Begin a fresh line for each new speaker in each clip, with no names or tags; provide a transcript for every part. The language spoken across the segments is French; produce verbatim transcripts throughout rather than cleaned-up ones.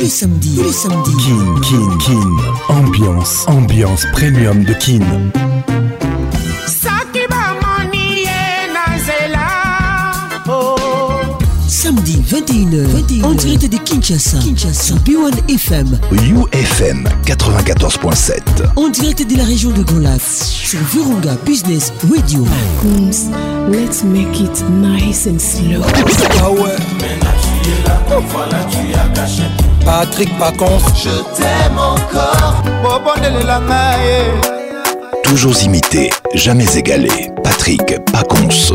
les samedis, tous les samedis.
Kin, Kin, Kin. Ambiance, ambiance premium de Kin.
Samedi vingt et une heures, vingt et une heures, en direct de Kinshasa, Kinshasa, B un F M,
U F M quatre-vingt-quatorze point sept,
en direct de la région de Grand Lac, sur Virunga Business Radio.
Coons, let's make it nice and slow.
Ah ouais. Patrick Pacons,
je t'aime encore.
Toujours imité, jamais égalé. Patrick Pacons.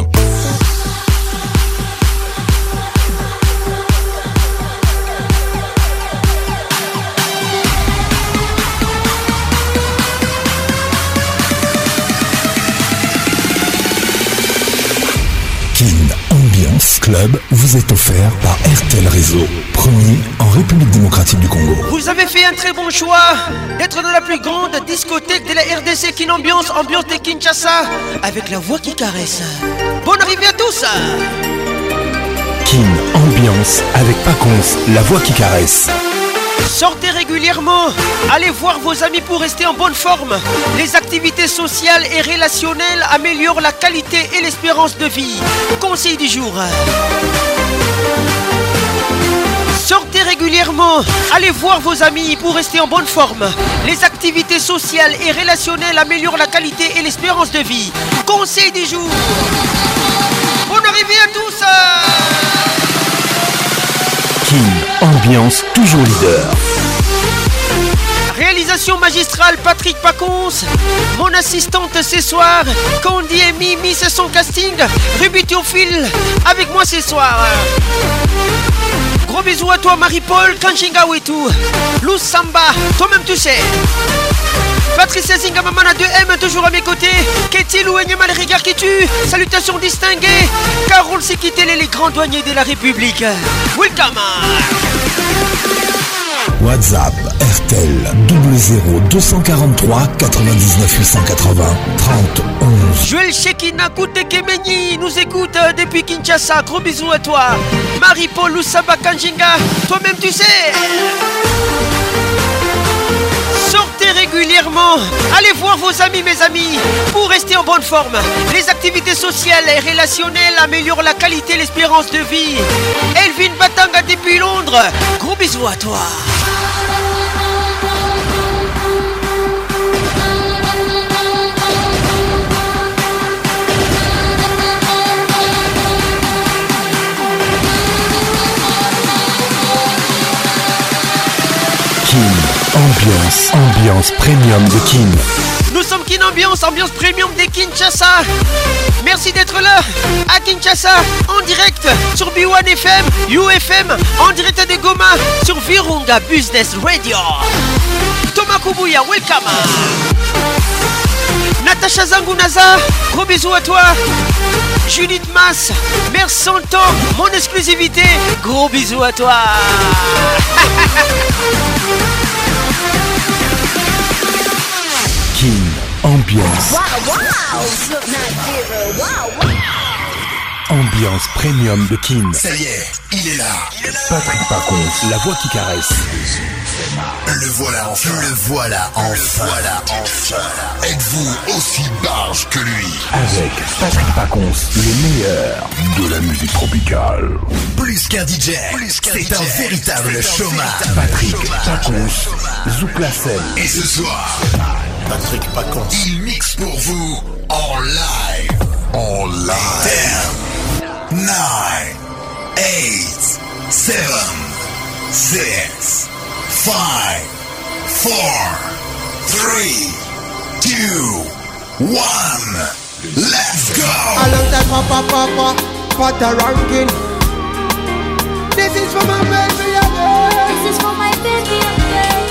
Ambiance Club vous est offert par R T L Réseau, premier en République démocratique du Congo.
Vous avez fait un très bon choix d'être dans la plus grande discothèque de la R D C, Kin Ambiance, ambiance de Kinshasa, avec la voix qui caresse. Bonne arrivée à tous.
Kin Ambiance avec Pacons, la voix qui caresse.
Sortez régulièrement, allez voir vos amis pour rester en bonne forme. Les activités sociales et relationnelles améliorent la qualité et l'espérance de vie. Conseil du jour. Sortez régulièrement, allez voir vos amis pour rester en bonne forme. Les activités sociales et relationnelles améliorent la qualité et l'espérance de vie. Conseil du jour. Bonne arrivée à tous.
Kin Ambiance, toujours leader.
Réalisation magistrale Patrick Pacons. Mon assistante ce soir, Candy et Mimi, c'est son casting. Ruby Théophile avec moi ce soir. Gros bisous à toi Marie-Paul, Kanchinga Wetu, Lou Samba, toi-même tu sais. Patricia Zinga Mamana deux M toujours à mes côtés. Katie Louenyama les regards qui tuent. Salutations distinguées. Carole Sikitele les grands douaniers de la République. Welcome.
WhatsApp R T L double zéro deux cent quarante-trois quatre-vingt-dix-neuf huit cent quatre-vingts trente onze.
Joël Shekina Koute Kemeni nous écoute depuis Kinshasa. Gros bisous à toi. Marie-Paul Lusaba Kanjinga, toi-même tu sais. Sortez régulièrement, allez voir vos amis mes amis pour rester en bonne forme. Les activités sociales et relationnelles améliorent la qualité et l'espérance de vie. Elvin Batanga depuis Londres, gros bisous à toi.
Ambiance, ambiance premium de Kin.
Nous sommes Kin Ambiance, ambiance premium de Kinshasa. Merci d'être là à Kinshasa, en direct sur B un F M, U F M, en direct de Goma, sur Virunga Business Radio. Thomas Kubuya, welcome. Natacha Zangunaza, gros bisous à toi. Judith Mass, Mère Santon, mon exclusivité, gros bisous à toi.
Kin Ambiance.
Wow, wow. Wow, wow.
Ambiance premium de Kin.
Ça y est, il est là. Il est là.
Patrick Pacons, la voix qui caresse.
Le voilà enfin. Le voilà enfin. Voilà enfin. Êtes-vous aussi barge que lui?
Avec Patrick Pacons, le meilleur de la musique tropicale.
Plus qu'un D J, c'est un véritable showman.
Patrick Pacons, Zouk la scène.
Et ce soir, Patrick Pacons, il mixe pour vous en live. En live. ten, nine, eight, seven, six, five, four, three, two, one. Let's go.
I love that papa papa pata ranking. This is for my baby again.
This is for my baby again.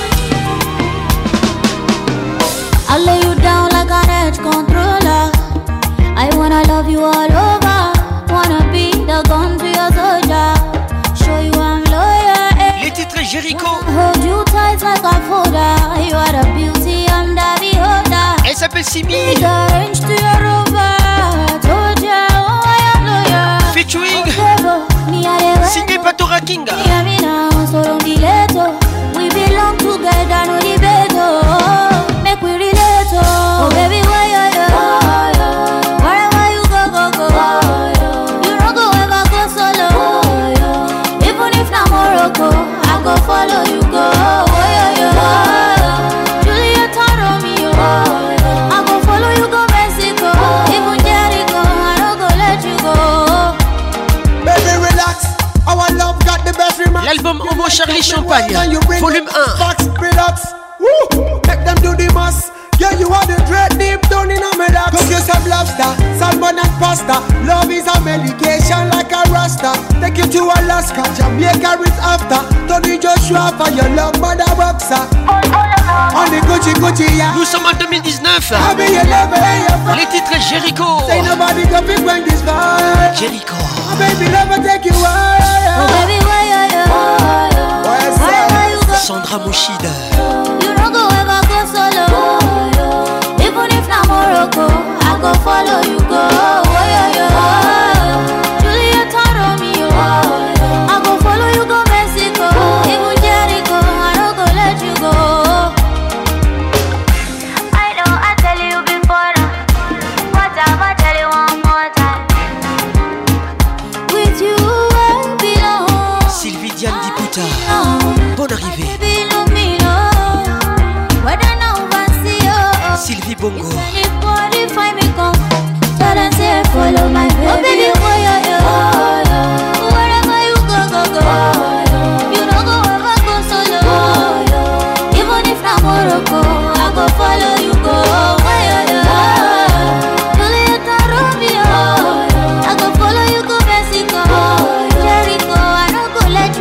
I lay you down like an edge controller. I wanna love you all over. Wanna be the gun to your soldier. Show you I'm loyal.
Les titres Jericho.
Hold you tight like a folder. You are the beauty, I'm the beholder.
Elle s'appelle Simi.
Range to your rover. Told ya, oh I am loyal.
Featuring
Signé
Patora Kinga. L'album Homo Charlie Champagne, volume un.
Make them do the most. Yeah, you are the dread deep down in a medoc. Cook you some lobster, salmon and pasta. Love is a medication like a rasta. Take you to Alaska, Jamaica is after. Tony Joshua for your love, mother boxer. On the Gucci Gucci, yeah.
Nous sommes en deux mille dix-neuf.
I be your lover, your
Les titres Jericho.
Say nobody can be bring this vibe.
Jericho.
Oh, baby, never take you away.
Oh baby, why you you? Why you go?
Sandra Mouchida.
You don't go ever go solo. Even if na Morocco, I go follow you go. Oh yeah yeah. Juliet Romeo, I go follow you go Mexico. Even Jericho, I don't go let you go. I know I tell you before, but I tell you one more time. With you I belong.
Sylvie Diane Diputa. Bonne arrivée. Sylvie Bongo.
Follow my baby. Oh baby, why you you? Wherever you go, go, go. You don't go ever go solo. Even if na Morocco, I go follow you go. Why you you? Juliet Romeo, I go follow you go Mexico. Jericho, I don't go let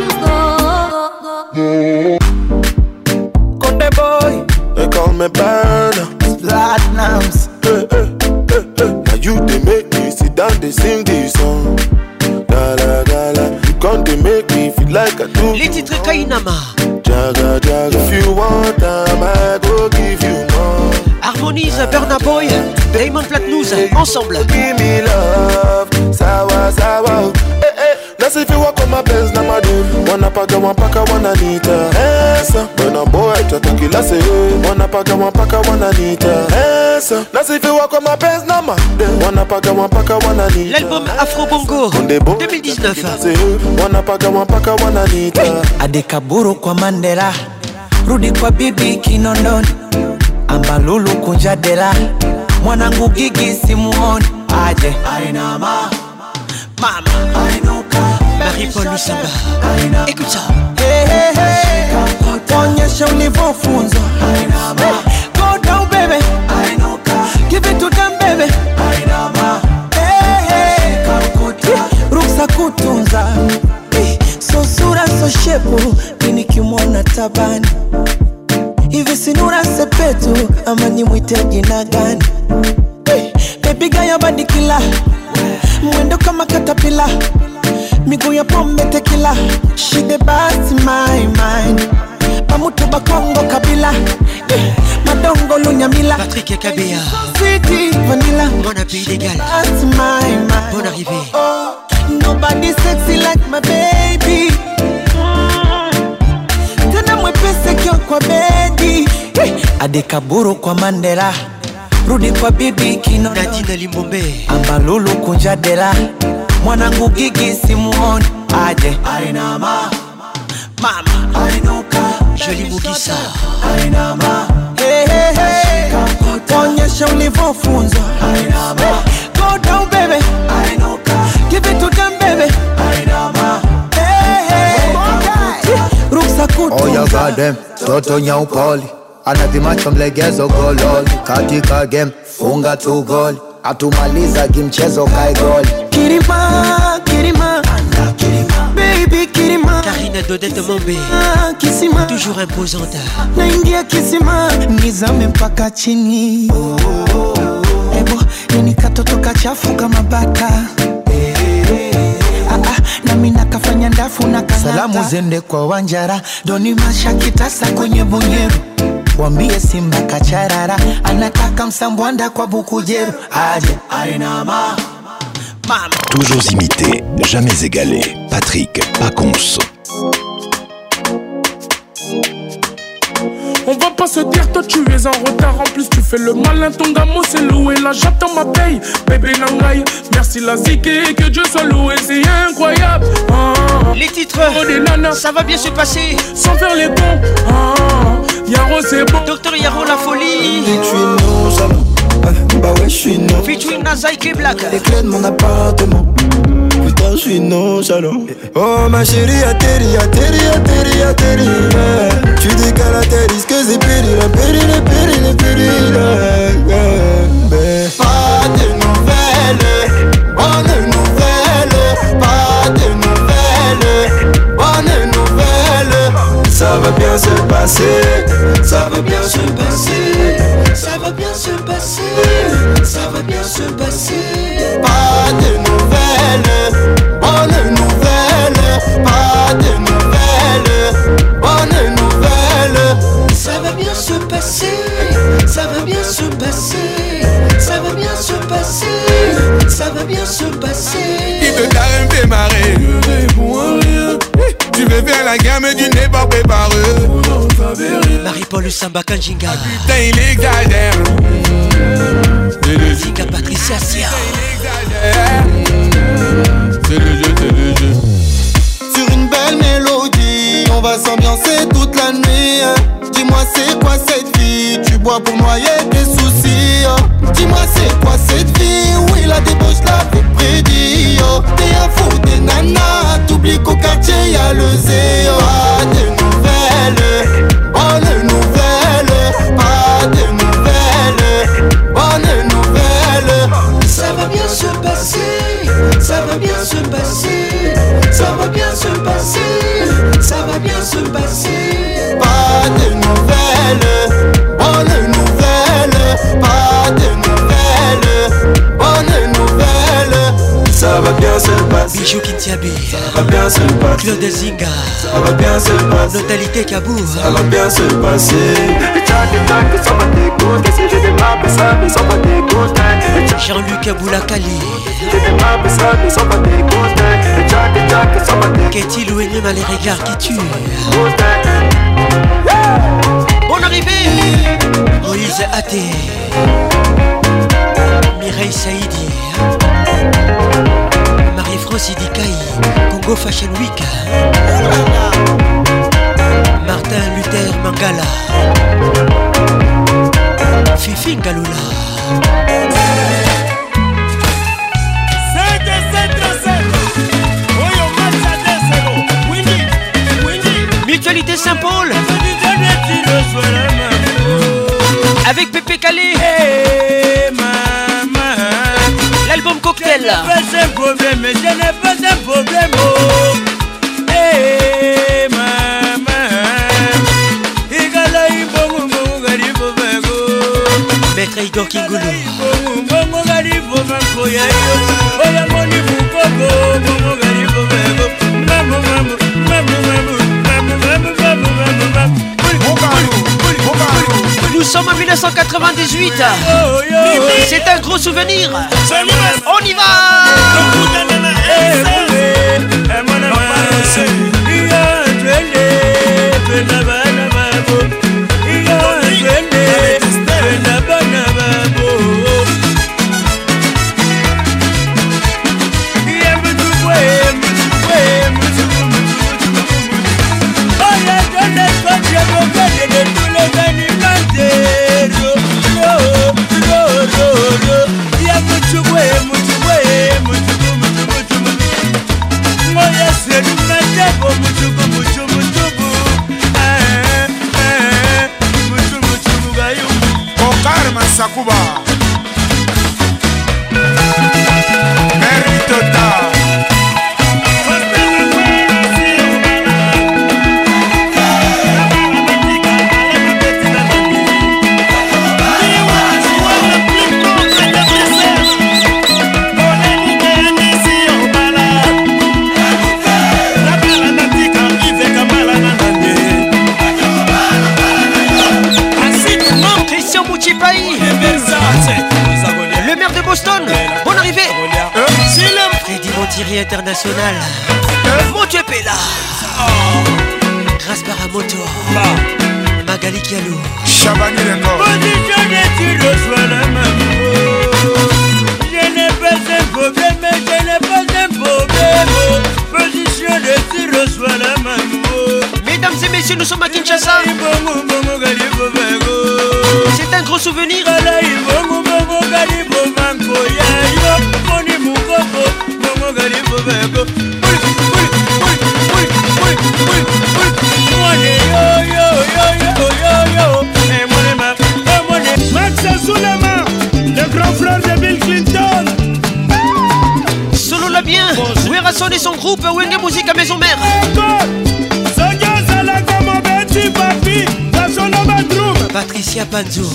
you go.
Conde boy, they call me Burner. Platinums. Hey, hey, hey, hey. Now you they make me sit down, they sing this song. Gala, gala. You can't they make me feel like I do.
Les titres Kainama.
Jaga, jaga. If you want time, I go give you more.
Harmonise, Burna Boy, Diamond Platnumz, ensemble.
Give me love, sawa, sawa. Eh, eh. Let's if you walk on my Benz, na my dude. Wanna paka, one paka, one anita. Esa, Burna Boy, tataki la se. Wanna paka, one paka, one anita. Esa, let's if you walk on my Benz, na my dude. Wanna paka, one paka, one anita.
L'album Afro Bongo deux mille dix-neuf.
Wanna paka, one paka, one anita.
Adekaburu kwa Mandela, rudi kwa bibi Kinondoni, Ambalulu kunjadela, mwanangu Gigi simuoni, aje Ainama,
mama Ainuka, Marie-Paul Lusamba. Écoute ça.
Hey, hey, hey. Onyesha ulivyofunzwa. Go down baby. Give it to them baby. Hey, hey. Ruksa kutunza. So sura so shepu, mimi kimwona tabani. Hivi sinura sepetu, ama nimwite jina gani? Hey, baby gaya badi kila, mwendo kama katapila, miguu ya pombe tequila. She the best in my mind. Pamutu bakongo kabila, hey, madongo lunyamila.
Patrick Kabea.
City vanilla.
Mon appui légal.
That's my mind.
Bonne arrivée.
Oh, nobody sexy like my baby. Tena mwepese kio kwa bedi. Hey. Adekaburu kwa Mandela, rudi kwa bibi Kinondoni,
Nadine Limbombe,
Ambalulu kunjadela, mwanangu Gigi simuoni, aje Ainama,
mama
Ainuka,
Jolie Mugisa.
Ainama, hey, hey, hey. Onyesha ulivyofunzwa. Ainama, go down baby. Ainuka, give it to them baby. Ainama, hey, hey. Ruksa kutunza.
Oh ya gadem, toto nyaupoli, anavimacho mlegezo gololi, katika game funga tu goli, atumaliza kimchezo kai goli.
Kirima, Kirima, baby Kirima.
Karina Dodette Mombe,
Kisima,
toujours imposante.
naingia kisima, nizame mpaka chini. Ebo, yani katoto kachafu kama bata. Ah, ah, na mina kafanya ndafu na kanata. Salamu zende kwa Wanjara, doni masha kitasa kwenye bunyeru. Wambie Simba kacharara, anataka msambwanda kwa Bukujeru. Aje Ainama,
mama.
Toujours imité, jamais égalé. Patrick Pacons.
On va pas se dire, toi tu es en retard. En plus tu fais le malin, ton gamin c'est loué. Là j'attends ma paye, bébé Nangaï. Merci la zike, que Dieu soit loué. C'est incroyable. Ah,
Les titres,
oh, des nanas,
ça va bien se passer.
sans faire les bons. Ah, Yaro c'est bon.
Docteur Yaro la folie.
Bah ouais, je suis né.
Featuring Nazaï K Black.
Les clés de mon appartement.
toi je suis nonchalant. Oh ma chérie, atterri, atterri, atterri, atterri, yeah. Tu décales à tes risques et périls, périls, périls, périls, yeah. Pas de nouvelles, bonne nouvelle. Pas de nouvelles, bonne nouvelle. Ça va bien se passer, ça va bien se passer, ça va bien se passer, ça va bien se passer. Pas de nouvelles, bonne nouvelle. Pas de nouvelles, bonne nouvelle. Ça va bien se passer, ça va bien se passer, ça va bien se passer, ça va bien se passer.
Qui te carême fait marrer, je réponds à rien. Tu veux faire la gamme du nez pas préparé.
Marie-Paul Samba Kanjinga.
Putain il exagère.
Zika Patricia Sia.
C'est le jeu, c'est le jeu.
Sur une belle mélodie, on va s'ambiancer toute la nuit. Dis-moi c'est quoi cette vie, tu bois pour noyer tes soucis. Dis-moi c'est quoi cette vie, oui la débauche la fait prédit. T'es un fou des nanas, t'oublies qu'au quartier y'a le zéro. Pas de nouvelles, bonne nouvelle. Pas de nouvelles, bonne nouvelle. Ça va bien se passer, ça va bien se passer, ça va bien se passer, ça va bien se passer. Pas de nouvelles, bonne nouvelle. Pas de nouvelles, bonne nouvelle. Ça va bien se passer.
Bijou Kintiabi.
Ça va bien se passer.
Claude Zinga.
Ça va bien se passer.
Notalité Kabou.
Ça va bien se passer.
Jean-Luc Aboulakali. Qu'est-il ou Enyem à les regards qui tuent. Bonne arrivée. Moïse Athé. Mireille Saïdi. Marie-France Idikaï. Congo Fashion Week. Martin Luther Mangala. Fifi Ngalula. Mutualité Saint-Paul. Avec Pépé Calais.
Hey, maman.
L'album Cocktail.
Je n'ai pas un problème, je n'ai pas un problème. Oh. Hey, maman. Igala ibongo bongo garibo bago.
Maître Igor Kingoulou.
Bongo garibo bango ya yo. Oya moni bukogo bongo garibo bago. Mamu mamu mamu mamu mamu mamu mamu mamu mamu.
Nous sommes en dix-neuf cent quatre-vingt-dix-huit. C'est un gros souvenir. On y va.
Sakuba Meritota
Christian Mouchipaï. Le maire de Boston. Bonne arrivée. Freddy Montieri International. Motu Pela. Grâce Baramoto. Magali Kialou.
Chabani Lengo.
Je n'ai pas un problème, je n'ai pas un problème. Position de tir reçoit la maman.
Mesdames et messieurs, nous sommes à Kinshasa. C'est un gros souvenir.
Money
groupe Wenge Musique à Maison Mère. Patricia Panzo,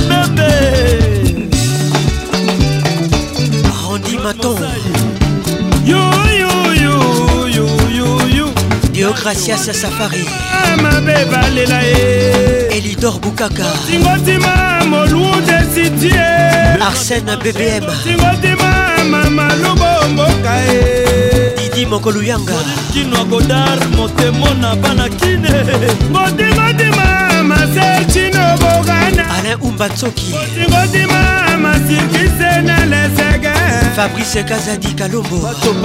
Randy Maton,
yo yo yo yo yo yo,
Dio Gracias Safari, Elidor Bukaka, Arsène B B M, Didi Mokoluyanga, Alain Umbatsoki, Fabrice Kazadi Kalombo,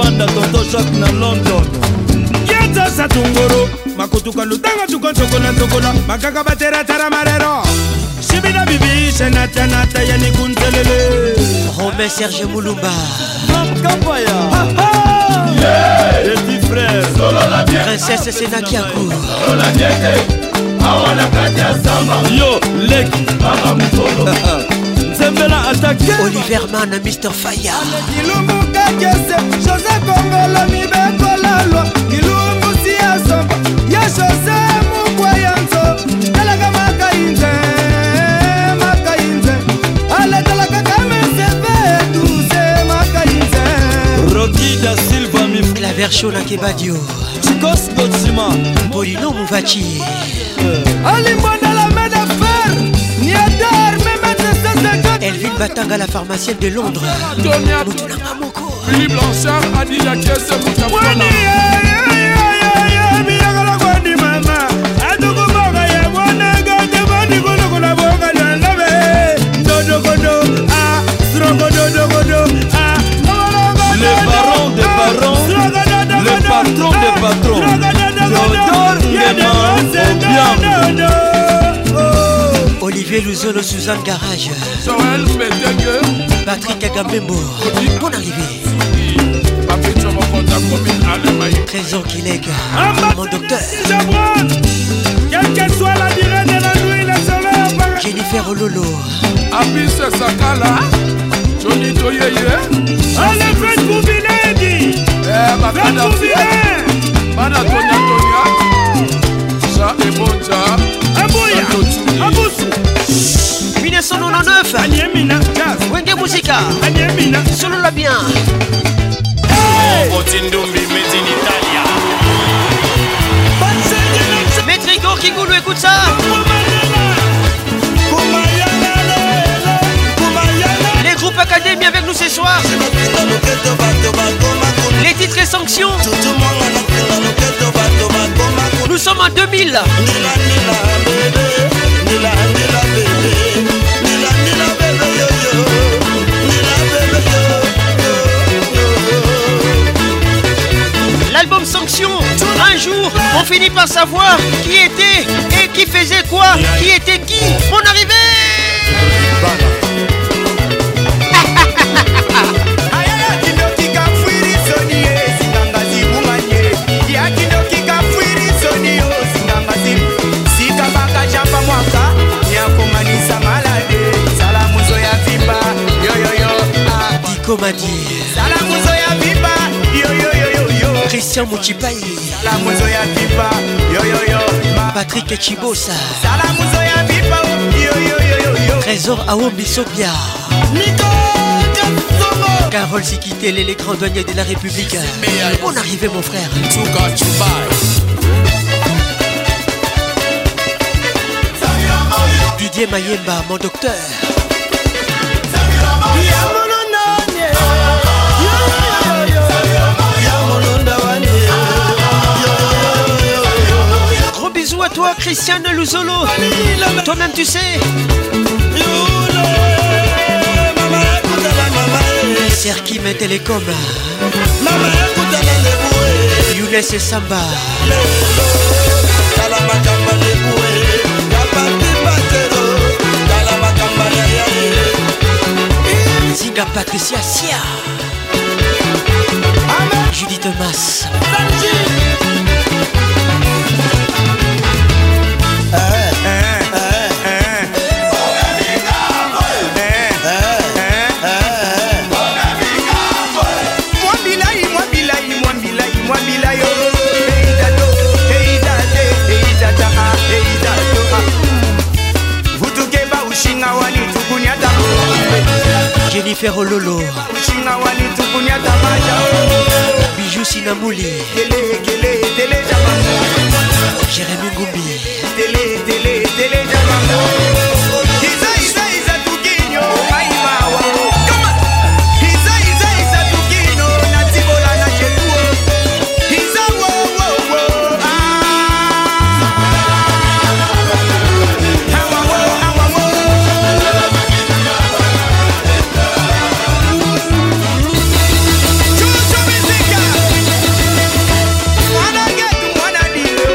Satungoro makutuka lutanga tukonchokola ntokola makaka batera taramarero shibina bibi shenata nata yani kuntelele
Romain Serge Moulumba
Kapaya petit frère
Princesse Senakiakou
yo lek Zembela attaqué
Oliver Mann Mister Faya
Kilumuka kese José Kongolo mibekola loi Kilumbu siya somba Ya José mukwayanzo Talaga makainze Makainze Ale talaga kamesebe Tuze makainze Rocky da Silva mif
Claver Shona Kebadio
Chikos Godzima
Polino Mouvachi
Alimbonda la main d'affaire Niadar
Elvin Batanga, la pharmacienne de Londres.
Philippe Blanchard a dit la caisse Moutafana.
Le baron des barons, le patron des patrons, Théodore Nguema Obiang.
Olivier Luzolo, Suzanne Garage,
Joël Bédégue,
Patrick Agambembo, bonne arrivée. Trésor Kilek, mon docteur.
Quelle que soit la durée de la nuit, le soleil apparaît.
Jennifer Ololo,
Abis Sakala, Johnny Toyeye.
Allez, faites pour Biledi.
Faites pour Biledi. Mana Tonya Tonya, ça est bon, ça.
Abouya, Aboussou.
mille neuf cent quatre-vingt-dix-neuf,
Anyemina, Jazz,
Wenge Musica,
Anyemina,
solo la bien.
Otindumbi, made in Italia.
Maître Igor Kikoulou, écoute ça. Les groupes académies avec nous ce soir. Les titres et sanctions. Nous sommes en deux mille. L'album Sanction. Un jour, on finit par savoir qui était et qui faisait quoi, qui était qui. Mon arrivée. Dico m'a dit Christian Mouchipaï, Patrick Chibosa, Trésor Aombi Sopia, Carole Sikitele, les grands douaniers de la République. Bonne arrivée mon frère. Didier Mayemba, mon docteur. Gros bisous à toi Christiane Luzolo. Toi-même tu sais. Serki met Télécom. Younes et Samba. Zinga Patricia Sia. Judith Mas.
Moi bilaï, moi bilaï, moi bilaï, moi bilaï.
Jennifer Ololo, Bijou Sinamouli, Jérémy Ngumbi,
Télé, télé, télé, Isa, Isa, Isa, Tukinyo, Aimawa. Isa, Isa, Isa, Tukinyo, Natibola, Nachetuo. Isa, wo, wo, wo, ah. Awa, wo, awa, wo. Chuchu Mizika. Mwana getu, mwana dio.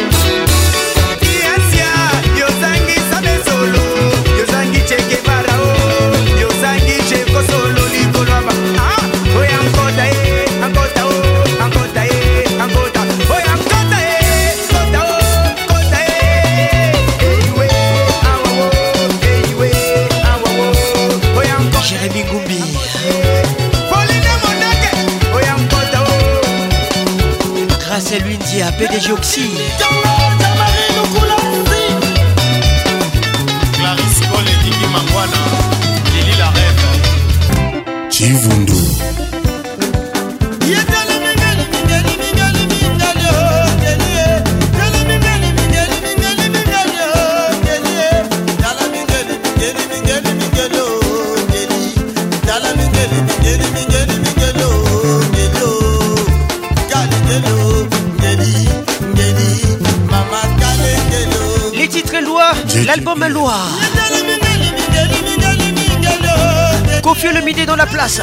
Kiasia, Yozangi sabe solo. Yozangi cheke barao. Yozangi cheko solo likolaba. Ah, oya ankota eh, ankota oh, ankota eh, ankota. Oya ankota eh, ankota oh, ankota eh. Eyiwe, awa wo, eyiwe, awa wo. Oya ankota.
Jérémy Ngumbi,
Pauline Monake. Oya ankota oh.
Grâce à Luindia, P D G Oxy,
Clarisse Cole et Diki Mangwana, Lili la rêve.
Chivundu.
les titres Loa, l'album Loa. Kofi le midi dans la place.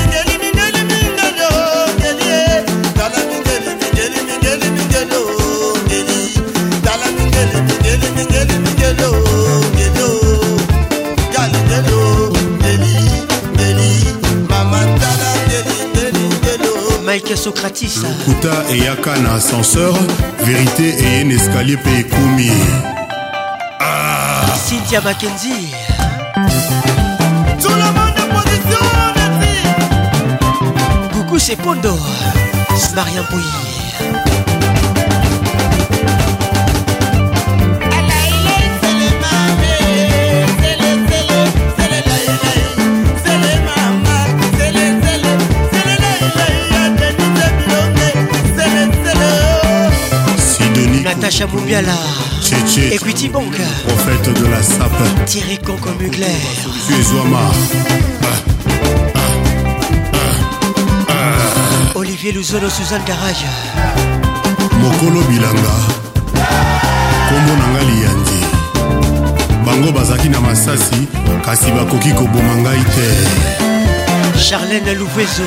Mike Socratis.
Kuta et Yaka na ascenseur, vérité et un escalier pe koumi. Ah.
Cynthia Mackenzie.
Tout le monde en position, merci.
Coucou c'est Pondo. Mariam Pouy. Natacha Moubiala,
Tchétché,
Equity Bank,
prophète de la sape,
Thierry Conco Mugler,
Fuezouama,
Olivier Luzono, Suzanne Garage,
Mokolo Bilanga, Kombo Nanga Liyandi, Bango Bazaki na Masasi, kasi bakoki koboma ngai te.
Charlène Louvezo.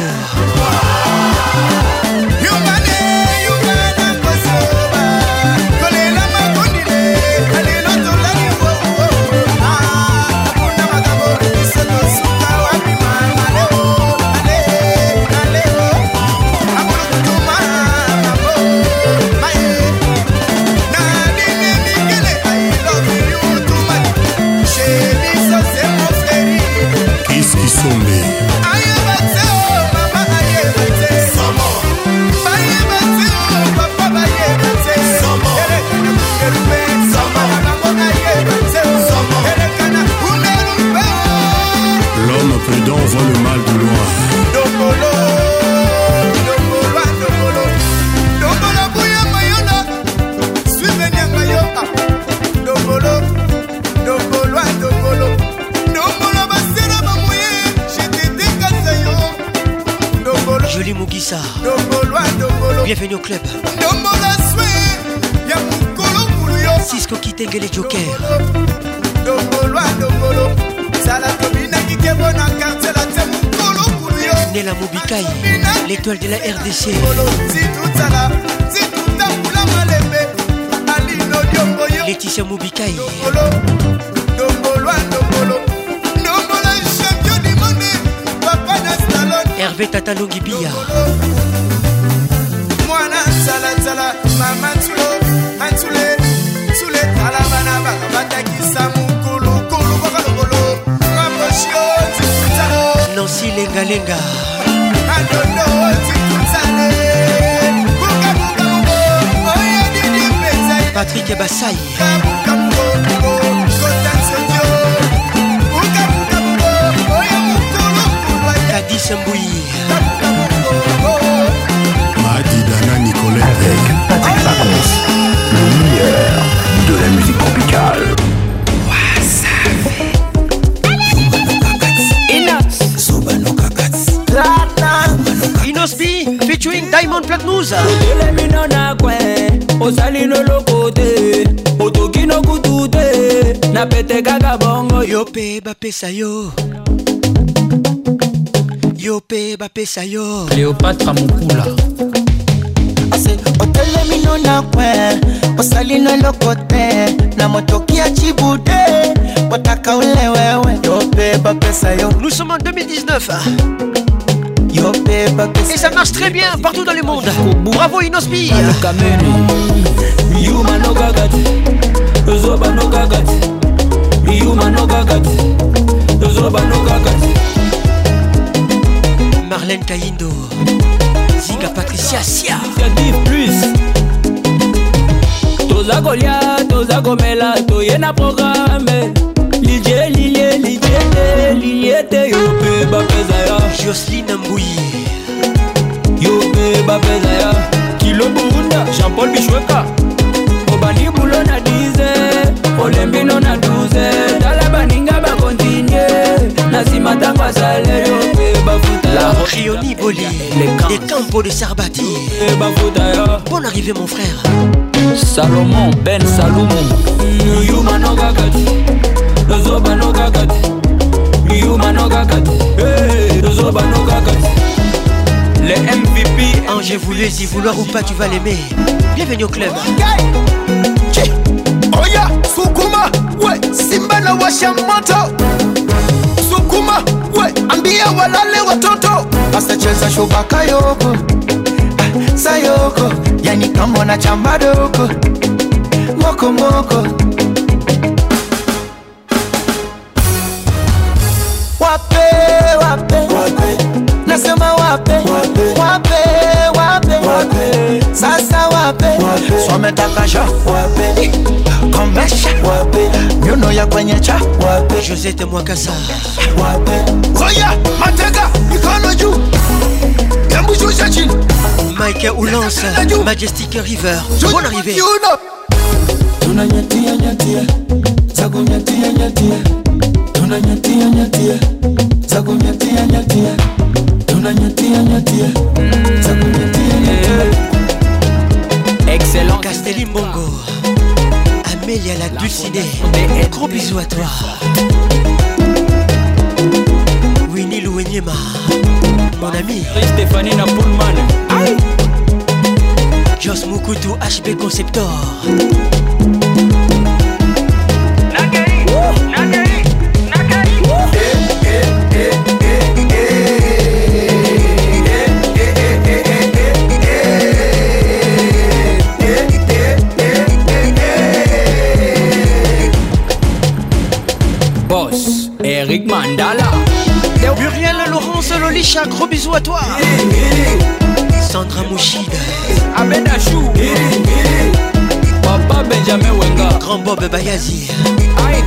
L'homme prudent voit le mal de loin.
Jolie Mugissa. Bienvenue au club. Cisco Kitenge les Jokers. Nela Mobikai, l'étoile de la R D C. Laetitia Mobikai. Hervé Tatalongi Bia.
Mwana sala sala mama tulo antule tule talabana bakabatakisa mukulu kulu bakalokolo maposhio tikutsalo
Nancy Lenga Lenga.
adondo tikutsale buka buka buka oya didi pesa
Patrick Bassai.
buka buka buka kotansodio buka buka buka oya mukulu
Mbouyi.
Madidana Nicolet.
Avec Patrick Pacons, le meilleur de la musique tropicale.
Inospi featuring Diamond Platnumz. Yope bapesa yo. Yope bapesa yo.
Cléopâtre Mukula.
Ase otelemino na kwe osalino lokote na motokia chibude wataka ule wewe yope bapesa yo.
Nous sommes en deux mille dix-neuf. Et ça marche très bien partout dans le monde. Bravo Inospi. Marlène Kaindo, Zinga Patricia Sia.
Plus. Toza Golia, Toza Gomela, Toyena programme. Lilie, Lilie, Lilie, Lilie, Yope Bapezaya.
Jocelyne Mbouyi.
Yope Bapezaya. Kilo Bunda, Jean-Paul Bichweka. Obani Boulon a dix. Olembino na douze. Dala Baninga ba continue. Nasima Tangwa Sale, Yope Bafutaya.
La Rioni Boli, les Campos de Sarbati. Bonne arrivée mon frère.
Salomon Ben Salomon. Yuma no Gagati. Zoba no Gagati. Yuma no Gagati. Zoba no Gagati. Les M V P.
Ange voulu y vouloir ou pas tu vas l'aimer. Bienvenue au club.
Oya Sukuma we Simba na washa moto. Sukuma we ambia walale watoto. Basta cheza shubaka yoko ah, sayoko yani kama na chamba doko moko moko. Wape wape wape nasema wape wape wape wape wape sasa wape wape sometaka sha wape komesha wape nyuno ya kwenye cha wape
Josette Mwakasa
wape Oya matega mikono juu yambu shusha chini
Mike Oulance Majestic River. Bonne arrivée.
Tunanyatia nyatia zago nyatia nyatia tunanyatia nyatia zago nyatia nyatia tunanyatia nyatia zago nyatia nyatia.
Excellent
Castelli Mbongo, Amélia la Dulcinée. Gros bisous à toi. Winnie Louenyema, mon ami.
Stéphanie Napoulman. Aïe.
Jos Mukutu H B Conceptor.
Nagari, Nagari, Nagari. Boss, Eric Mandala.
Muriel Laurence Lolicha, gros bisous à toi. Sandra Mouchide,
Abedachou, Papa Benjamin Wenga,
Grand Bob Bayazi.
Aïe.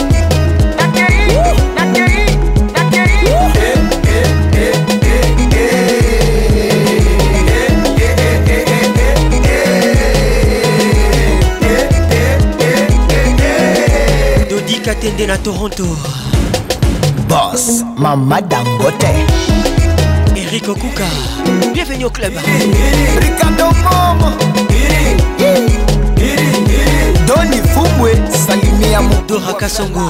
Dodi Katende na Toronto.
Boss Mama Dangote
Eric Okuka, bienvenue au club.
Ricardo Momo Doni Fumwe Salimia
Dora Kasongo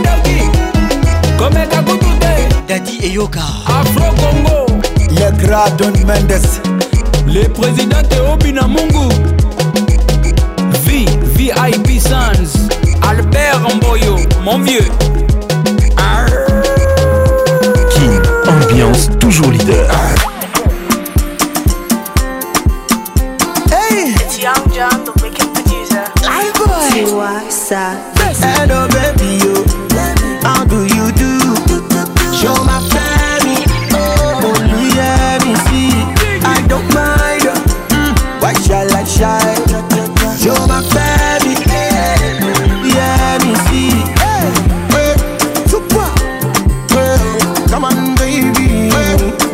Komeka Kutute
Daddy Eyoka
Afro Congo
Le Grand Don Mendes
Le président Théo Binamungu V, V I P Sans Albert Mboyo, mon vieux.
King, ambiance toujours leader.
Hey,
it's Young John, the wicked producer.
Live boy.
Tiwasa.
Hello baby, you. How do you do? Show my family. Oh, yeah, me see. I don't mind. Mm, why shall I shine? Show my family. Yeah, me see. Hey, hey, super. Hey, come on, baby. Hey,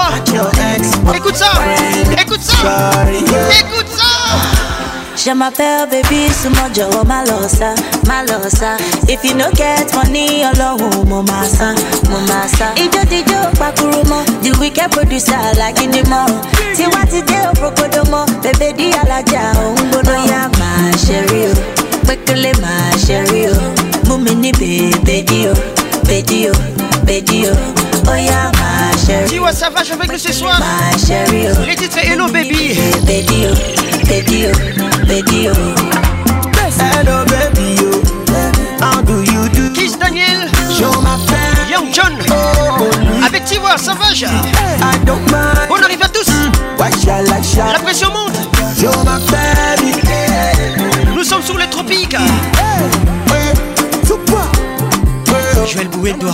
Écoute ça. Écoute ça. Écoute ça.
Je m'appelle baby, sumojo, malosa, malosa. If you no get money, alone, momasa, momasa. Ijo dijo, pakurumo, the wicked producer like in the mall. See what it do, prokodomo, baby di alaja, umbono ya ma sherry, bekele ma sherry, mumini baby dio, baby dio, baby dio. Oh yeah, ma chérie.
Tu vois, ça va, je veux que ce soir.
Ma chérie.
Les titres Hello Baby.
Baby, baby, baby.
Hello baby, how do you do?
Kiss Daniel.
Show my friend.
Young John.
Oh,
avec Tiwa, Savage.
I don't mind.
On arrive à tous.
Why shall I shall?
La pression monte.
Show my friend.
Nous sommes sous les tropiques. Joël Bouédois.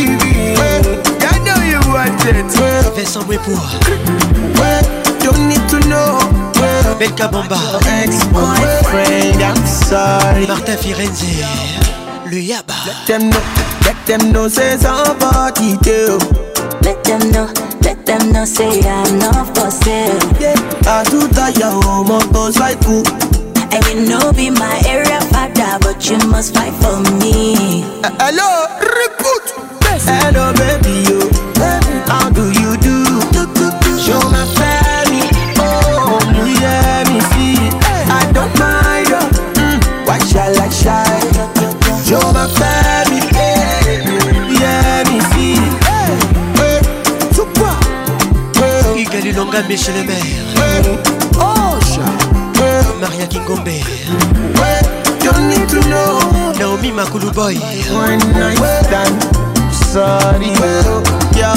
Vincent Bouépour.
Don't need to know.
Belka Bamba.
Ex-boyfriend, I'm sorry.
Martin Firenze. Le Yaba.
Let them know, let them know, say somebody do.
Let them know, let them know, say I'm not for sale.
Yeah, I do that, ya homo, goes like who?
And you know be my area father, but you must fight for me.
Uh, hello, recruit. Hello, baby, you. How do you do? Show my family. Oh, yeah, me see. I don't mind. Mm, why shall I shine? Show my family. Yeah, me see.
Hugues Lulonga, Michel le maire.
Oh,
Maria Kingombe.
Don't need to know.
Naomi Makulu Boy.
One night stand. Sorry, yo.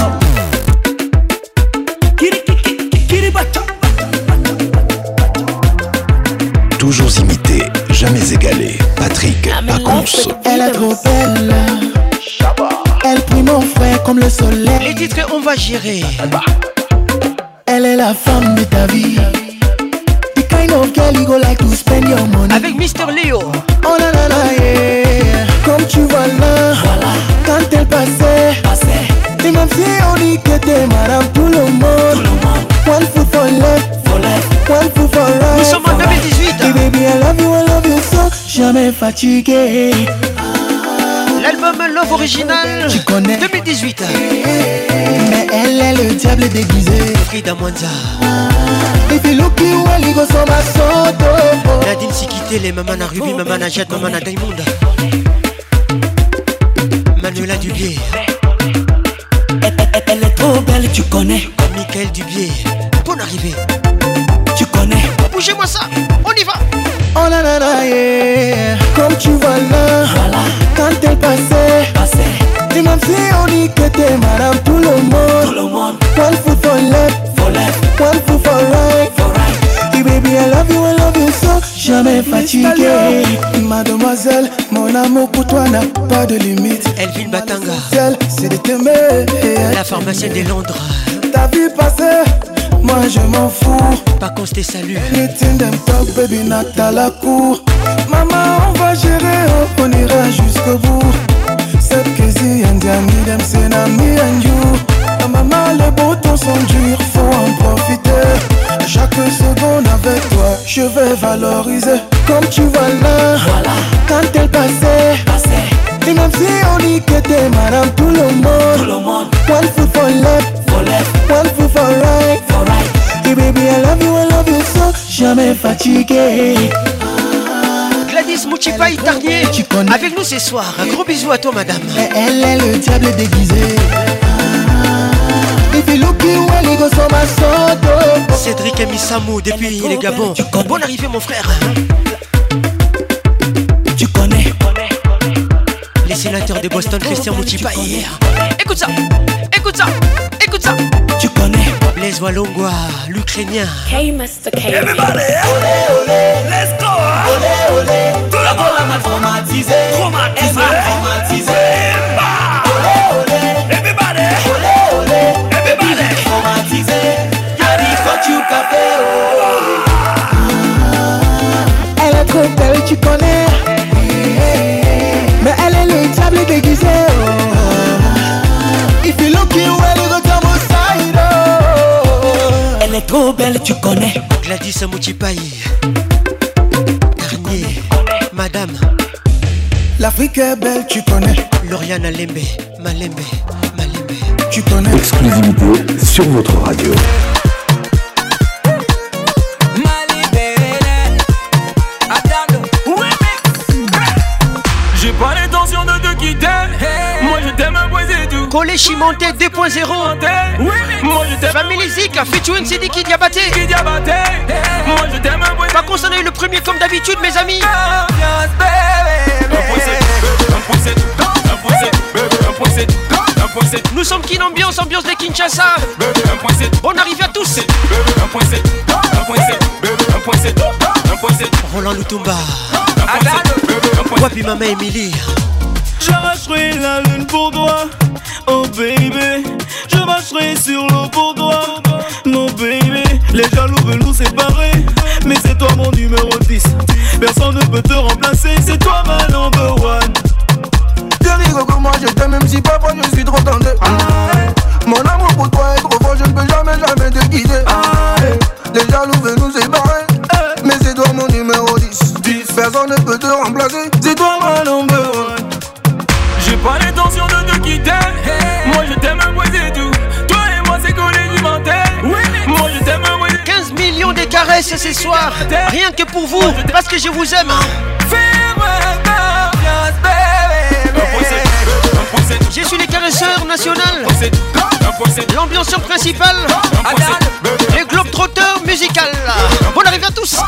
Toujours imité, jamais égalé. Patrick Pacons.
Elle est trop belle. Elle brille mon frère comme le soleil.
Les titres on va gérer.
Elle est la femme de ta vie. The kind of girl you go like to spend your money.
Avec Mister Léo.
Oh la la la yeah. Comme tu vois là, voilà. Quand elle passait, passait. Et même si on dit que t'es madame tout le monde, tout le monde. One foot for left, for left. One foot for right.
Nous sommes en deux mille dix-huit.
Hey baby I love you, I love you so. Jamais fatigué.
L'album Love Original deux mille dix-huit.
Mais elle est le diable déguisé.
Frida Mwanza.
If you look you well, you go so my soul.
Nadine Sikité, les mamans à Ruby, maman à Jade, maman à Diamond. Manuela Dubier.
Elle, elle, elle est trop belle, tu connais.
Michael Dubier. Bonne arrivée.
Tu connais.
Bougez-moi ça, on y va.
Oh la la la yeah. Comme tu vois là, voilà. Quand elle passait, passait. Et même si on dit que t'es madame tout le monde, tout le monde. One foot for left, for left. One foot for right, for right. Hey baby I love you, I love you so. Jamais fatigué. Mademoiselle, mon amour pour toi n'a pas de limite.
Elvin Batanga.
C'est de t'aimer.
La pharmacienne des Londres.
Ta vie passée, moi je m'en fous.
Pas qu'on se salue.
Anything them talk, baby, not à la cour. Maman, on va gérer, on ira jusqu'au bout. Cette crazy and Diami, them say na me and you. Maman, les beaux temps sont durs, faut en profiter. Chaque seconde avec toi, je vais valoriser. Comme tu vois là, voilà. Quand elle passait, passait. Et même si on dit que t'es madame tout le monde, tout le monde. One foot for left, for left. One foot for right, for right. Hey baby I love you, I love you so. Jamais fatigué.
Gladys Mouchipaï Tarnier avec nous ce soir. Un gros bisou à toi madame.
Et elle est le diable déguisé. If you look you well, you go so my soul.
Cédric Amisamou depuis les Gabons. Bonne arrivée mon frère.
Tu connais.
Les sénateurs de Boston, Christian Mouchipaï. Écoute ça, écoute ça, écoute ça.
Tu connais.
Blaise Walongwa, l'Ukrainien.
K Master K.
Everybody, olé olé, let's go. Olé olé, tout le monde m'a traumatisé. Traumatisé, traumatisé. Olé olé, everybody. Olé olé, everybody. Traumatisé. Y'a quoi tu café.
Elle est trop belle, tu connais. Mais elle est le diable déguisé. If you look you well, you go come outside.
trop belle, tu connais.
Gladys Mouchipaï, Garnier, Madame.
L'Afrique est belle, tu connais.
Lauriane Lembe, Malembe, Malembe.
Tu connais.
Exclusivité sur votre radio.
J'ai pas l'intention de te quitter. Moi je t'aime un point c'est tout.
Collé Chimonté deux point zéro.
Moi je t'aime.
Family Zik, featuring Sidiki Diabaté.
Diabaté. Moi je t'aime un point.
Par contre on a eu le premier comme d'habitude mes amis.
Un point c'est tout. Un point c'est tout. Un point c'est tout. Un point c'est tout.
Nous sommes Kin Ambiance, ambiance de Kinshasa.
Un point c'est tout.
Bonne arrivée à tous.
Un point c'est tout. Un point c'est tout. Un point c'est tout. Un point c'est tout.
Roland Lutumba. Wapi Mama Emily.
J'arracherai la lune pour toi, oh baby. Je marcherai sur l'eau pour toi, mon baby. Les jaloux veulent nous séparer, mais c'est toi mon numéro dix. Personne ne peut te remplacer, c'est toi ma number one.
Chérie, comme moi je t'aime même si parfois je suis trop tendu. Mon amour pour toi est trop fort, je ne peux jamais, jamais te quitter. Les jaloux veulent nous séparer, mais c'est toi mon numéro dix. Personne ne peut te remplacer, c'est toi ma number one.
J'ai pas l'intention de te quitter. Moi je t'aime un point c'est tout. Toi et moi c'est collé du mental. Moi je t'aime un point.
quinze millions de caresses ce soir. Rien que pour vous, parce que je vous aime.
Fais-moi confiance, baby.
Je suis les caresseurs nationaux. L'ambianceur principal. Les globetrotters musical. Bonne arrivée à tous.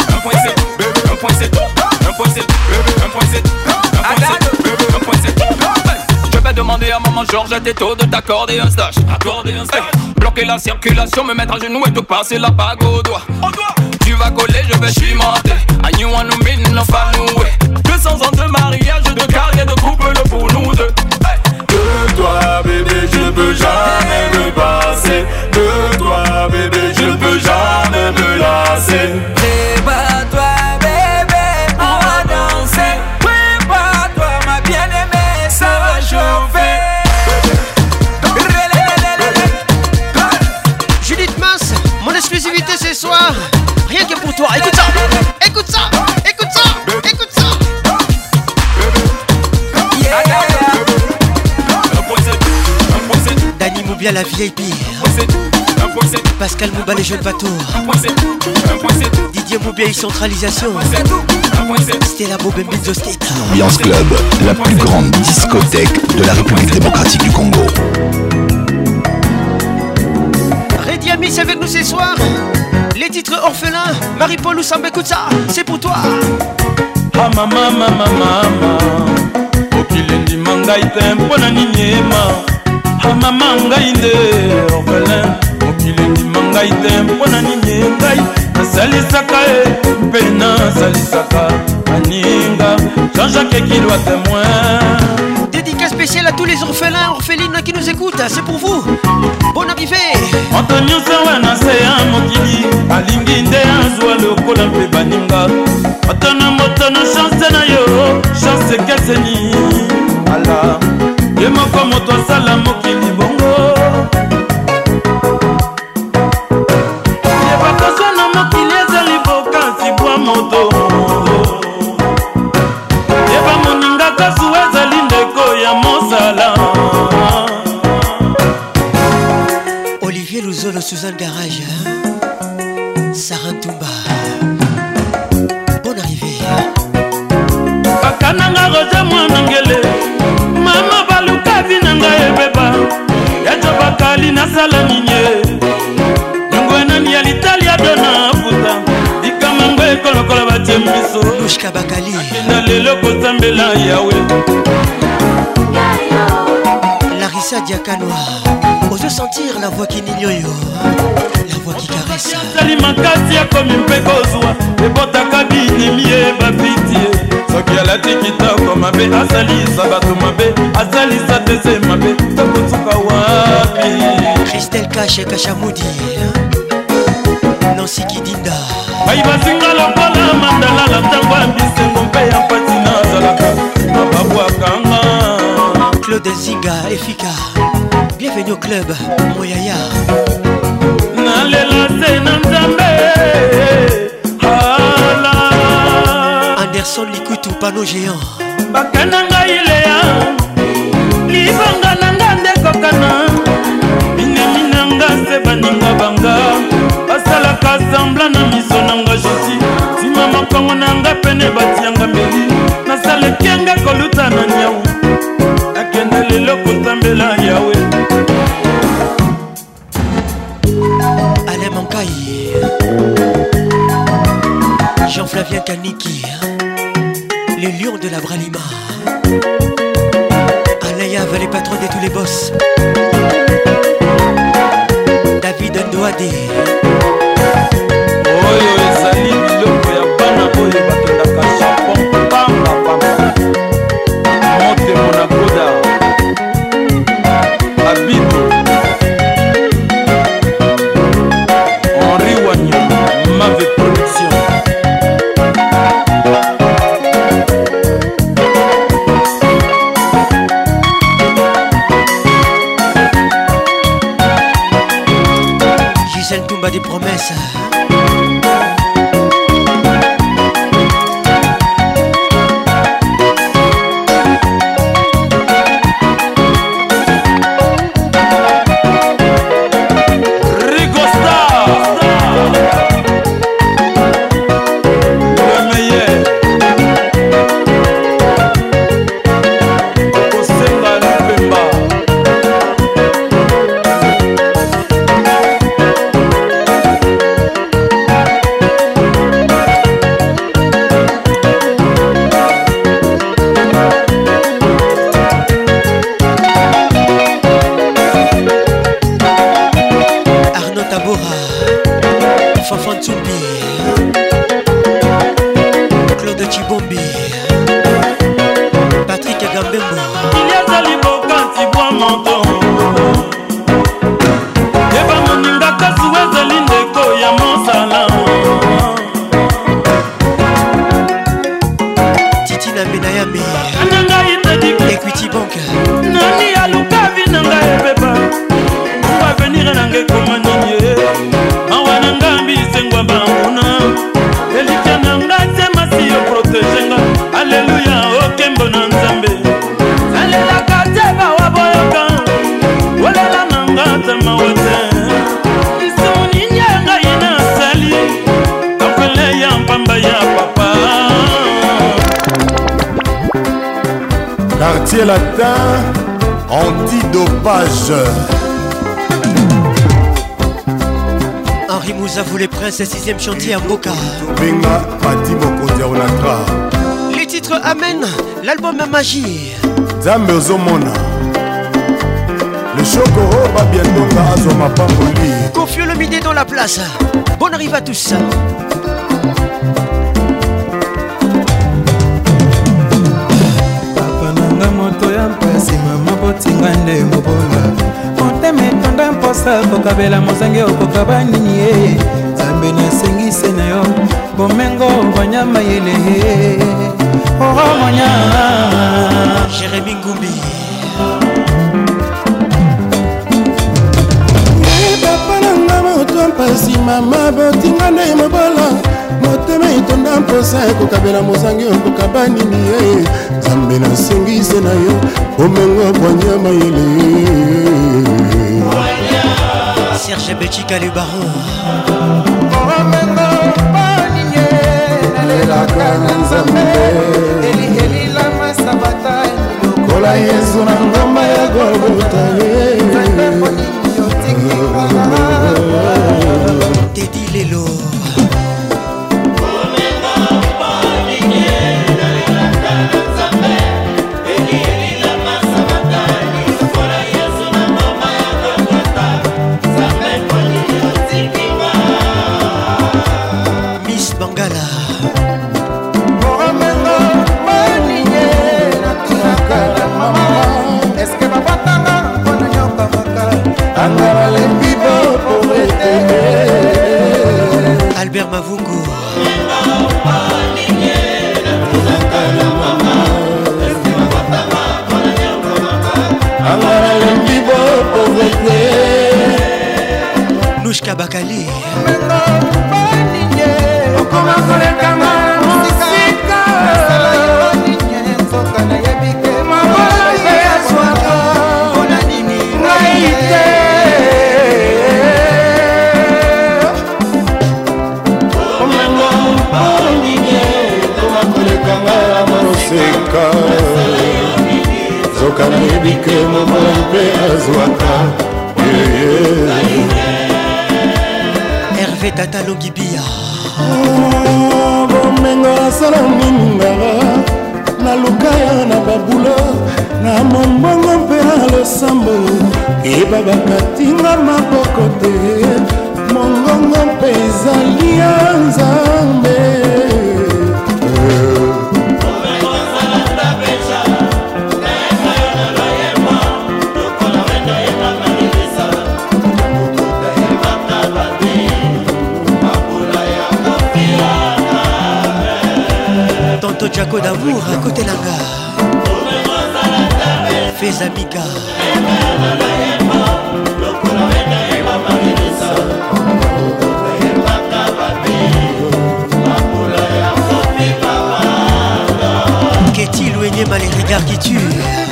Je vais demander à maman Georgette et tôt de t'accorder un stage. Accorder un stage. Hey, bloquer la circulation, me mettre à genoux et te passer la bague au doigt. Tu vas coller, je vais chimenter. I knew one min no fanoué. deux cents ans de mariage, de carrière, de couple pour nous deux. Hey. De toi bébé, je ne peux jamais me passer. De toi bébé, je ne peux jamais me lasser. Prépare-toi bébé, on va danser. Prépare-toi ma bien-aimée, ça va chauffer.
Judith Mass, mon exclusivité ce soir. Rien que pour toi, écoute ça. Écoute ça, écoute ça, écoute ça. Dani Moubia la V I P. Pascal Mouba les jeunes bateaux. Didier Moubia et centralisation. Stella Bobembizo State.
Ambiance Club, la plus grande discothèque de la République démocratique du Congo.
Reddy Amis avec nous ce soir. Les titres orphelins. Marie-Paul Oussamba, écoute ça. C'est pour toi.
Ah mama mama mama Okilendi mangai tempo na ninyema. Ah mama ngai nde orphelin. Okilendi mangai tempo na ninyengai. Nasalisaka e pena salisaka aninga. Jean-Jacques qui doit témoin.
Dédicace spéciale à tous les orphelins, orphelines qui nous écoutent. C'est pour vous. Bonne arrivée.
Antonio Sawana seya mokili alingi nde azwa lokola mpe baninga. Atana motono chance na yo, chance keseni. Ala, ye moko moto asala mokili bongo. Ye bakoso na mokili ezali bokansi bwa moto. Ye bamoninga kasu ezali ndeko ya mosala.
Olivier Louzolo, Suzanne Garage, Sarah Toumba. Bonne arrivée.
Bakananga roja mwanangele. Mama baluka vinanga ebeba. Yacho bakali na sala ninye. Nyongo nani ya l'Italia dona puta. Ikamango ekolokola bachemiso.
Lushka Bakali.
Na lelo kozambela yawe.
Larissa Diakanoa. Ose sentir la voix qui n'ignore, la voix qui caresse.
Sali makati ya komi mpekozwa, ebotaka binimi eba pitié. Soki alati kitoko mabe, asalisa bato mabe, asalisa tese mabe, takotuka wapi.
Christelle Kache Kachamoudi, Nancy Kidinda.
Bayi basinga lokola mandala la tango ambisengo mpe ya pati nazalaka, mababwakanga.
Claude Zinga, Efika. Bienvenue au club, Moyaya.
Nalela se nanda
panneau géant.
Bakananga ilea libanga nanga ndekokana mineminanga se baninga banga basalaka sambla na miso nanga jeti tima makongo nanga pene batianga mbeli nasalekianga koluta na nyau akende lelo kotambela yawe
Alain Mankai Jean-Flavien Kaniki les lions de la Bralima. Alaya les patrons de tous les boss. David Ndouadé.
Oyo ezali biloko ya bana oyo bakendaka Japon pamba pamba. Monte Monacoda. Abidou. Henri Wagnon. Mave Production.
Des promesses.
Quartier latin, antidopage.
Henri Mouzavou les princes, sixième chantier à Boca.
Benga Pati Mokondia Onatra.
Les titres Amen, l'album Magie.
Zambe Ozomona. Le Chokoro va bientôt à Azoma Pamboli.
Confio le midi dans la place. Bonne arrivée à tous.
Moto ya mpasi mama botinga nde mobola motema etonda mposa kokabela mozange okoka nini ye zambe nasengise na yo bomengo banyama yele oromonya
Jérémy Ngumbi
papa nanga moto ya mpasi mama botinga nde mobola motema etonda mposa kokabela mozange okoka nini ye zambe nasengise na yo omengo bwanya mayele
Serge Betchika le baron
omengo baninye nalelaka na nzambe elihelila masabata
lokola yesu na ngomba ya golgota
Teddy Lelo Albert Mavungu Nouchka Bakali Hervé Tata Longibia.
Bomenga asala miningara na lukaya na babulo na mombongo mpe na losambo eba bakatinga maboko te mongongo mpe ezali ya nzambe.
Tonto Jaco d'amour à côté langa Fais amiga Qu'est-il ou énième les regards qui tuent?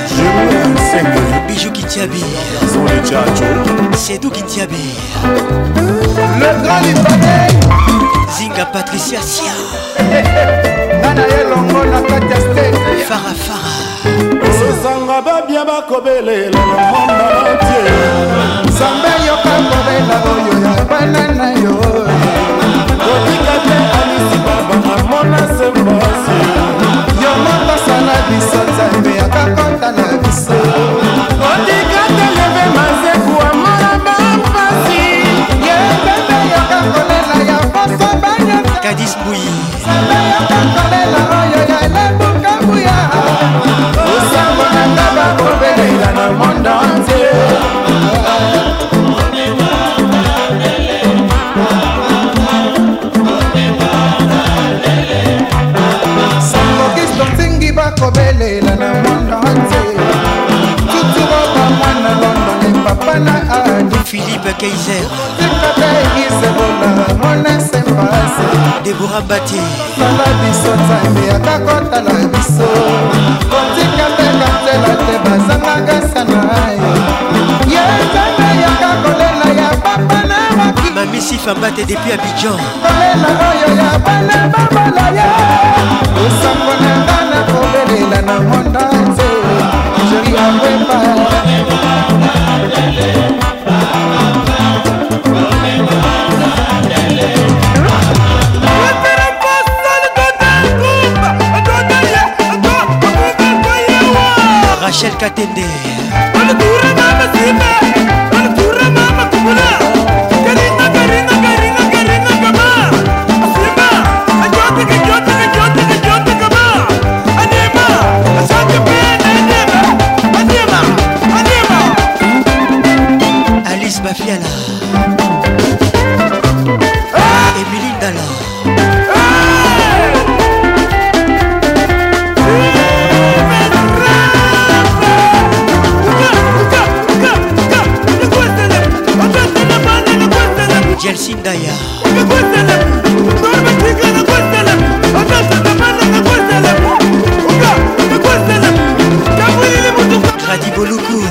Bijou qui t'habille C'est d'où qui t'habille?
Le grand libanais
Zinga Patricia Sia
Nana elongo na kati ya state
Fara Fara
Osanga babia bakobelela na monde entier Sambe yoka kobela oyo ya banana yo Kotika te alisi baba amona sembasi Yo mata sana biso nzambe akakota na biso Kotika te leve mazeku amona bampasi Yebebe yoka kolela ya poso banyo
Kadis Bouyi
kobelela na mondo nze tuturoba mwana londo le papa na adi
Philippe Kaiser
tikate isebola mona sembase
Deborah Bati
sala biso nzambe akakota la biso kotikate katela te bazangaka sana ye nzambe yakakolela ya papa na maki
Mami Sifambate depuis Abidjan
kolela oyo ya bana babala ye osango na ngana kobelela na monda nze jeri akwepa
Rachel Katende Alice Bafiala Emilie Dalla Jelsin Daya Grady Boluku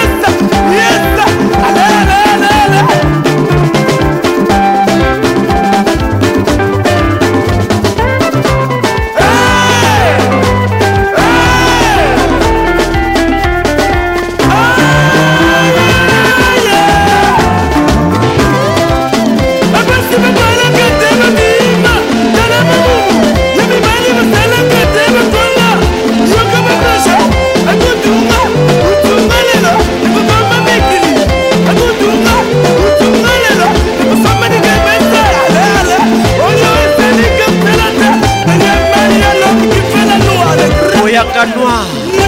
Oyaka Noir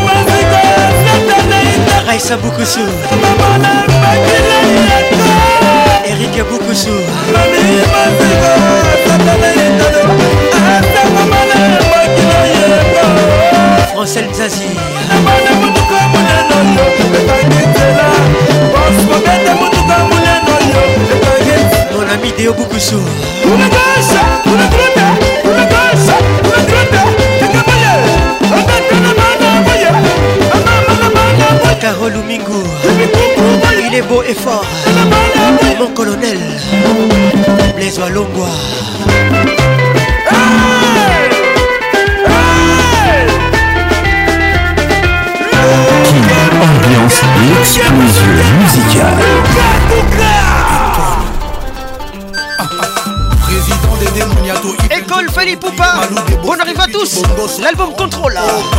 Raissa Boukoussou Eric Boukoussou Francel Zazie mon ami Déo Boukoussou Carole Oumingo, il est beau et fort, mon colonel, Blaise Walongwa.
Ambiance et explosion musicale.
École Feli Poupa. On arrive à tous. L'album Contrôle.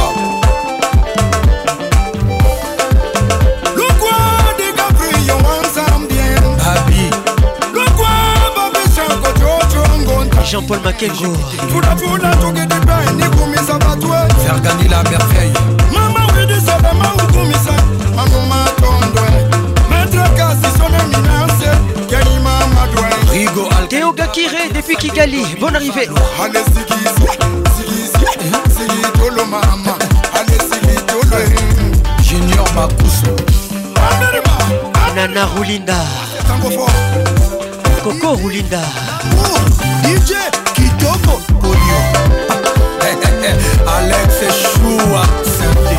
Jean-Paul Makengo.
Faire gagner la merveille.
Théo Gakire depuis Kigali. Bonne arrivée.
Junior Makusu.
Nana Roulinda. Coco Roulinda.
D J Kitoko Polio. Alex Choua Saint-Denis.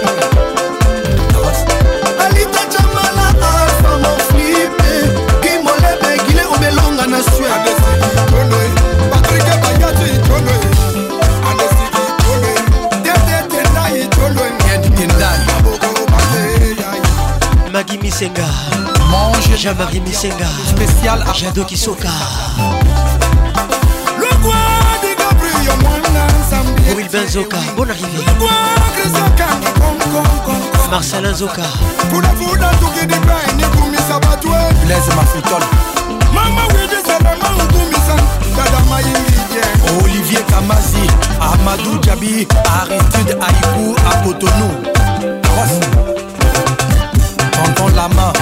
Alita Jamala Alpha mon flippé. Qui m'olebe Guilé Obelonga na Suède. Patrick Bayati Tolo. Alessi Tolo. Tete Tendai Tolo. Yedi Tendai.
Magui Misenga.
Mange
Jean-Marie Misenga.
Spécial
Jado Kisoka. Will Benzoka, bonne arrivée. Marcelin Zoka.
Blaise Mafutol. Olivier Kamazi. Amadou Djabi. Aristide Aïkou à Cotonou. Tonton Lama.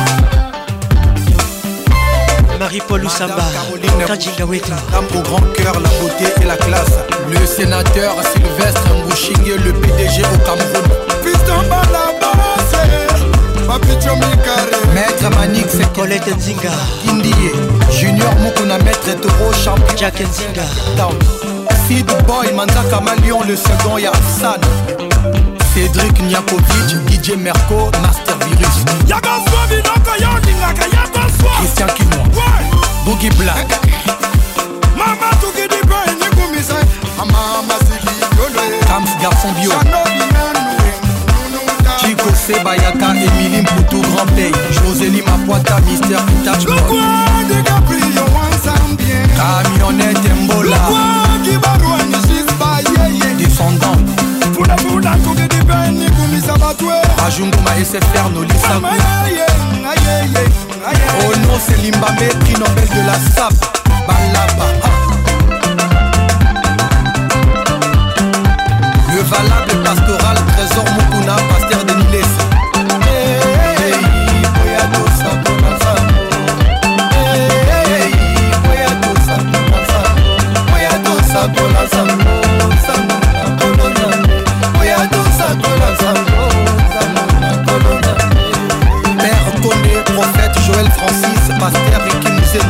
Marie-Paul Oussamba, Kajinga Weto.
Au grand cœur, la beauté et la classe. Le sénateur Sylvestre Mbouchingue, le P D G au Cameroun. Maître Manix,
Colette Nzinga.
Kindiye. Junior Mukuna, Maître Toro, champion.
Jack Nzinga.
Sid Boy, Manzaka Malion, le second Yassan. Cédric Niakovic, D J Merco, Master Virus. Christian Kinois. Boogie Black. Kams Garçon Bio. Chico Sebayaka, Émilie Mpoutou, Grand Play. Josélie Mapoita, Mister Touch Boy. Camionnette Mbola. Descendant. Ajunguma S F R Nolissa. Oh non, c'est Limbamé, prix Nobel de la S A P. Balaba. Le valable pastoral, Trésor Mukuna, Pasteur de Niles. Hey, Boyado Sabona Sambo. Hey, Boyado Sabona Sambo. Boyado Sabona Sambo. Samona Kolonane. Boyado Sabona Sambo. Samona Kolonane. Père Kone, prophète Joël Francis, Pasteur Ricky Mousset.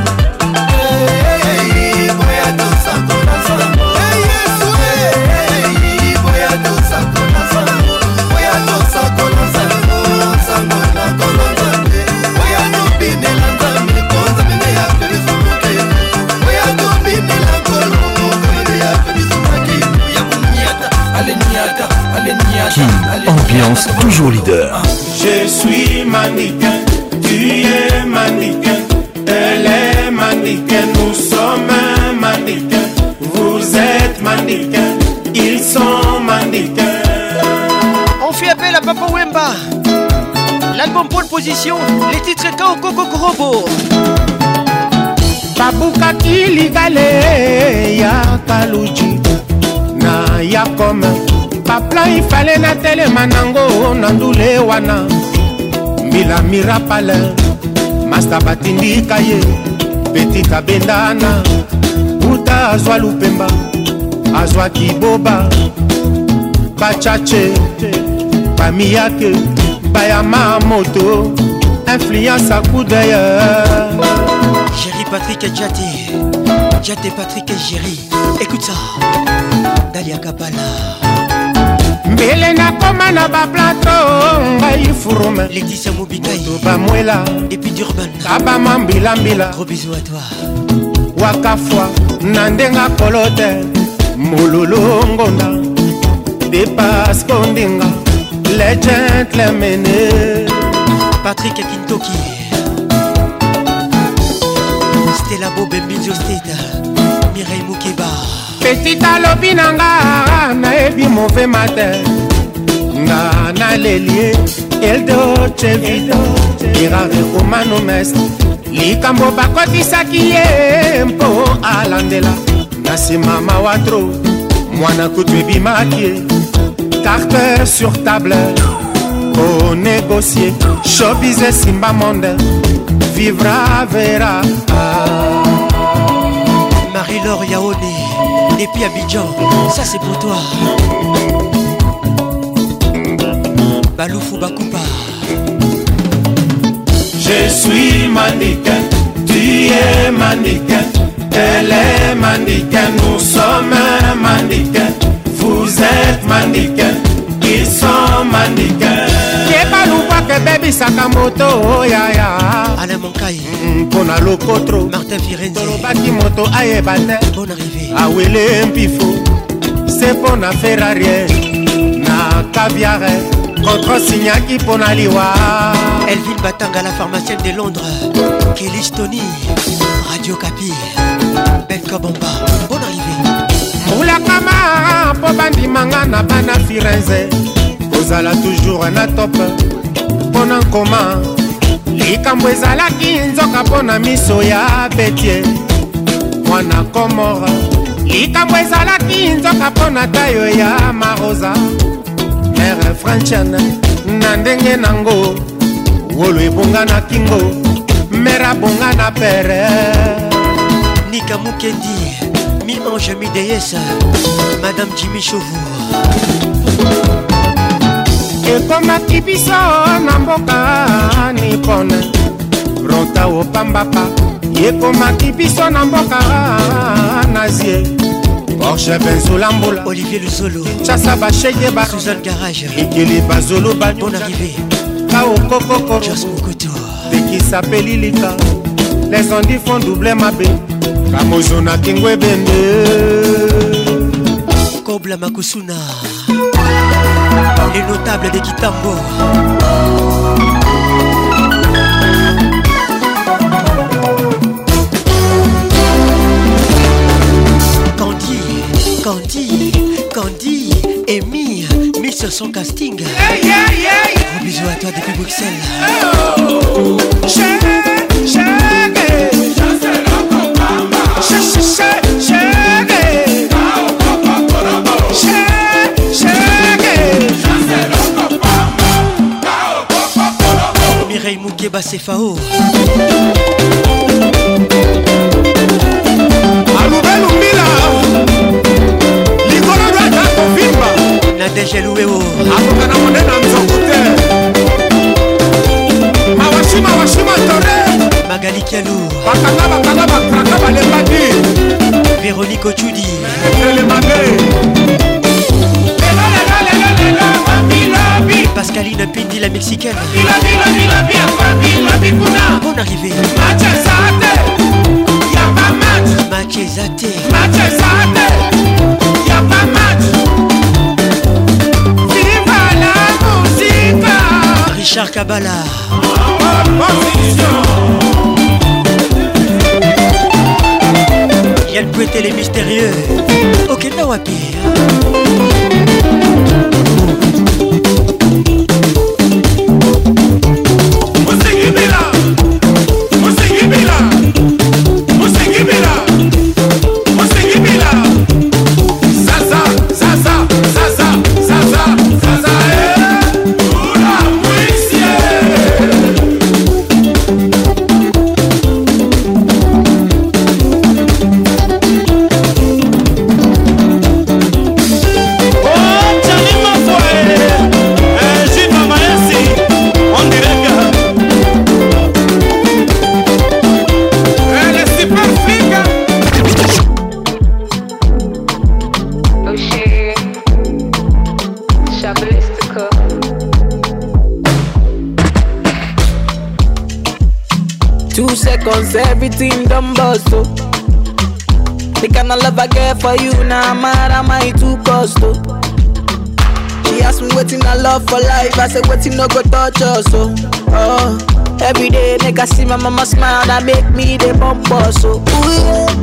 Hey, Boyado Sabona Sambo. Hey, Yesu, hey, Boyado Sabona Sambo. Boyado Sabona Sambo. Samona Kolonane. Boyado Binela Nzambe, Konza Mene ya Perisumuke. Boyado Binela Kolongo, Mene ya Perisumuke. Boyado Niata, allez Niata, allez Niata.
Ambiance toujours leader.
Je suis mannequin, tu es mannequin, elle est mannequin, nous sommes mannequin, vous êtes mannequin, ils sont mannequins.
On fait appel à Papa Wemba. L'album pole position, les titres Kao Koko Korobo.
Babuka Kiligale, ya Kaluji, na ya comme. Papla ifale na tele manango nandule wana Mila mirapale Masta batindi kaye Beti kabendana Uta azwa lupemba Azwa kiboba Bachache Bamiyake Bayama moto Influence à coup d'ailleurs
Jerry Patrick et Djati Djati Patrick et Jerry. Écoute ça Dalia Kabala
Mbele na koma na ba plateau ngai furume
Laetitia Mobikai
bamwela
et puis Durban
kaba mambila mbila.
Gros bisous à toi.
Wakafwa nandenga kolote mololo ngonda dépasse kondinga les gentlemen.
Patrick Kintoki Stella Bob Mbinzo State Mireille Moukeba.
Petit alobi nanga naebi mauvais matin. Nga na lelie el doce vita. Irare komano mest. Likambo bakotisaki ye mpo alandela. Nasi mama watro. Mwana kutu ebimaki. Carte sur table. Pour négocier. Showbiz simba monde. Vivra verra.
Marie-Laure Yaone. Depuis Abidjan, ça c'est pour toi. Baloufou Bakoupa.
Je suis mannequin, tu es mannequin, elle est mannequin, nous sommes mannequin, vous êtes mannequin, ils sont mannequins. Kebalouba que baby Sakamoto, ya ya.
Alain Moncaille.
Pona Lokotro.
Martin Firenze.
Tolobaki moto ayebate.
Bonne arrivée.
Awele Mpifo. C'est pona Ferrari. Na caviar. Contre Signaki pona liwa.
Elvin Batanga, la pharmacienne de Londres. Kelly Stony. Radio Capi. Belka Bomba. Bonne arrivée.
Moula Kama. Pobandi Mangana Bana Firenze. Ozala toujours na top. Pona Nkoma. Likambo ezalaki nzoka pona miso ya betie mwana komora. Likambo ezalaki nzoka pona tayo ya marosa. Mère Franchiane na ndenge nango. Wolo ebonga na kingo. Mère bonga na pere.
Nika Mukendi. Mi ange mi déesse. Madame Jimmy Chauvour.
Ekomaki biso na mboka nipone Ronta opambapa. Ekomaki biso na mboka nazie Porsche Benzolambola.
Olivier Luzolo.
Chassa Bachege ba
Suzanne Garage.
Ikili Bazolo ba.
Bonne arrivée.
Kao Kokoko.
Jos Mokoto.
Teki s'appelle Lika. Les ondits font doubler ma bé. Kamozona Kingwe Bende.
Kobla Makusuna. Les notables de Kitambo. Candy, Candy, Candy, Amy, mis sur son casting.
Hey, yeah, yeah, yeah.
Gros bisous à toi depuis Bruxelles.
Oh. Shake, shake it. Shake, shake, shake it. Shake, shake it.
Mireille Moukeba Sefao.
Alubelu Mila. Ligoro Rata Kovimba.
Nadege Louéo.
Abukana Monena Nzokote. Mawashima Washima Tore.
Magali Kialou.
Bakanga Bakanga Bakanga Balembadi.
Véronique Ochudi. Pascaline Pindi, la mexicaine. Bonne arrivée. Machezate.
Viva la musique.
Richard Kabala. Yann Poueté les mystérieux. Ok, Nawapi.
Seconds, everything done bust, oh. The kind of love I get for you, now nah, mad am I too cost, oh. She asked me waiting I love for life, I said waiting no go touch us, oh. Oh, every day nigga see my mama smile, that make me the bump us, oh. Ooh, yeah. Color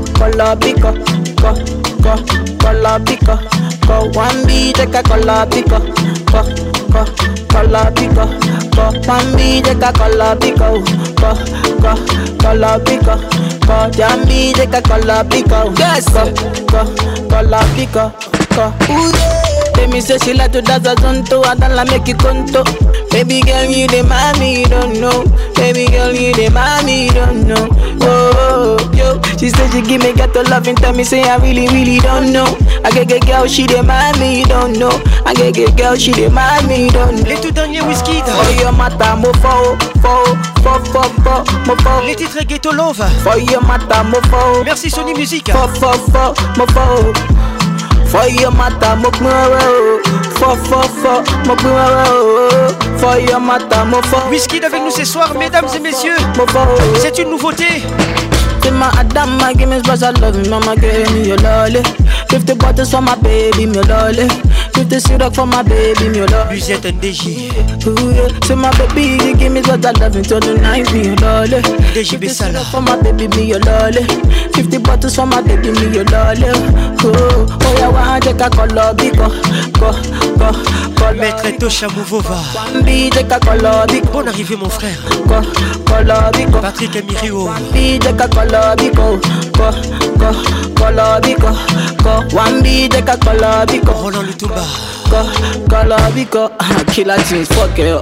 color pico, co, co, color pico, co. One B take a color pico, co, co, color pico, co. One B take a color pico, co, co, color pico, co. Jambi take a color pico, yes, co, co, color pico, co. Baby say she like to dance a zonto, I don't like make you conto. Baby girl, you the mommy, you don't know. Baby girl, you the mommy, you don't know. Oh, yo, she said she give me ghetto love and tell me say I really, really don't know. I get get girl, she the mommy, you don't know. I get get girl, she the mommy, you don't know.
Les tout derniers whisky.
For your matter, mo fo, fo, fo, fo, fo, mo fo.
Les titres Ghetto Love.
For your matter, mo fo.
Merci Sony Music.
Fo, fo, fo, mo fo. For your matter, mo fo, fo, fo, fo, mo fo. For your matter, mo fo.
Whisky avec nous ce soir, mesdames et messieurs. C'est une nouveauté.
My Adama, give me special love, mama give me your lolly. fifty bottles for my baby, me lolly. fifty syrup for my baby, me lolly.
Musette N D J.
Ooh yeah, say my baby, give me special love until the night, me your lolly.
D J Bessala.
For my baby, me your lolly. fifty bottles for my baby, me your lolly. Oh, oh yeah, one take a color, biko, go, go, go.
Maître Tosha Mouvova.
Bambi take a color, biko.
Bonne arrivée mon frère.
Go, color, biko.
Patrick Amirio.
Bambi take a color, biko, go, go, color, biko, go. One B take a color, biko.
Roland Lutumba.
Go, color, biko. Killer things, fuck it up.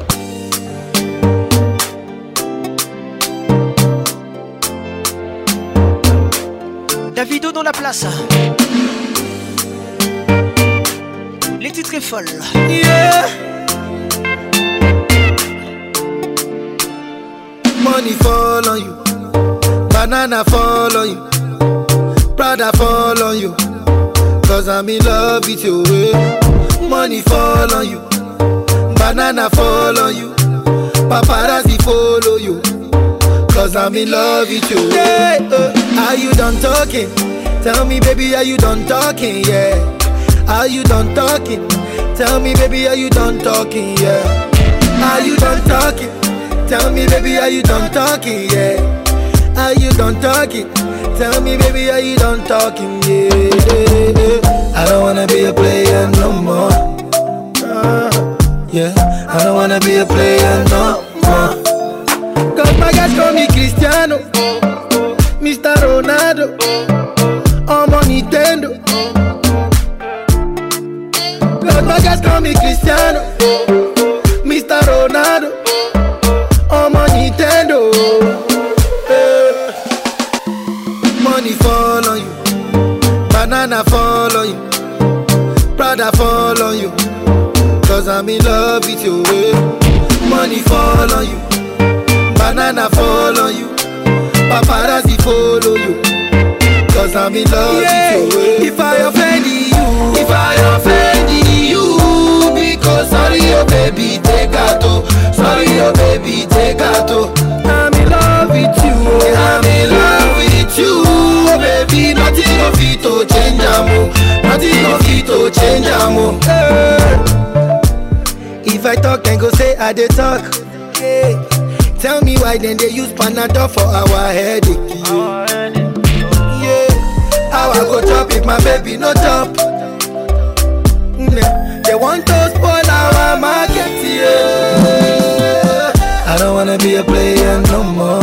Davido dans la place. Les titres est folle.
Yeah. Money fall on you, banana fall on you, Prada fall on you, cause I'm in love with you. Money fall on you, banana fall on you, paparazzi follow you, cause I'm in love with you. Yeah, uh, are you done talking? Tell me baby, are you done talking? Yeah. Are you done talking? Tell me baby, are you done talking? Yeah. Are you done talking? Tell me baby, are you done talking? Yeah. Are you done talking? Tell me baby, are you done talking? Yeah, yeah, yeah. I don't wanna be a player no more. Uh, yeah, I don't wanna be a player no more. Cause my guys call me Cristiano, Mister Ronaldo, I'm on Nintendo. Cause my guys call me Cristiano, Mister Ronaldo, I'm on Nintendo. Yeah. Money fall on you, banana fall on you, Prada fall on you, cause I'm in love with you. Yeah. Money fall on you, banana fall on you, paparazzi follow you, cause I'm in love yeah. with you. Yeah. If I offend you, if I offend you, because sorry oh baby, take out oh. Sorry oh baby, take out oh. I'm in love with you, I'm in love with you, oh baby. Nothing of it to change amo, nothing of it to change amo. Hey. If I talk then go say I dey talk. Hey. Tell me why then they use Panadol for our headache. Yeah. Yeah. How I go chop if my baby no chop? Mm. They want to spoil our market. Yeah. I don't wanna be a player no more.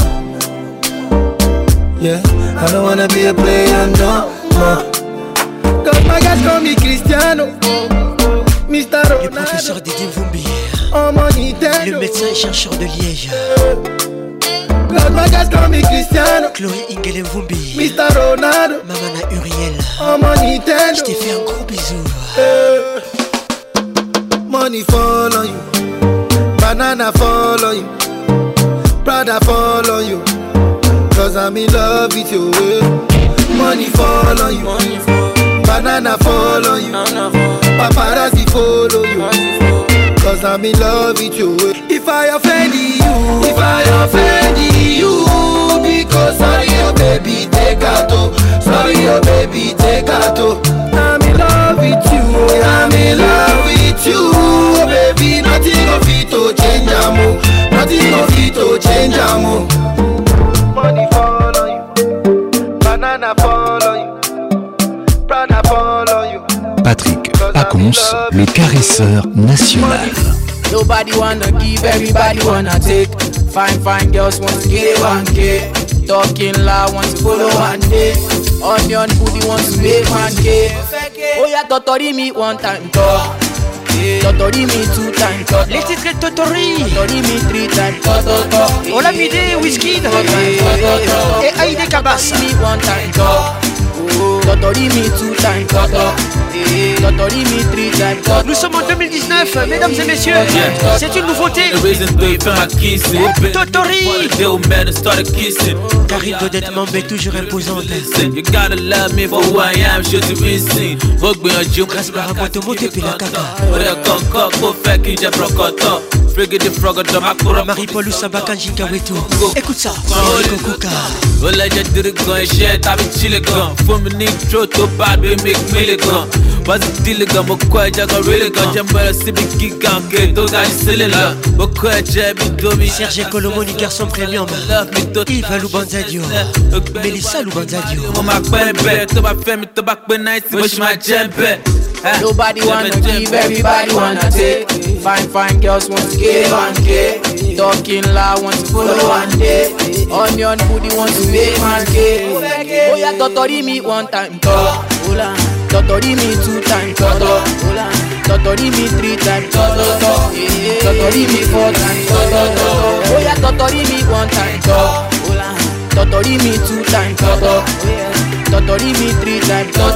Yeah. I don't wanna be a player no more. Cause my guys call me Cristiano, Mister Ronaldo.
Le professeur Didier Vumbi.
Oh,
le médecin et chercheur de Liège.
Cause my guys call me Cristiano,
Chloé Ingele Vumbi,
Mister Ronaldo,
Mamana Uriel.
Oh, mon Nintendo.
Je t'ai fait un gros bisou.
Uh, money fall on you, banana fall on you, Prada fall on you, cause I'm in love with you. Money fall on you, money fall. Banana fall on you, paparazzi follow you, cause I'm in love with you. If I offend you, if I offend you, because sorry oh baby, take out oh. Sorry oh baby, take out oh. I'm in love with you, I'm in love with you, oh baby. Nothing of it to change amo, nothing of it to change amo. Money fall on you, banana
Patrick Pacons, le caresseur national.
Nobody wanna give, everybody wanna take. Fine, fine girls want to get one K. Talking loud, want to follow one day. Onion booty want to make one K. Oh yeah, Totori me one time talk. Totori me two time talk.
Les titres de Totori.
Totori me three time talk.
On l'a vidé, Whisky et Aïdé Kabas.
Me one time talk. Totori me two time talk. Totori me three time talk.
Nous sommes en deux mille dix-neuf, mesdames et messieurs. C'est une nouveauté. Totori. Karine Dodette Mambe est toujours imposante. Grâce par rapport au mot depuis la caca. Marie-Paul Oussabaka Njikaweto. Écoute ça.
Was it deal gun, but quite a gorilla gun, jump by a civic geek and get those eyes silly love. But quite jabby dummy.
Serge Colomoni, garçon premium. Yves Loubanzadio. Mélissa Loubanzadio.
On m'a pas bête, to my family, to back when I see push my jump.
Nobody wanna give, everybody wanna take. Fine, fine girls want to get one K. Talking loud, want to follow one day. Onion booty want to make one K. Oh yeah, Totori me one time talk. Totori me two time talk. Totori me three time talk. Totori me four time talk. Oh yeah, Totori me one time talk. Totori me two time talk. Totori me three time talk.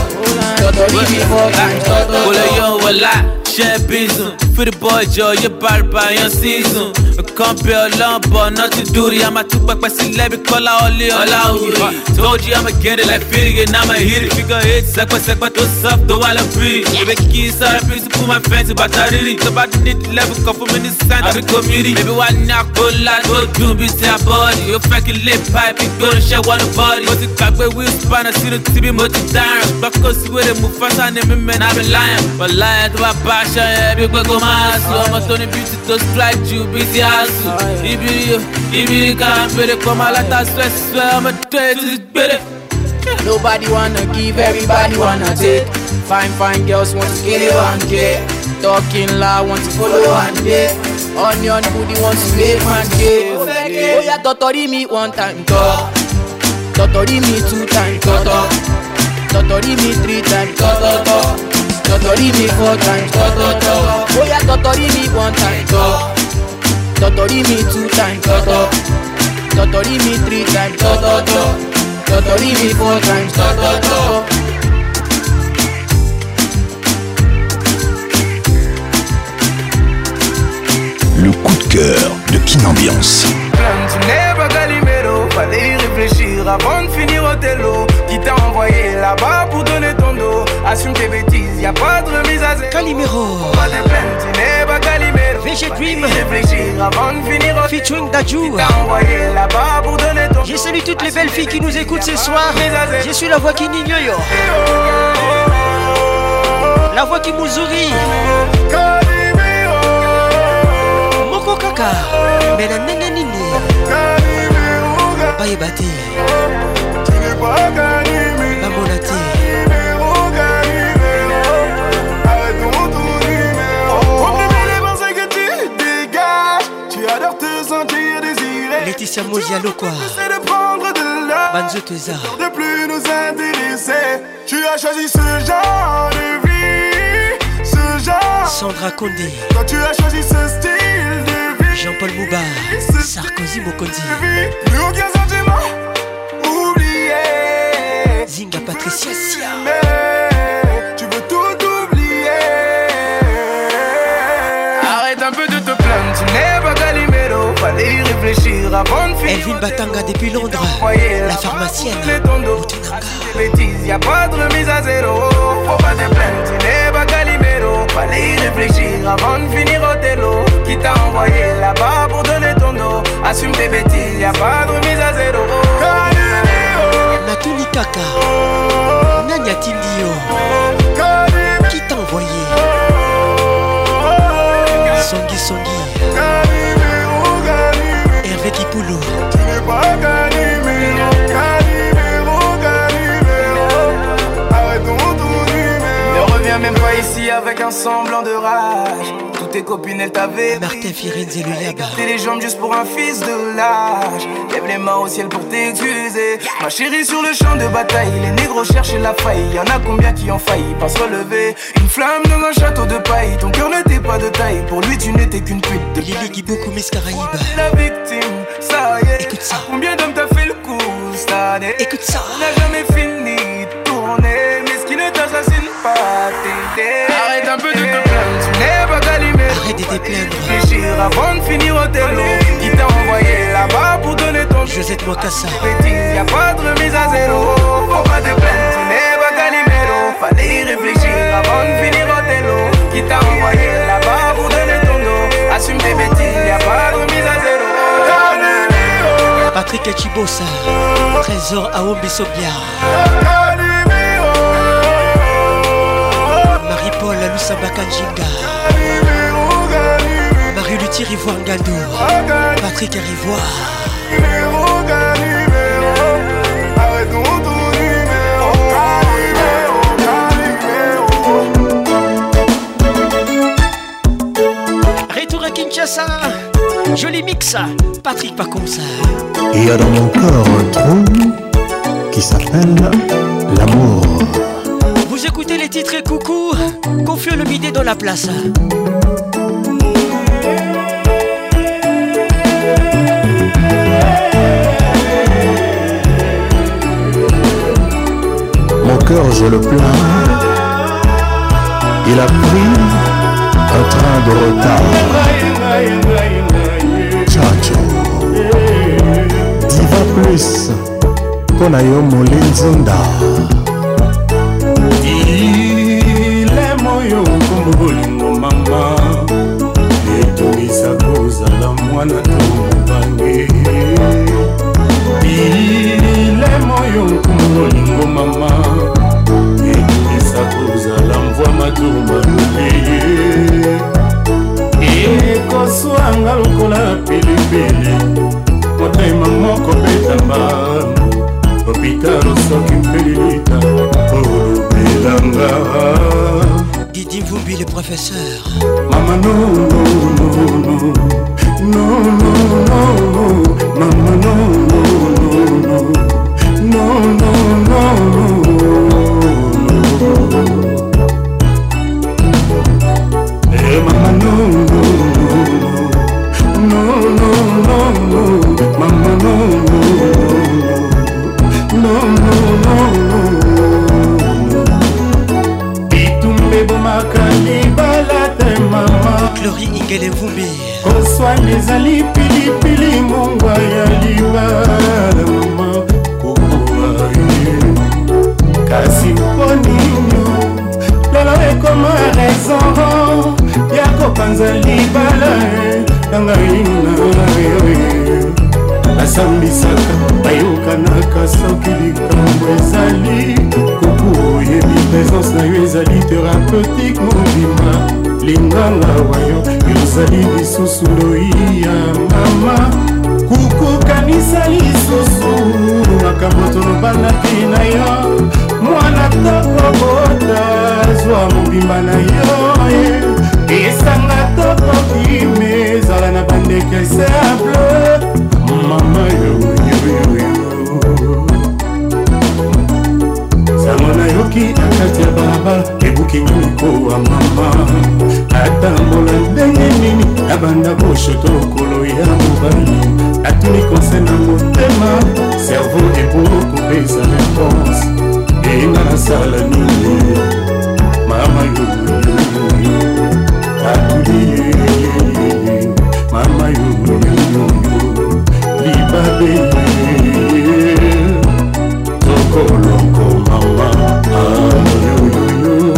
Totori me four time talk.
Well, yo, well, I share business. For the boy, Joe, you're bad by your season. I can't be alone, but not to do it. I'm a two back by celebrity, call out all out. Told you I'ma get it like fitting, and I'ma hit it. Figure it, sack by sack, but to soft, though I'll be. Baby, kiss, I'm pleased to put my fancy, but I really. So bad, need level, come from in the sand, I'm a community. Baby, why not go like, go do, be say a body. You're fucking lip pipe, you go and share one body. But the back where we'll span, I see the T V, multi down. Back cause where they move fast, and them men, I've been lying. But lying to my passion, yeah, big go go my soul. I'm a Tony Beauty to strike you, busy ass. Ibiri, Ibiri can't be the come out like that, swear, swear, I'm a dead to this better.
Nobody wanna give, everybody wanna take. Fine, fine girls want to get one K. Talking loud, want to follow one day. Onion booty want to make one K. Oh yeah, Totori me one time talk. Totori me two time talk. Totori me three time talk. Totori me four time talk. Oh yeah, Totori me one time talk. Totori me two time talk. Totori me three time talk. Totori me four time talk.
Le coup de cœur de Kin Ambiance.
Tu n'es pas Calimero, fallait y réfléchir avant de finir au télo. Qui t'a envoyé là-bas pour donner ton dos. Assume tes bêtises, y'a pas de remise à zéro.
Calimero.
Pas de plainte, tu n'es pas Calimero.
V G Dream.
Réfléchir avant de finir au
featuring Dadju.
Qui t'a envoyé là-bas pour donner ton dos.
Je salue toutes les belles filles qui nous écoutent ce soir. Je suis la voix qui n'igne yo. La voix qui mouzouri. Moko kaka. Mena nene nini. Baye bate. Bamonate. Laetitia Mozialo quoi. Banzo Teza.
De plus nous intéresser. Tu as choisi ce genre de vie, ce genre.
Sandra Condé.
Toi tu as choisi ce style de vie.
Jean-Paul Mouba. Sarkozy Mokondi.
Plus aucun sentiment. Oublié.
Zinga Patricia Sia.
Tu veux tout oublier. Arrête un peu de te plaindre. Tu n'es pas Calimero. Fallait y réfléchir avant de finir.
Elvin Batanga depuis Londres. La pharmacienne.
Bêtises, y'a pas de remise à zéro. Faut pas te plaindre, tu n'es pas Calimero. Fallait y réfléchir avant de finir au télo. Qui t'a envoyé là-bas pour donner ton dos. Assume tes bêtises, y'a pas de remise à zéro.
Natuli Kaka. Nanya Tindio. Qui t'a envoyé? Songi Songi. Hervé Kipoulou.
Tu n'es pas Calimero. Calimero,
avec un semblant de rage. Toutes tes copines elles t'avaient
Martin Firenze et le Yaba.
T'es les jambes juste pour un fils de lâche. Lève les mains au ciel pour t'excuser. Ma chérie sur le champ de bataille, les négros cherchent la faille. Y'en a combien qui ont failli pas se relever. Une flamme dans un château de paille. Ton cœur n'était pas de taille. Pour lui tu n'étais qu'une pute de
Lily Guiboukou Miss Caraïbe.
La victime, ça y est.
Écoute ça.
Combien d'hommes t'as fait le coup cette année?
Écoute ça.
On n'a jamais fini de tourner. Mais ce qui ne t'assassine pas t'aider. Arrête un peu de te plaindre, tu n'es pas Calimero.
Arrête de te plaindre.
Réfléchir avant de finir au télo. Qui t'a envoyé là-bas pour donner ton
Josette Mokassa.
Bêtise, y'a pas de remise à zéro. Faut pas te plaindre, tu n'es pas Calimero. Fallait y réfléchir avant de finir au télo. Qui t'a envoyé là-bas pour donner ton dos. Assume tes bêtises, y'a pas de remise à zéro.
Patrick Echibosa, Trésor Aombi Sobia, Marie-Paul Lusamba Kanjinga, Marie-Luthi Rivoire Ngando, Patrick Rivoire. Retour à Kinshasa, joli mix, Patrick Pacons.
Il y a dans mon corps un trou qui s'appelle l'amour.
Vous écoutez les titres et coucou, Confieux le midé dans la place.
Mon cœur je le plains, il a pris un train de retard. Chacho Diva plus Pona yo molinzunda.
Ile moyo kumbulingo mama etungisa kozala mwana to mobange. Ile moyo kumbulingo mama etungisa kozala mvwa matuma luleye. Ekoswanga lokola pilipili motema moko betamba opitalo soki mpelilita olobelanga.
Didi Mvumbi le professeur.
Mama no no no no no no no mama no no no no no no no. Eh mama no no no no no no mama no no no no bitumbe bomakali balate mama
Glory Ingele Mvumbi
koswani ezali pilipili mongwa ya libala mama kokoaye kasi mponino lelo ekoma raison ya kopanza libala nangainayoye nasambisaka bayokanaka soki likambo ezali kuku oyebi présence na yo ezali thérapeutique mobima linganga wayo yozali lisusu loi ya mama kuku kanisa lisusu makambo tolobandaki na yo mwana tokobota zwa mobimba na yo esanga tokoki me ezala na bandeke simple mama yoyoyoyo sango nayoki akati ya balabala ebuki nyoniko wa mama atambola ndenge nini abanda boshoto lokolo ya mobali atuni konse na motema servo ebokopesa réponse enga nasala nini mama yoyoyoyo atuli mama yoyoyoyo libabe tokoloko mama ayoyoyo.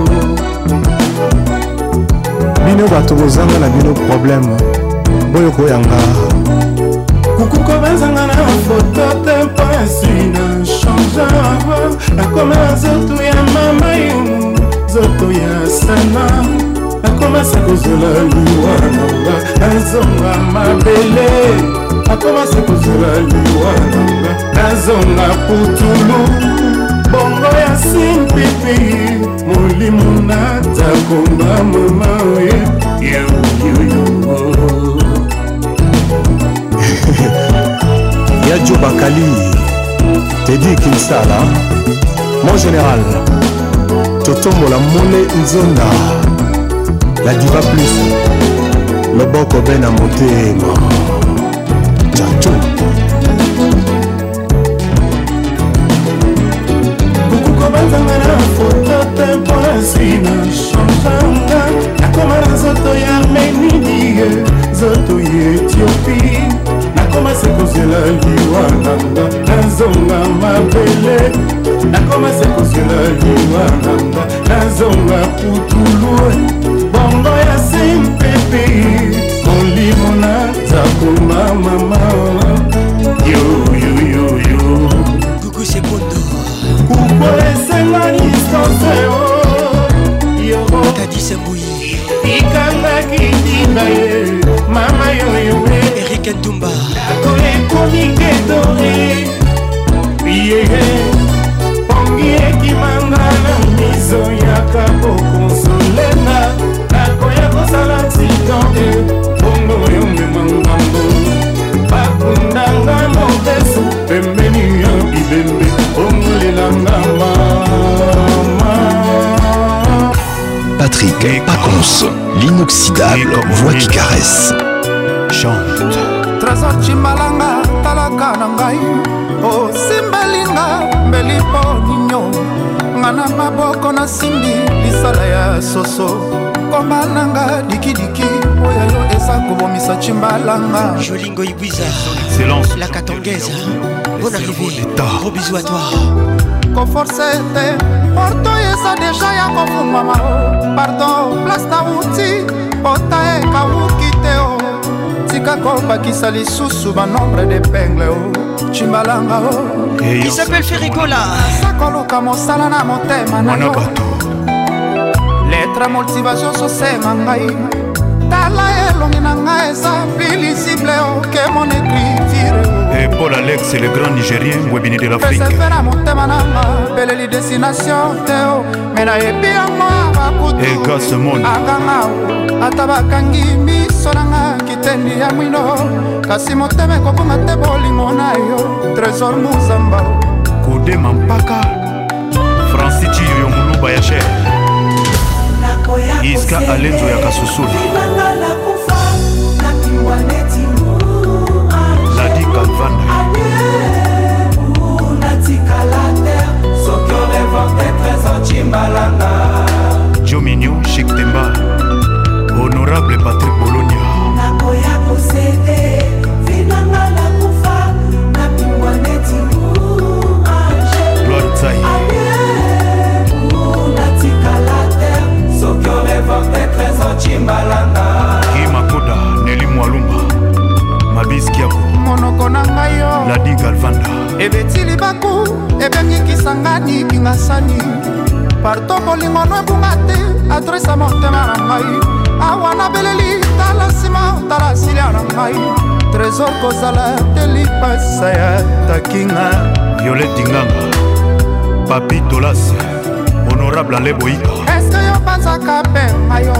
Bino bato kozanga na bino problème boyo koyanga
kukuko bazanga na foto te mpasi na change nakoma na zoto ya mama yo zoto ya sana nakomasa kozola liwa nanga nazonga mabele nakomasa kozola liwa nanga nazonga putulu bongo ya simpi pepe molimo natakomba mama yo yo yo.
Yadjo Bakali, Teddy Kinsala, mon général, Totombo la Mole Nzonda, la diva plus, le boko ben à motema, Tchacho.
Kukuko batanga na foto tempo asina chanchanga, nakoma na zoto ya Arménie, zoto ya Éthiopie. Nakomase kozela liwa nanga nazonga mabele nakomase kozela liwa nanga nazonga putulu bongo ya simpepe molimo nazakoma mama yo yo yo yo
Gugu Sekondo
kuko esenga distance yo
Kadi Sembouyi
ikanga kitinga ye mama yo yo
Eric Ntumba
ekomi kedore yeye pongi ekimanga na miso yaka kokonsolenga nakoya kosala titonde bongo yo memangambo bakundanga mobesu pembeni ya bibembe bongolelanga mama.
Patrick Pacons, l'inoxydable voix qui caresse.
Chante Trésor Chimbalanga talaka na ngai o simbalinga mbelipo ninyo ngana maboko na simbi lisala ya soso komba nanga dikidiki oya yo eza kobomisa Chimbalanga
Jolingo Ibiza
Silence
La Katongaise Bonne arrivée Gros bisous à toi
Koforce te Porto eza deja ya kofungwama Pardon place na uti Pota e kawuki te o Tika kobakisa lisusu banombre d'épingle o Chimbalanga o
Il s'appelle Ferricola
Sakoluka mosala na motema na yo Lettre motivation sosema ngai Tala elongi na ngai eza plus lisible o que mon écriture
Et Paul Alex, le grand Nigérien, Webini de l'Afrique.
Persevera motema nanga beleli destination te o Mena ebi yango abakutu
Et Gas Monde
Akanga o ata bakangi miso nanga kitendi ya mwino kasi motema ekokonga te bolingo na yo Trésor Muzamba
Kode Mampaka Francis Chiyo Muluba ya Cher Iska Alenzo ya Kasusula Ladi Kalvanda Joe Mignon, Chic Temba Honorable Patrick Bologna
nakoya posede vinanga la kufa na pingwa neti mu ange
Gloire Tsai
natika la terre sokyo revorte trésor Chimbalanga
Guy Makoda Nelly Mwalumba Mabis Kiako
monoko na ngai yo
Ladi Galvanda
ebetili baku ebengikisangani kingasani parto bolingo no ebunga te adresa motema na ngai awa na beleli tala nsima tala silia na ngai trésor kozala te lipasa ya takinga
Violette Dinganga Papi Tolas Honorable Ale Boika
eske yo banzaka mpenga yo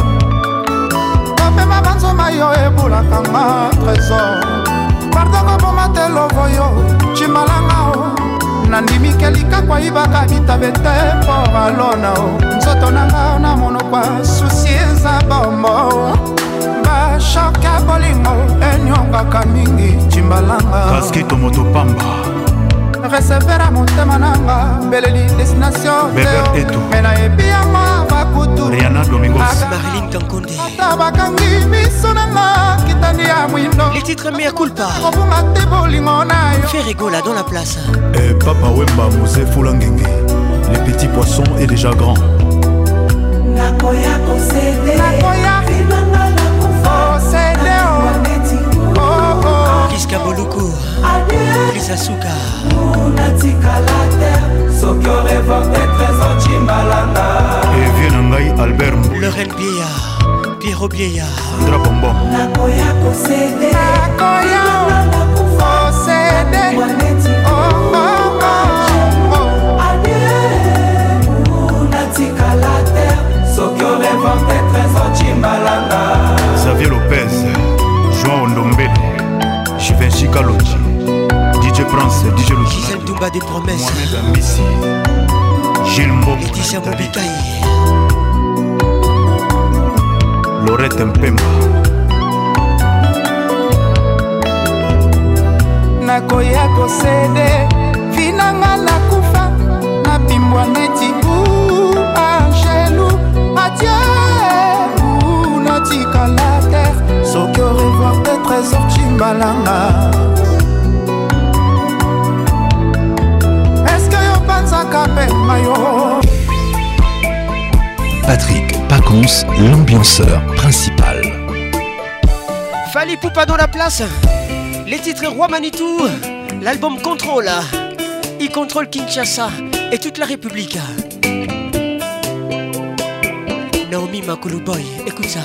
kopema banzoma yo ebulakanga trésor pardongo boma te lovo yo Chimbalanga o nandimike likakwa ibaka bitabe te mpo alona o nzoto nanga na monokwa susi eza bombo bashoka bolingo enyongaka mingi Chimbalanga
Kaskito Motopamba
resevera motema nanga beleli destination
Beber
mena ebi yango bakutu
Rihanna Domingos
Marilyn Kankonde
ata bakangi miso nanga kitandi ya mwindo
Les titres mea culpa
kobunga te bolingo na yo
Ferricola dans la place
Et Papa Wemba Mose Fulangenge Les petits poissons est déjà grand
nakoya posede
nakoya
vinanga la kufa
posede o oh oh
Kiska Boluku Lisa Suka
natika la terre sokyo revorte trésor Chimbalanga
Et vieux Nangai Albert
Lorraine Biella Pierrot Biella
Drapombo
nakoya posede
nakoya posede oh oh oh
Baba des promesses.
Mohamed Amissi, Gilles Mbobo,
Laetitia Mobikaï,
Laurette Mpemba.
nakoya kosede vinanga nakufa nabimbwa neti bu angelu adieu natika la terre soki au revoir des trésors chimbalanga eske yo panzaka pema yo.
Patrick Pacons, l'ambianceur principal.
Fali Poupa dans la place. Les titres Roi Manitou, l'album Contrôle. Il contrôle Kinshasa et toute la République. Naomi Makulu Boy, écoute ça.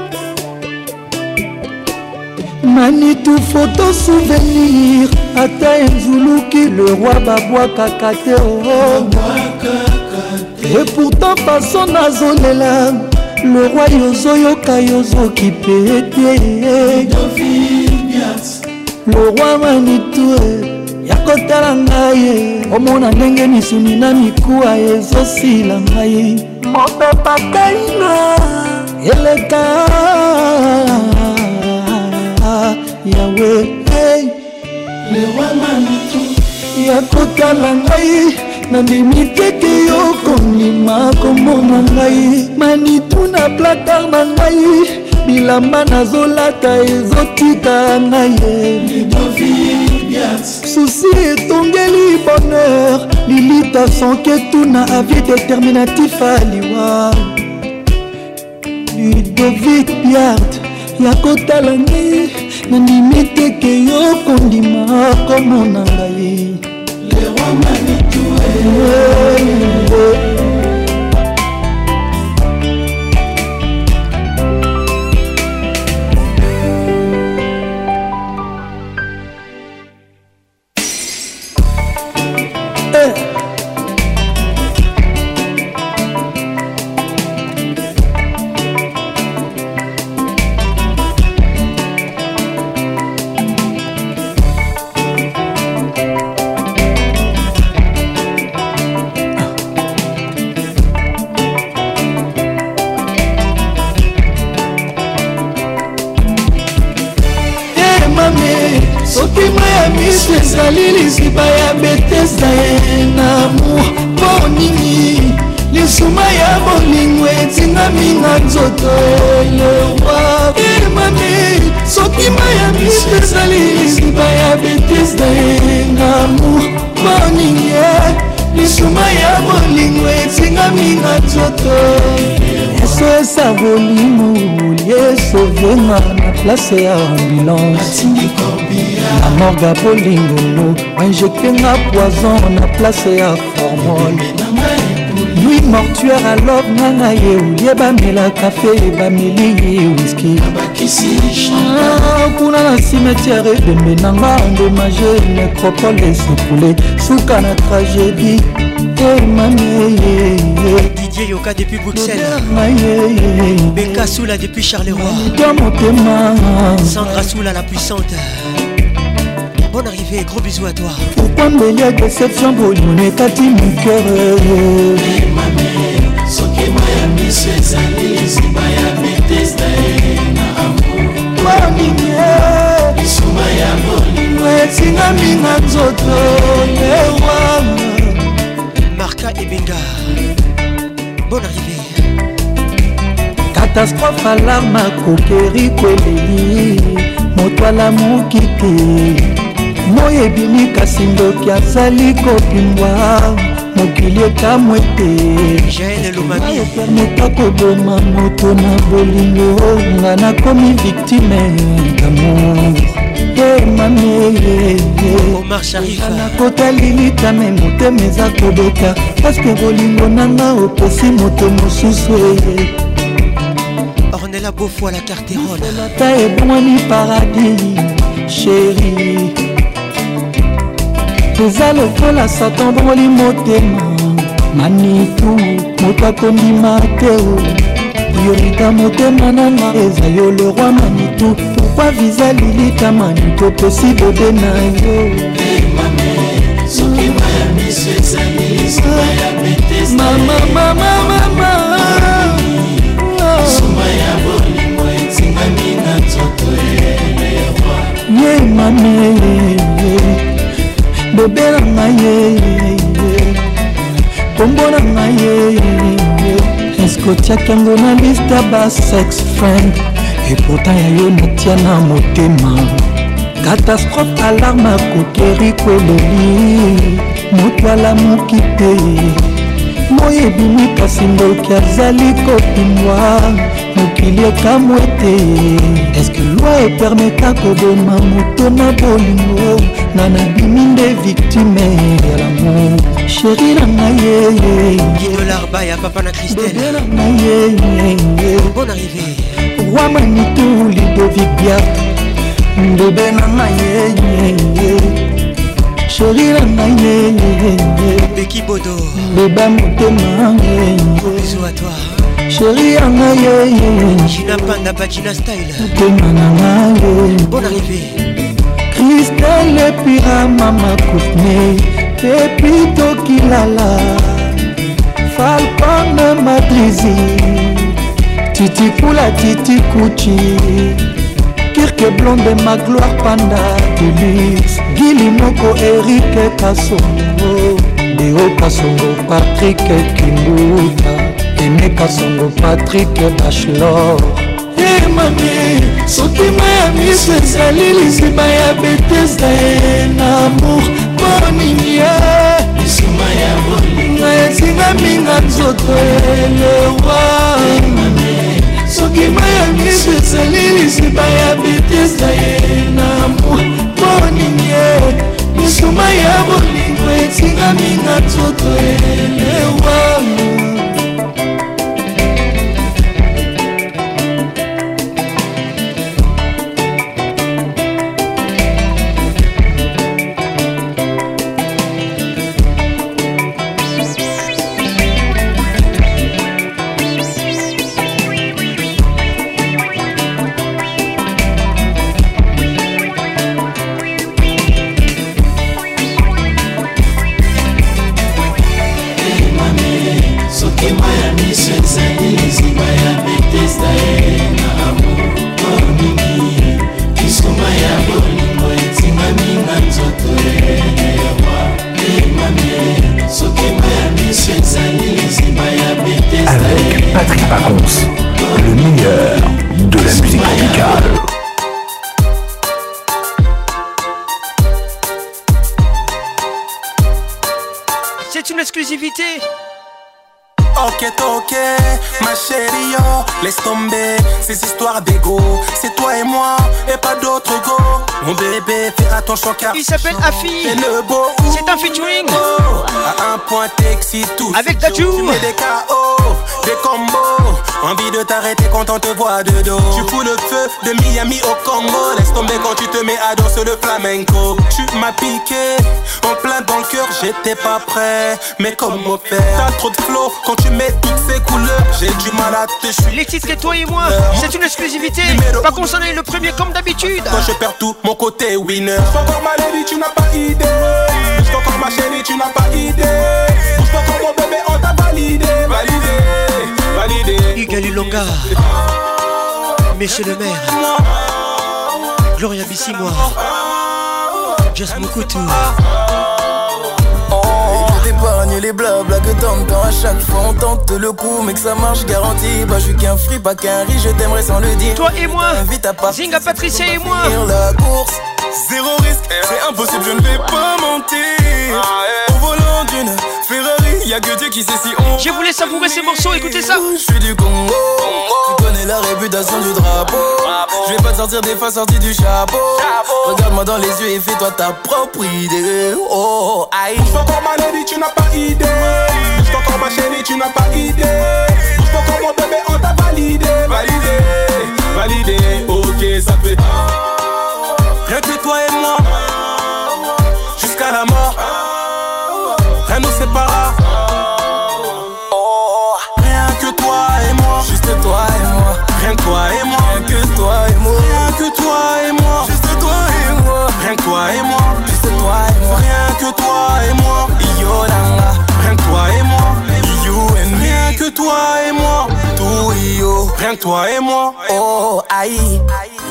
Manitou photo souvenir ata Nzuluki le roi Babwa Kakate oh. Et pourtant façon nazolela le roi Yozoyoka Yozoki pété le roi Manitou yakotala ngai omona ndenge misuni na mikuwa ezosila ngai mopepa kaina eleka Yahweh hey. Le roi Manitou yakotala ngai nandimi teke yo kondima komona ngai Manitou na placard na ngai bilamba nazolata ezotika ngai susi etongeli bonheur lilita sonketuna avis déterminatif aliwa Ludovic Biart yakotala ngai nandimi teke yo kondima komona ngai le roi Manitou ezali liziba ya betesa ye na amour mpo nini lisuma ya bolingo etingami na nzoto elewa emami soki maya miso ezali liziba ya betesa ye na amour mpo nini lisuma ya bolingo etingami na nzoto eso esa bolingo liesovenga na place ya ambulance la morga bolingolo injectenga poison na place ya formol nuit mortuaire alors nanga ye ulie bamela kafe bameli ye whisky kuna na cimetière ebembe nanga endommagé nécropole esecoulé suka na tragédie
Didier Yoka depuis Bruxelles, Beka Soula depuis Charleroi, Sandra Soula la puissante. Bonne arrivée, gros bisous à toi.
Pourquoi me y a déception pour nous nekati mon cœur
soki Miami c'est ali zibaya Bethesda na amour
Mami
isuma ya bolingo
etinga minga nzoto lewa
Marca et Benga. Bonne arrivée.
Catastrophe alarme kokeri kweleli moto alamuki te moyo ebimi kasi ndoki azali kopimbwa mokili ekamwe te
Jaël Lomami
epermeta koboma moto na bolingo nga nakomi victime d'amour
Omar Sharif
nakotalilita me motema eza kobeka paske bolingo nanga opesi moto mosusu eye
Ornella Beaufoy la Carterone
ta ebongwani paradis chéri eza lokola satan bongoli motema Manitou moto akondima te priorita motema nanga eza yo le roi Manitou pourquoi visa lilita Manitou opesi bebe na yo Mama, mama, mama. Ye mami, bébé na ngai, kombo na ngai. Est-ce que tu as kango na liste ba sex friend? Et pourtant ya yo natia na motema. Catastrophe alarme kokeri koleli. Moto alamuki te. Moye bimi kasi ndoki azali kopimwa. Mokili ekamwe te. Est-ce que loi epermeta koboma moto na bolingo? Nana bimi nde victime ya l'amour. Chérie na ngai.
Guido Larba ya papa na Christelle. Bonne arrivée.
Roi Manitou Ludovic Biart. Bébé na ngai. Chérie na ngai.
Becky Bodo.
Bébé motema.
Bisous à toi.
Chérie na ngai.
Gina Panda Bagina Style. Bonne arrivée.
Christelle Pira Mama Koutne. Pepito Kilala. Falcon Madrizi. Titi Poula Titi Kuchi. Kirke Blonde ma gloire Panda Deluxe. Gili Moko Eric Kasongo. Deo Kasongo Patrick Kimbuta. Aimé Kasongo Patrick Bachelor. Hey mami, soki mayami sezali lisima ya Bethesda en amour moninye. Lisima ya bolingo ezinga minga nzoto elewa. Soki mayami sezali lisima ya Bethesda en amour moninye. Lisima ya bolingo ezinga minga nzoto elewa.
Avec Patrick Pacons, le meilleur de la musique tropicale.
C'est une exclusivité.
Ok, ok, ma chérie, oh, laisse tomber ces histoires d'égo. C'est toi et moi, et pas d'autre go. Mon bébé, fais attention car
il s'appelle Afi. C'est un featuring.
À un point t'excites tout.
Avec Dadju.
Tu mets des K O, des combos. Envie de t'arrêter quand on te voit de dos. Tu fous le feu de Miami au Congo. Laisse tomber quand tu te mets à danser le flamenco. Tu m'as piqué, en plein dans le cœur, j'étais pas prêt. Mais comment faire? T'as trop de flow quand tu mets toutes ces couleurs. J'ai du mal à te chuter.
Les titres et toi et moi, c'est une exclusivité. Pas qu'on s'en aille le premier comme d'habitude.
Quand je perds tout, mon côté winner. J'suis encore ma lady, tu n'as pas idée. J'suis encore ma chérie, tu n'as pas idée. J'suis encore mon bébé, on t'a validé. Validé, validé.
Igali Longa, Monsieur le maire, Gloria Bissimois, Just Mokutu.
T'épargne les blabla que t'entends à chaque fois. On tente le coup, mais que ça marche garanti. Bah, je suis qu'un free, pas qu'un riche, je t'aimerais sans le dire.
Toi et moi,
invite à partir.
Zinga Patricia et moi.
La course, zéro risque, c'est impossible, je ne vais pas mentir. Au volant d'une Ferrari, y'a que Dieu qui sait si on.
Je voulais savourer ces morceaux, écoutez ça.
Je suis du Congo, tu connais la réputation du drapeau. Je vais pas te sortir des fois sortis du chapeau. Regarde-moi dans les yeux et fais-toi ta propre idée. Oh, aïe.
J'suis encore ma lady, tu n'as pas idée. J'suis encore ma chérie, tu n'as pas idée. J'suis encore mon bébé, on t'a validé. Validé, validé, ok, ça fait. Rien que toi et moi, jusqu'à la mort. Rien nous sépara. Rien que toi et moi,
juste toi et moi.
Rien que toi et moi,
rien que toi et moi.
Rien que toi et moi,
juste toi et moi.
Rien que toi et moi,
juste toi et moi.
Rien que toi et moi,
Yolanda.
Rien que toi rien toi et moi.
Oh, aïe.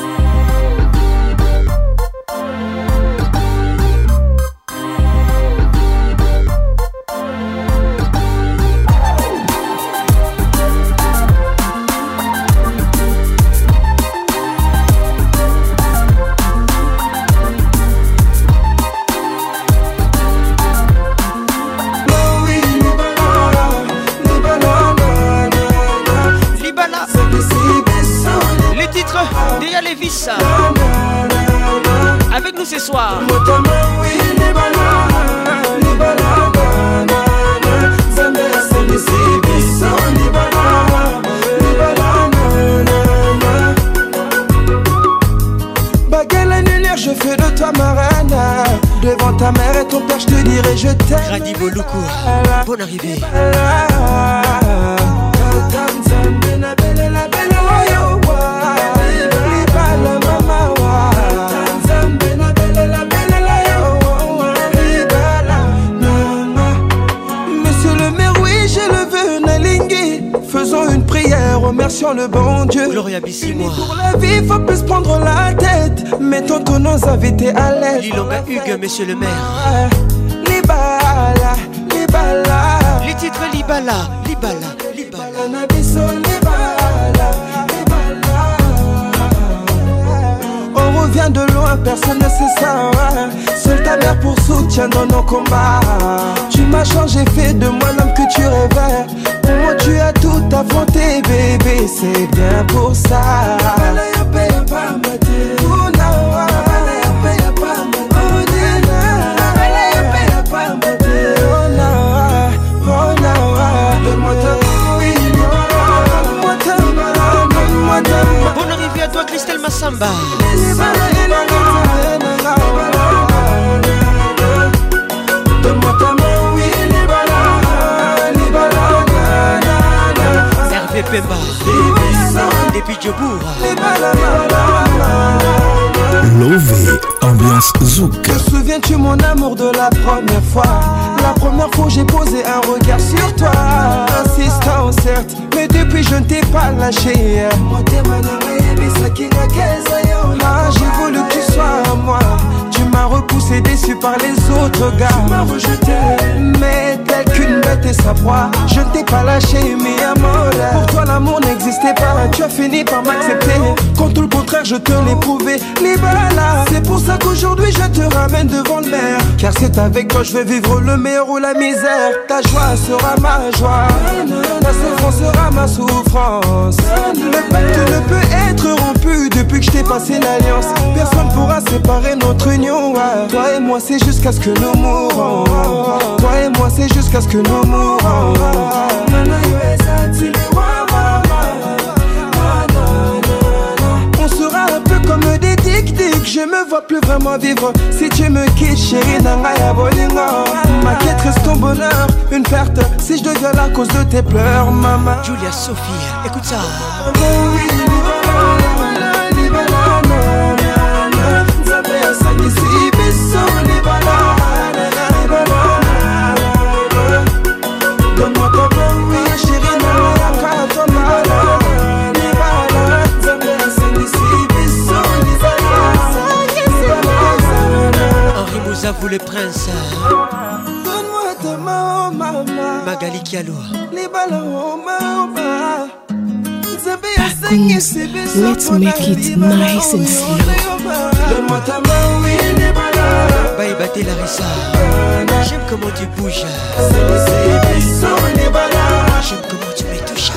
Déa Lévis avec nous ce soir.
Baguette annulaire, je fais de toi ma reine. Devant ta mère et ton père, je te dirai je t'aime.
Radi Boloukou, bonne arrivée.
Faisons une prière, remercions le bon Dieu.
Gloria Bissimo.
Pour la vie, faut plus prendre la tête. Mettons tous nos invités à l'aise.
Lilonga Hugues, monsieur le maire.
Libala, Libala.
Les titres Libala, Libala, Libala.
Libala, on revient de loin, personne ne sait ça. Seule ta mère pour soutien dans nos combats. Tu m'as changé, fait de moi l'homme que tu rêvais. Pour moi tu as tout affronté, bébé, c'est bien pour ça.
Bonne arrivée à toi Christelle Massamba. Hervé Pemba depuis Djobour.
Lové, ambiance zouk.
Te souviens-tu mon amour de la première fois? La première fois j'ai posé un regard sur toi. Insistant certes, mais depuis je ne t'ai pas lâché. Ah, j'ai voulu que tu sois à moi. Tu m'as repoussé déçu par les autres gars. Tu m'as rejeté, mais tel qu'une bête et sa proie. Je ne t'ai pas lâché, mi amor. Pour toi l'amour n'existait pas. Tu as fini par m'accepter, quand tout le contraire je te l'ai prouvé. Libala, c'est pour ça qu'aujourd'hui je te ramène devant le maire. Car c'est avec toi je vais vivre le meilleur ou la misère. Ta joie sera ma joie, ta souffrance sera ma souffrance. Le pacte ne peut être rompu depuis que je t'ai passé l'alliance. Personne pourra séparer notre union. Toi et moi c'est jusqu'à ce que nous mourons. Toi et moi c'est jusqu'à ce que nous mourons. On sera un peu comme des tic-tic. Je me vois plus vraiment vivre si tu me quittes, chérie Nangaya Bolingo. Ma quête reste ton bonheur, une perte si je deviens la cause de tes pleurs, maman.
Julia Sophie, écoute ça. Henri Mouzavou le prince.
Donne-moi ta main, maman.
Magali Kialo.
Let's make it nice and slow.
Bye Baté Larissa. J'aime comment tu bouges. J'aime comment tu me touches.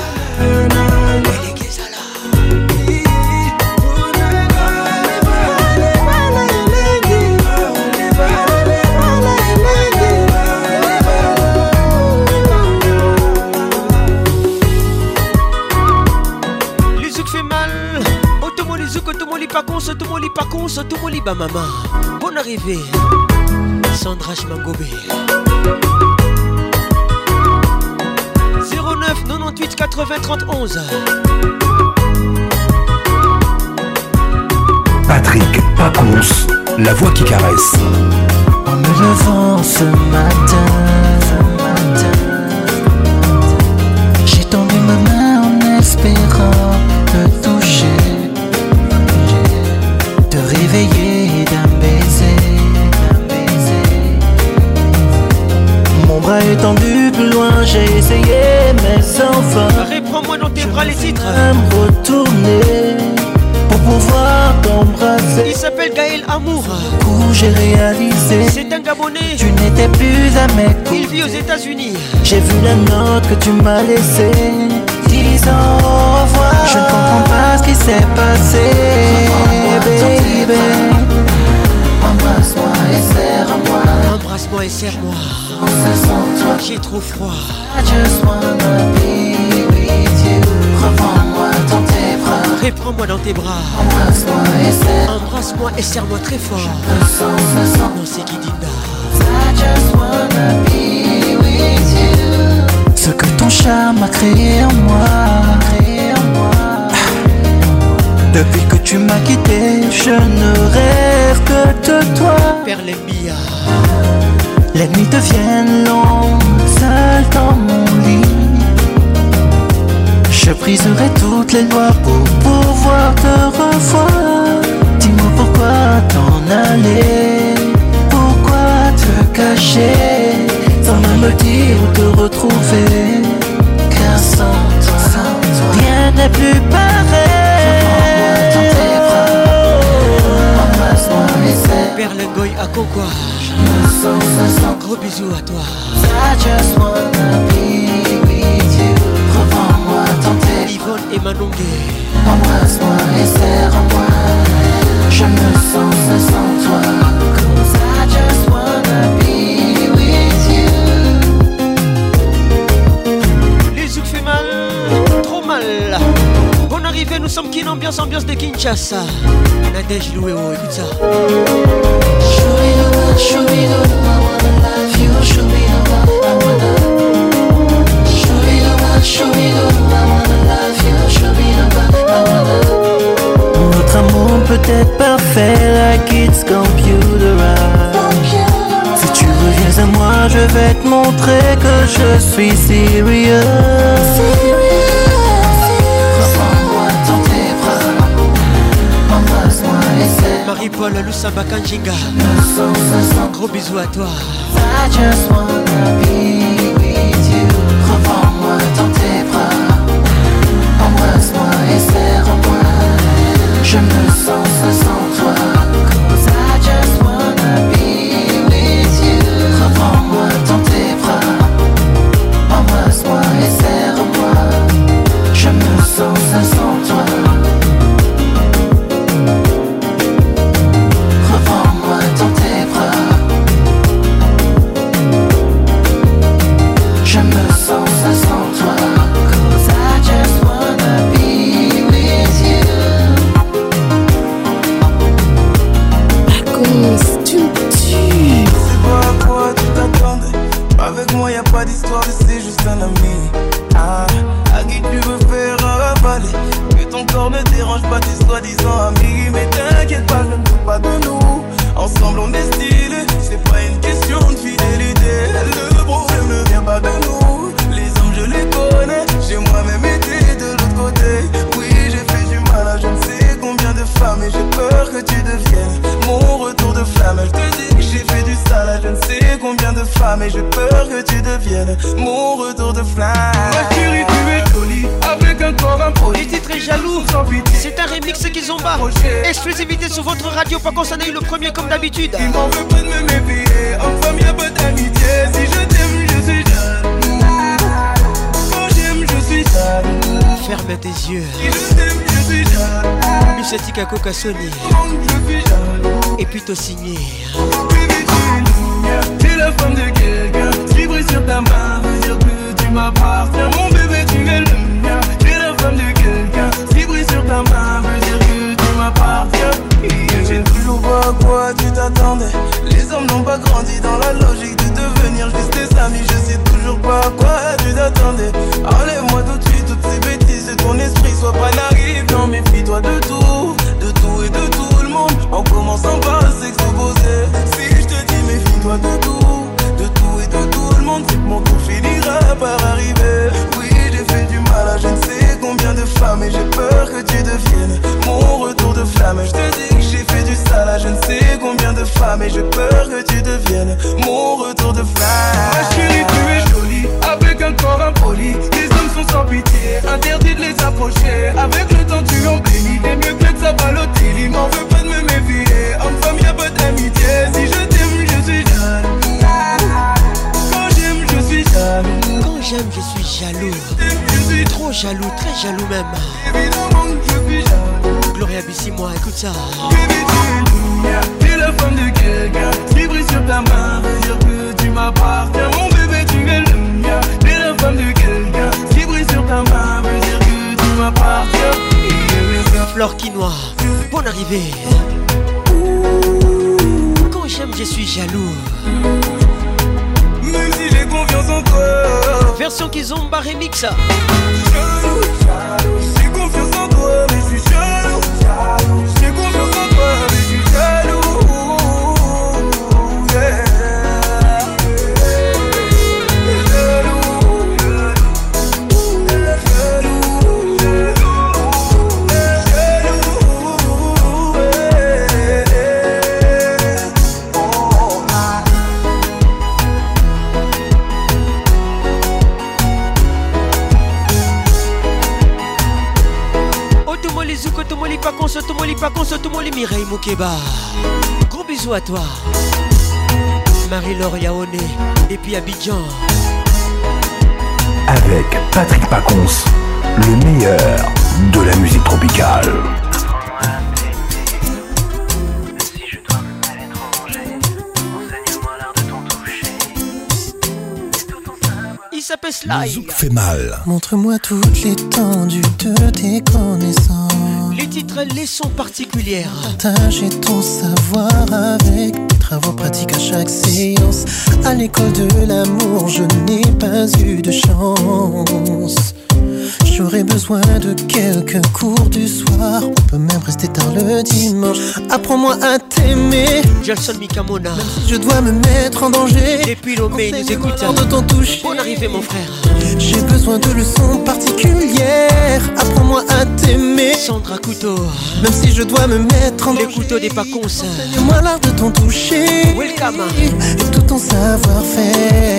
Paconce, tout mon lit paconce, tout mon lit ba maman. Bonne arrivée, Sandra Chmangobé. zéro neuf quatre-vingt-huit quatre-vingts trente onze.
Patrick Paconce, la voix qui caresse.
En me levant ce matin, ce matin j'ai tendu ma main en espérant essayer mais sans fin.
Reprends-moi dans tes bras les titres.
Je vais retourner pour pouvoir t'embrasser.
Il s'appelle Gaël Amour.
Du coup j'ai réalisé,
c'est un Gabonais.
Tu n'étais plus à mes côtés.
Il vit aux États-Unis.
J'ai vu la note que tu m'as laissée, disant au revoir. Je ne comprends pas ce qui s'est passé, baby. Embrasse-moi et serre-moi.
Embrasse-moi et serre-moi. J'ai trop froid.
I just wanna be with you. Reprends-moi dans tes bras.
Reprends-moi dans tes bras.
Embrasse-moi et serre-moi.
Embrasse-moi et serre-moi très fort.
Je sens, je sens.
Non, c'est Kidinda.
I just wanna be with you. Ce que ton charme a créé en moi, créé en moi. Depuis que tu m'as quitté, je ne rêve que de toi.
Perle Mbia.
Les nuits deviennent longues, seul dans mon lit. Je briserai toutes les lois pour pouvoir te revoir. Dis-moi pourquoi t'en aller, pourquoi te cacher, sans même me dire où te retrouver. Car sans toi, sans toi, rien n'est plus pareil. Reprends-moi dans tes bras, embrasse-moi et serre.
Perle Ngoy à Kokwa. Gros bisous à toi.
I just wanna be with you. Reprends-moi dans tes
Yvonne et Manongue.
Embrasse-moi et serre-moi. Je me sens seul sans toi. Cause I just wanna be with you.
Les zouk fait mal, trop mal. Bonne arrivée, nous sommes Kin Ambiance, ambiance de Kinshasa. Nadège Louéo, écoute ça.
Shoo-be-doo-ba, shoo-be-doo-ba, I wanna love you. Shoo-be-doo-ba, I wanna. Shoo-be-doo-ba, shoo-be-doo-ba, I wanna love you. Shoo-be-doo-ba, I wanna. Notre amour peut être parfait, like it's computerized. Si tu reviens à moi, je vais te montrer que je suis serious. Reprends-moi dans tes bras, embrasse-moi et serre.
Marie-Paul Lusamba Kanjinga. Gros bisous à toi.
I just wanna be with you. Reprends-moi dans tes bras, embrasse-moi et serre-moi. Je me sens seul sans toi. Cause I just wanna be with you. Reprends-moi dans tes bras, embrasse-moi et serre-moi. Je me sens seul sans toi. Reprends-moi dans tes bras. Je me sens seul sans toi. Cause I just wanna be with you.
Paconce, tu me tues.
C'est pas à quoi tu t'attendais. Avec moi y'a pas d'histoire, c'est juste un ami. Ah, à qui tu veux faire avaler. Que ton corps ne dérange pas tes soi-disant amis. Mais t'inquiète pas, je ne doute pas de nous. Ensemble on est stylé, c'est pas une question de fidélité. Le problème ne vient pas de nous. Les hommes je les connais, j'ai moi-même été de l'autre côté. Oui j'ai fait du mal à je ne sais combien de femmes. Et j'ai peur que tu deviennes mon retour de flamme. Je te dis que j'ai fait du sale à je ne sais combien de femmes. Et j'ai peur que tu deviennes mon retour de flamme. Ma chérie tu es jolie, avec un corps impoli.
Les titres est jaloux. C'est un remix qu'ils ont bas. Exclusivité sur votre radio, pas qu'on s'en a eu le premier comme d'habitude.
Il m'en veut pas de me méfier. En femme y'a pas d'amitié. Si je t'aime je suis jaloux. Quand j'aime je suis jaloux.
Ferme tes yeux.
Si je t'aime je suis jaloux.
Lucetika Coca Sony.
Je suis jaloux.
Et puis t'as signé.
Bébé tu es lumière. T'es la femme de quelqu'un. Vibrer sur ta main veut dire que tu m'appartiens. Mon bébé tu es le mien. T'es la femme de quelqu'un. Vibrer sur ta main veut dire que tu m'appartiens. Je sais toujours pas à quoi tu t'attendais. Les hommes n'ont pas grandi dans la logique de devenir juste des amis. Je sais toujours pas à quoi tu t'attendais. Enlève-moi tout de suite toutes ces bêtises de ton esprit. Sois pas naïf, non méfie-toi de tout. De tout et de tout le monde. En commençant par s'exposer. Si je te dis méfie-toi de tout. De tout et de tout le monde. C'est que mon tour finira par arriver. Oui j'ai fait du mal à je ne sais combien de femmes. Et j'ai peur que tu deviennes mon retour de flamme. Je te dis que j'ai fait du sale à je ne sais combien de femmes. Et j'ai peur que tu deviennes mon retour de flamme. Ma chérie tu es jolie, avec un corps impoli. folie. Les hommes sont sans pitié, interdit de les approcher. Avec le temps tu embellis, t'es mieux que ça Balotelli. Il m'en veut pas de me méfier, homme-femme y'a pas d'amitié. Si je t'aime je suis jaloux. Quand j'aime je suis jaloux.
Quand j'aime je suis jaloux. Je suis trop jaloux, très jaloux même.
Évidemment que je suis jaloux.
Gloria Bissi-moi, écoute ça.
Baby tu es lumière, tu es la femme de quelqu'un. Ce qui brille sur ta main veut dire que tu m'appartiens. Mon bébé tu es le mien, tu es la femme de quelqu'un. Ce qui brille sur ta main veut dire que tu m'appartiens.
Flore Quinoa, bonne arrivée. Quand j'aime je suis jaloux.
Même si j'ai confiance en toi.
Version Kizomba remix.
Jaloux, jaloux, j'ai confiance en toi mais je suis jaloux. Jaloux, j'ai confiance en toi mais je suis jaloux. Yeah.
Tomoli Pacons, Tomoli Pacons, Tomoli Mireille Moukeba. Gros bisous à toi. Marie-Laure Yaoné et puis Abidjan.
Avec Patrick Pacons, le meilleur de la musique tropicale.
Il s'appelle Sly.
Zouk fait mal.
Montre-moi toute l'étendue de tes connaissances.
Les titres, les sons particulières.
Partager ton savoir avec des travaux pratiques à chaque séance. À l'école de l'amour, je n'ai pas eu de chance. J'aurais besoin de quelques cours du soir. On peut même rester tard le dimanche. Apprends-moi à t'aimer.
Gelson Mikamona.
Même si je dois me mettre en danger.
Depuis Lomé, nous écoutons.
De ton toucher.
Bonne arrivée, mon frère.
J'ai besoin de leçons particulières. Apprends-moi à t'aimer.
Sandra Couteau.
Même si je dois me mettre en
Les
danger.
couteaux des Pacons.
Enseigne-moi l'art de ton toucher.
Welcome.
Et tout ton savoir-faire.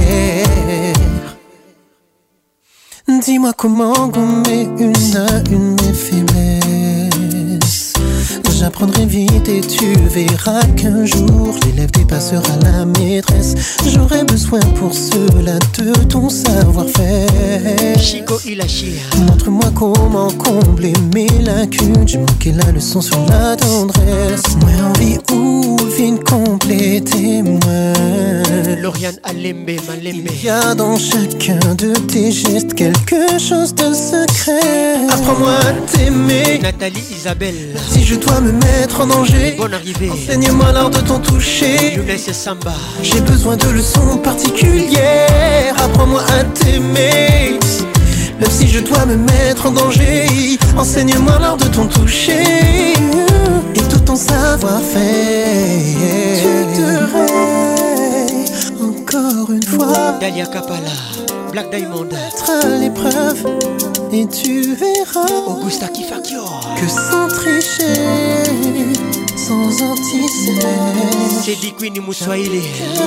Dis-moi comment gommer une à une mes faiblesses. J'apprendrai vite et tu verras qu'un jour l'élève dépassera la maîtresse. J'aurai besoin pour cela de ton savoir-faire.
Chico Ilachi.
Montre-moi comment combler mes lacunes. J'ai manqué la leçon sur la tendresse. Moi envie ou vine complétez-moi.
Lauriane Alembe Malembe.
Il y a dans chacun de tes gestes quelque chose de secret. Apprends-moi à t'aimer.
Nathalie Isabelle.
Si je dois me mettre en danger.
Bonne arrivée.
Enseigne-moi l'art de ton toucher.
Younes et Samba.
J'ai besoin de leçons particulières. Apprends-moi à t'aimer. Même si je dois me mettre en danger. Enseigne-moi l'art de ton toucher. Et tout ton savoir-faire. Tu te rêves encore une fois.
Dalia Kapala. Black Diamond.
Être à l'épreuve. Et tu verras.
Augusta Kifakio.
Que sans tricher, sans anticiper,
c'est dit Queen Moussoaïli.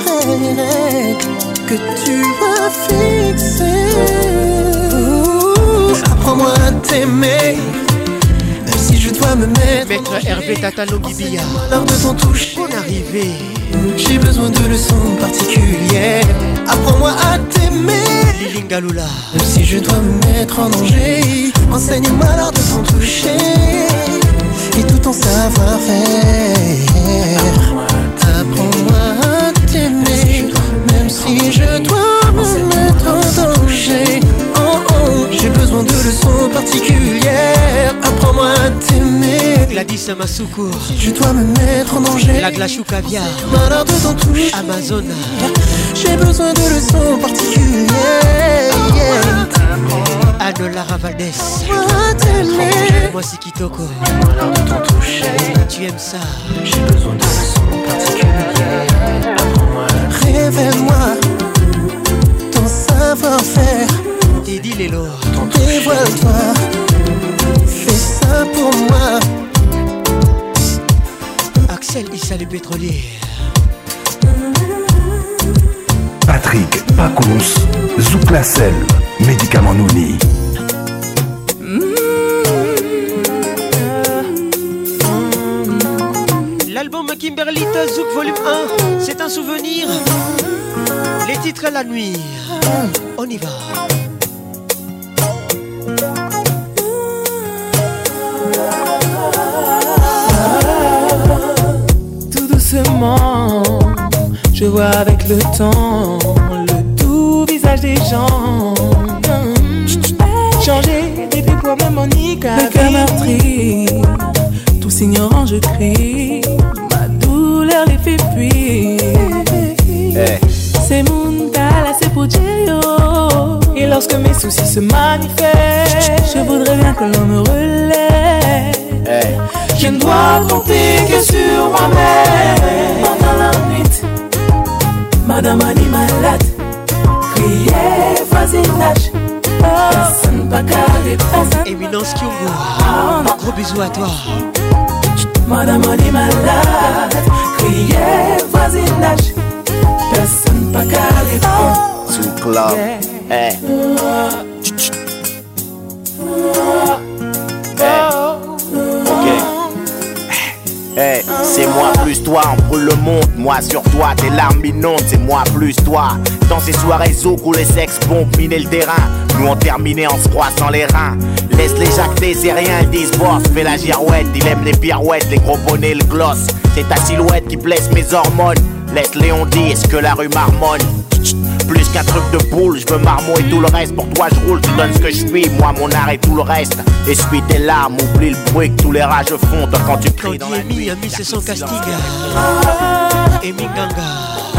Que tu as fixé. Apprends-moi à t'aimer. Même si je dois me mettre.
Maître Hervé Tatalongibia.
L'art de ton toucher.
Bonne arrivée.
J'ai besoin de leçons particulières. Apprends-moi à t'aimer.
Lilingalula.
Même si je dois me mettre en danger. Enseigne-moi l'art de ton toucher. Et tout ton savoir-faire. Apprends-moi à t'aimer. Même si je dois me mettre en danger. Oh oh, j'ai besoin de leçons particulières. Apprends-moi à t'aimer.
Gladys Masuko.
Je dois me mettre en danger.
La glace ou caviar.
L'art de ton toucher.
Amazon.
J'ai besoin de leçons particulières.
Anne Lara Valdès. Moi c'est Kitoko. Tu aimes ça.
J'ai besoin de leçons particulières. Révèle-moi ton savoir-faire.
Teddy Lelo.
Dévoile-toi. Fais ça pour moi.
Axel Issa le pétrolier.
Patrick Pacons, Zouk la selle. Médicament Nouni.
L'album Kimberlita Zouk volume un, c'est un souvenir. Les titres à la nuit. On y va.
Tout doucement, je vois avec le temps le tout visage des gens. Changer depuis pour même Monique. Le cœur meurtri, tous ignorants je crie. Ma douleur les fait fuir. Hey. C'est mon là c'est pour Dieu. Et lorsque mes soucis se manifestent, je voudrais bien que l'on me relève. Hey. Je ne dois compter que sur moi-même. Pendant la nuit, madame a dit malade. Crier, voisinage. Personne pas carré.
Éminence Kyungu, gros bisous à toi.
Madame a dit malade. Crier, voisinage. Personne pas carré.
Sous le club. Hey. Hey, c'est moi plus toi, on brûle le monde. Moi sur toi, tes larmes inondent. C'est moi plus toi. Dans ces soirées zouk où les sex pompent miner le terrain, nous on terminé en se croissant les reins. Laisse les jacques des rien, ils disent boss, fais la girouette. Il aime les pirouettes, les gros bonnets, le gloss. C'est ta silhouette qui blesse mes hormones. Laisse Léon dire ce que la rue marmonne. Plus qu'un truc de boule, je veux marmot et tout le reste. Pour toi je roule, tu donnes ce que je suis. Moi mon art et tout le reste. Essuie tes larmes, oublie le bruit que tous les rages font quand tu cries dans la nuit.
Ami, c'est son casting. Et Minganga.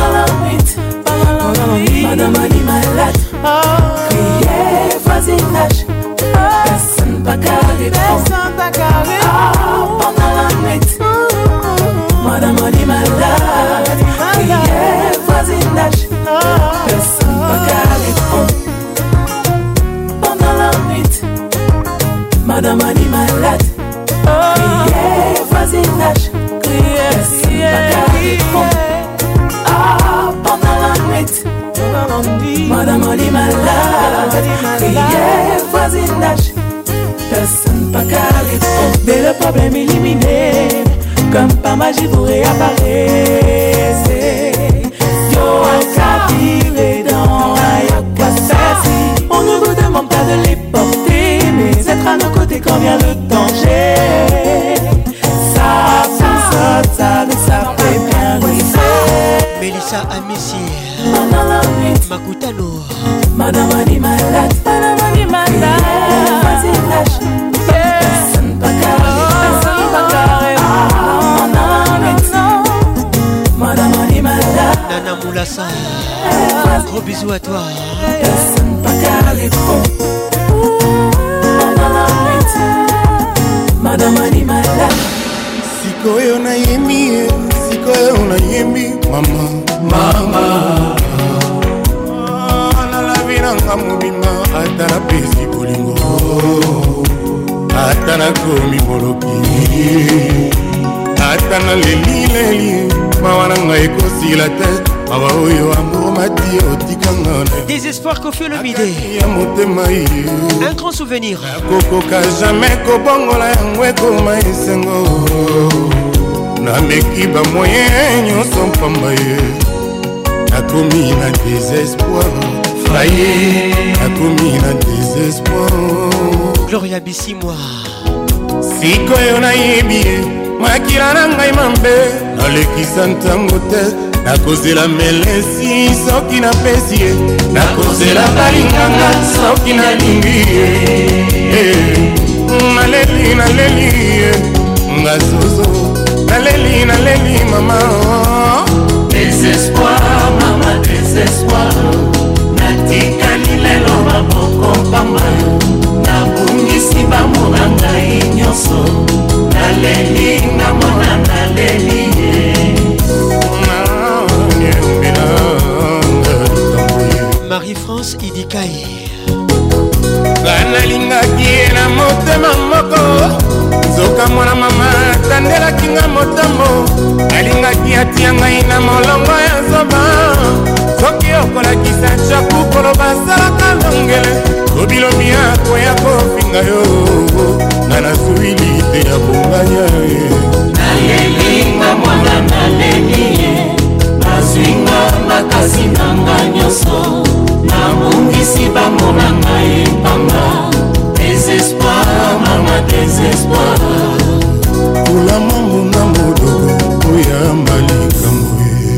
Madame a dit malade. Crier, voisinage. Personne pas carré. Personne pas carré. Pendant la nuit. Madame a dit malade. Crier, voisinage. Personne pas carré. Pendant la nuit. Madame a dit malade. Crier, voisinage. Personne pas carré. Pendant la nuit. Madame a dit malade. Crier, voisinage. Personne pas carré. Dès le problème éliminé, comme par magie vous réapparaissez. Yo a captivé dans Ayakwasasi. On ne vous demande pas de les porter, mais être à nos côtés quand vient le danger. Ça, ça, ça, ça, ça fait bien risser.
Mélissa Amissi, Makutano.
Madame a dit malade. Madame a dit malade. Voisinage. Personne pas carré. Personne pas carré. Madame a dit malade.
Nana Moulassa, gros bisous à toi.
Personne pas carré. Madame a dit malade.
Sikoyo na yemi, sikoyo na yemi, mama, mama. Na la vida ngamubima, atana pesi bolingo, atana komi boloki, atana leli leli, mawana ngai kosi la tête, mawa oyo amour mati otikanga.
Désespoir Kofi Olomide, un grand souvenir.
Kokoka jamais kobongola yango ekoma esengo. Nameki ba moyen nyonso mpamba ye. Nakomi na désespoir, faye. Nakomi na désespoir.
Gloria Bissimwa.
Sikoyo nayebi ye, makila na ngai mambe. Nalekisa ntango te, nakozela melesi soki napesi ye. Nakozela balinganga soki nalingi ye. Naleli naleli ye, ngazozo. Naleli naleli mama.
Désespoir mama désespoir. Natikali lelo maboko pamba. Nabungisi bamour na ngai nyonso. Naleli namona naleli
Marie-France Idikaye.
Nalingaki ye na motema moko. Zoka mwana mama tandelaki nga motambo. Nalingaki atia ngai na molongo ya zoba.
soki okolakisa chaku koloba salaka ndongele kobilomi akoya kofinga yo nga nazwili te ya bonganya
nalelinga mwana naleli ye nazwinga makasi nanga nyonso nabungisi bamona ngai mpanga désespoir mama désespoir
pula mambo na modoko oya malikambo.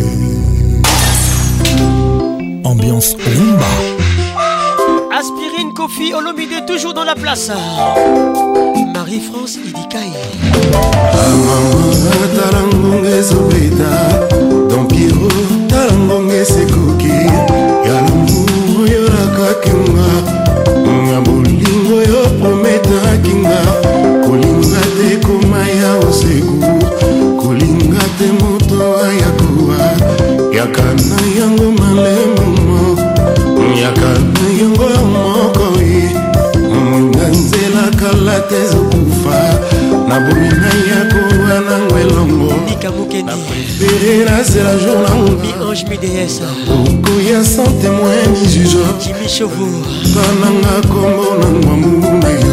Ambiance rumba.
Aspirine, Kofi, Olomide, toujours dans la place. Marie-France Idikaï.
Amama talangonge sobeta Don Piero talangonge sekuki Yalamu yoraka kinga Ngabulingo yo prometa kinga Kulinga te kumaya osegu Kulinga te moto ayakuwa Yakana yango malemu Yakana yango mokoi Nganzela kalate zokufa Nabomina yako wana ngwelongo
Nika Mukeni
Perera c'est la journée
Mi ange mi déesse
Oko ya sans témoin ni juge
Jimmy Chauveau
Kananga kombo na ngwamu na yo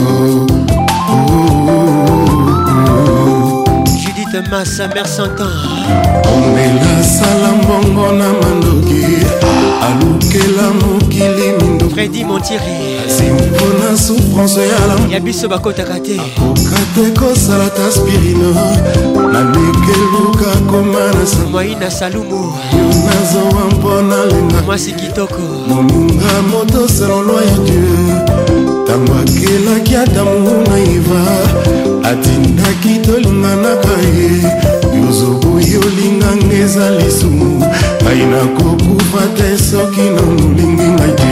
Judith Massa, mère Santan
Omela salambongo na mandoki Alukela mokili mindo
Freddy Montieri
Simpona souffrance ya la
Yabiso bakota kate
Okate kosala ta aspirine Nanekeluka komana sa
Moïna Salumu
Yonazo wampona lenga
Mwasi kitoko
Moninga moto selon loi ya Dieu Tango akelaki adamu naiva Atindaki tolinganaka ye Yozobo yolinga ngeza lisumu Aina kokufa te soki na molingi ngai te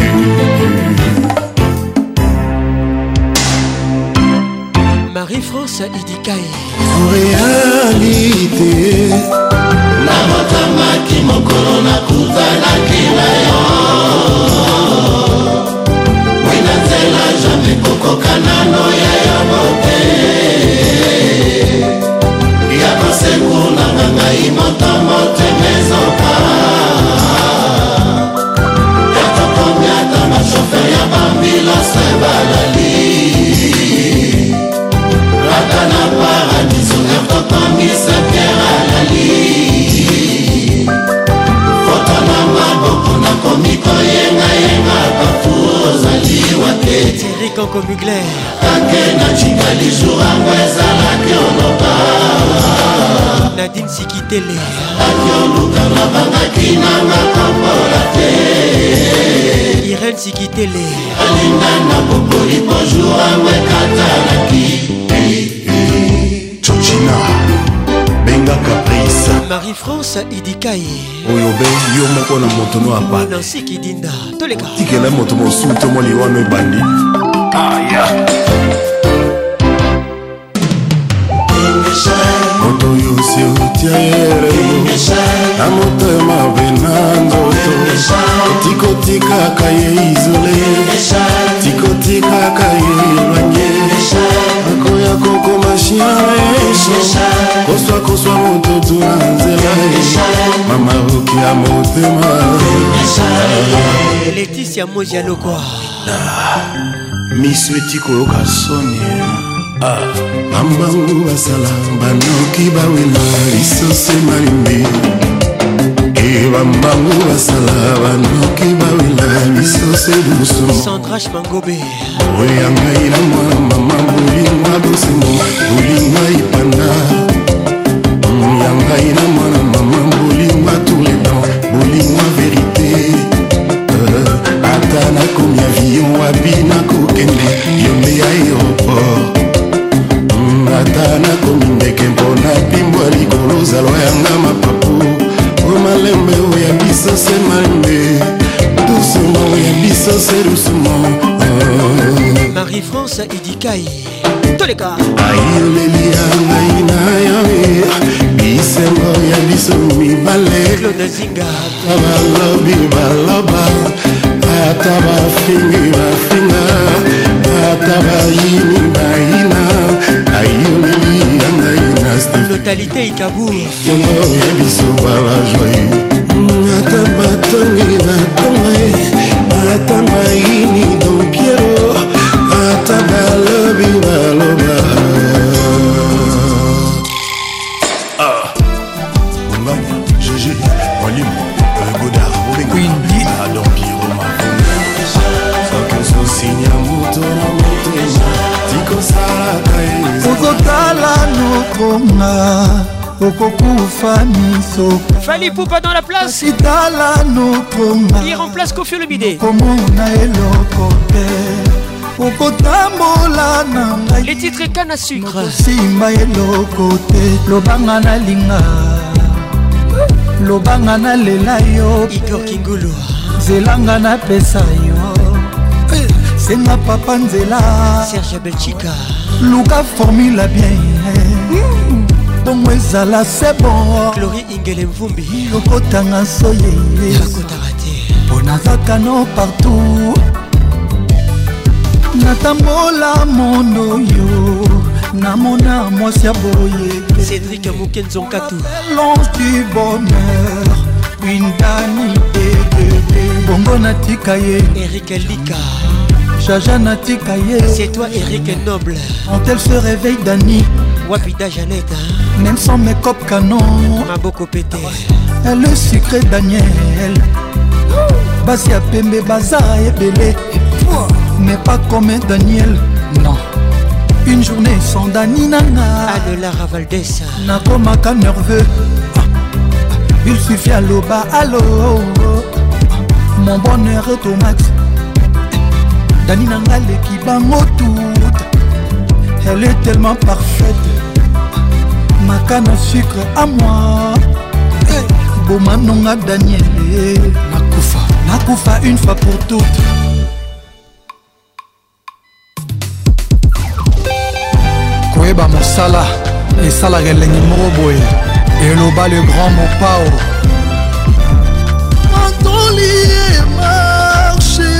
Marie-France Idikaï
réalité
namotamaki mokolo nakutanaki na yo wina nzela jamai kokokanano ya yango te ya kosekulanga ngai moto motemezoka ya tokomiata bashofer ya bambilose balali Ratana paradiso ertokomisa pierre alali Fotana maboko na komiko yenga yenga bafu ozali wate
Thierry Kanko Mugler
Kake na chingali jour ango ezalaki oloba
Nadine Sikitele
Aki oluka na bangaki nanga kombola te
Irène Sikitele
Alinda na bokoli po jour ango ekatalaki
Chochina Benga Caprice
Marie-France Idikaï
Oyobe yo moko na moto no apa
Nancy Kidinda Toleka
tikela moto mosuto mo liwano ebandi aya
moto yo si otiere na motema bena nzoto tikotikaka ye izole tikotikaka ye elwanye akoya kokoma chiaesho koswa koswa moto tuna nzela mama oki ya motema
Laetitia Mozia Lokwa
miso etikoyoka soni bambangu basala banoki bawela lisose malimbe e bambangu basala banoki bawela lisose buso
Sandra Mangobe
oya ngai na mwana mama bolinga bosengo bolinga ipanda ya ngai na mwana mama bolinga tous les temps bolinga vérité ata nakomi avion wabi nakokende yonde ya aéroport ata nakomi ndeke mpona pimbwa likolo zalwa yanga mapapu o malembe oya biso se malembe doucement oya biso se doucement
Marie-France Idikaï Toleka
ayoleli ya ngai na yo bisengo ya biso mibale
Claude Zinga
ata balobi baloba ata bafingi bafinga ata bayini bayina ayoleli ya ngai na
Notalité Ikabour
yango ya biso bala joi ata bato eza tonga ata maini dompiero ata balobi baloba
Monganya, Gégé, Mwalimu, Godard, Quindi, Adam Pierrot, Soki ososinya moto na motema tikosalaka
ozotala nokonga okokufa miso
Fali Poupa dans la place
itala nokonga
il remplace Kofi Olomide
komona eloko te okotambola na ngai
les titres canne à sucre
simba eloko te lobanga na linga lobanga na lela yo
Igor Kingulu
zelanga na pesa yo senga papa nzela
Serge Belchica
luka formula bien bongo ezala c'est bon
Chloé Ingele Mvumbi
okotanga soye onazaka no partout natambola mondo yo namona mwasi ya boye
Cédric Moukenzonkatu
l'ange du bonheur Windani Dede bongo natika ye
Eric Lika
Jaja natika ye
c'est toi Eric Noble
quand elle se réveille Dani
Wapida Jeannette
même sans make-up canon
Maboko pété
elle est sucré Daniel basi ya pembe baza ebele mais pas comme Daniel non une journée sans Dani nanga
Anne-Lara Valdès
nakomaka nerveux il suffit à loba allo mon bonheur est au max Dani nanga leki bango tout elle est tellement parfaite ma canne à sucre à moi bomanonga Daniel nakufa nakufa une fois pour toutes koyeba mosala esalaka elengi moko boye eloba le grand mopao antoli emarche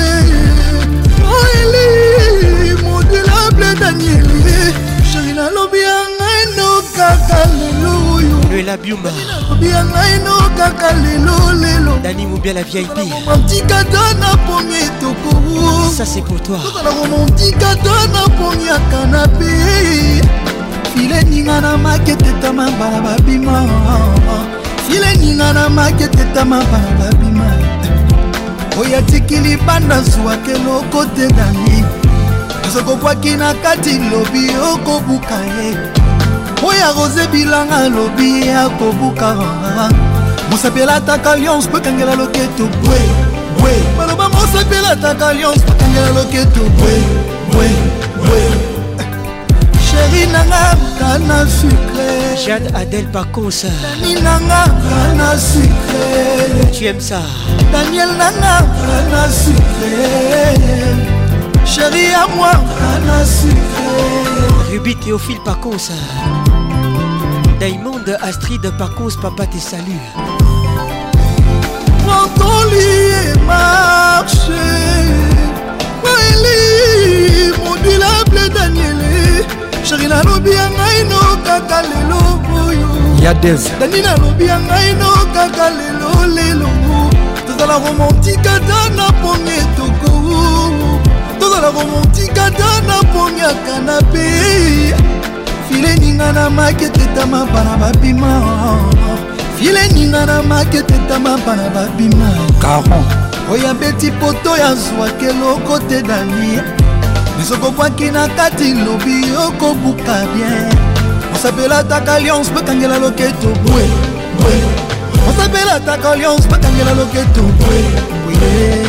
oeli modulable Daniel sheri nalobi yanga enokaka lelo oyo
le labiumba
nalobi yanga enokaka lelo lelo
Dani Moubia la V I P
romantikata na pongi etoko
ça c'est pour toi
tozala romantikata na pongi ya kanape file ninga na maketetama bana babima file ninga na maketetama bana babima oyo atikili banda zwake loko te Dani ezokobwaki na kati lobi okobuka ye oyo arose bilanga lobi akobuka mosapela ataka alliance po ekangela loketo bwe bwe baloba mosapela ataka alliance po ekangela loketo bwe bwe bwe chéri nanga kana sucré
Jade Adèle Pacos
Dani nanga kana sucré
tu aimes ça
Daniel nanga kana sucré chéri à moi kana sucré
Ruby Théophile Pacos Diamond Astrid Pacos papa te salue
quand on lit marche Maëli modulable Daniel chéri nalobi ya ngai no kaka lelo boyo Yadez Dani nalobi ya ngai no kaka lelo lelo tozala romantika ta na pongi etoko tozala romantika ta na pongi ya kanape file ninga na maketetama bana babima file ninga na maketetama bana babima caron oyo abeti poto ya zwake eloko te Dani ezokobwaki na kati lobi okobuka bien osapela ataka alliance bakangela loketo bwe bwe osapela ataka alliance bakangela loketo bwe bwe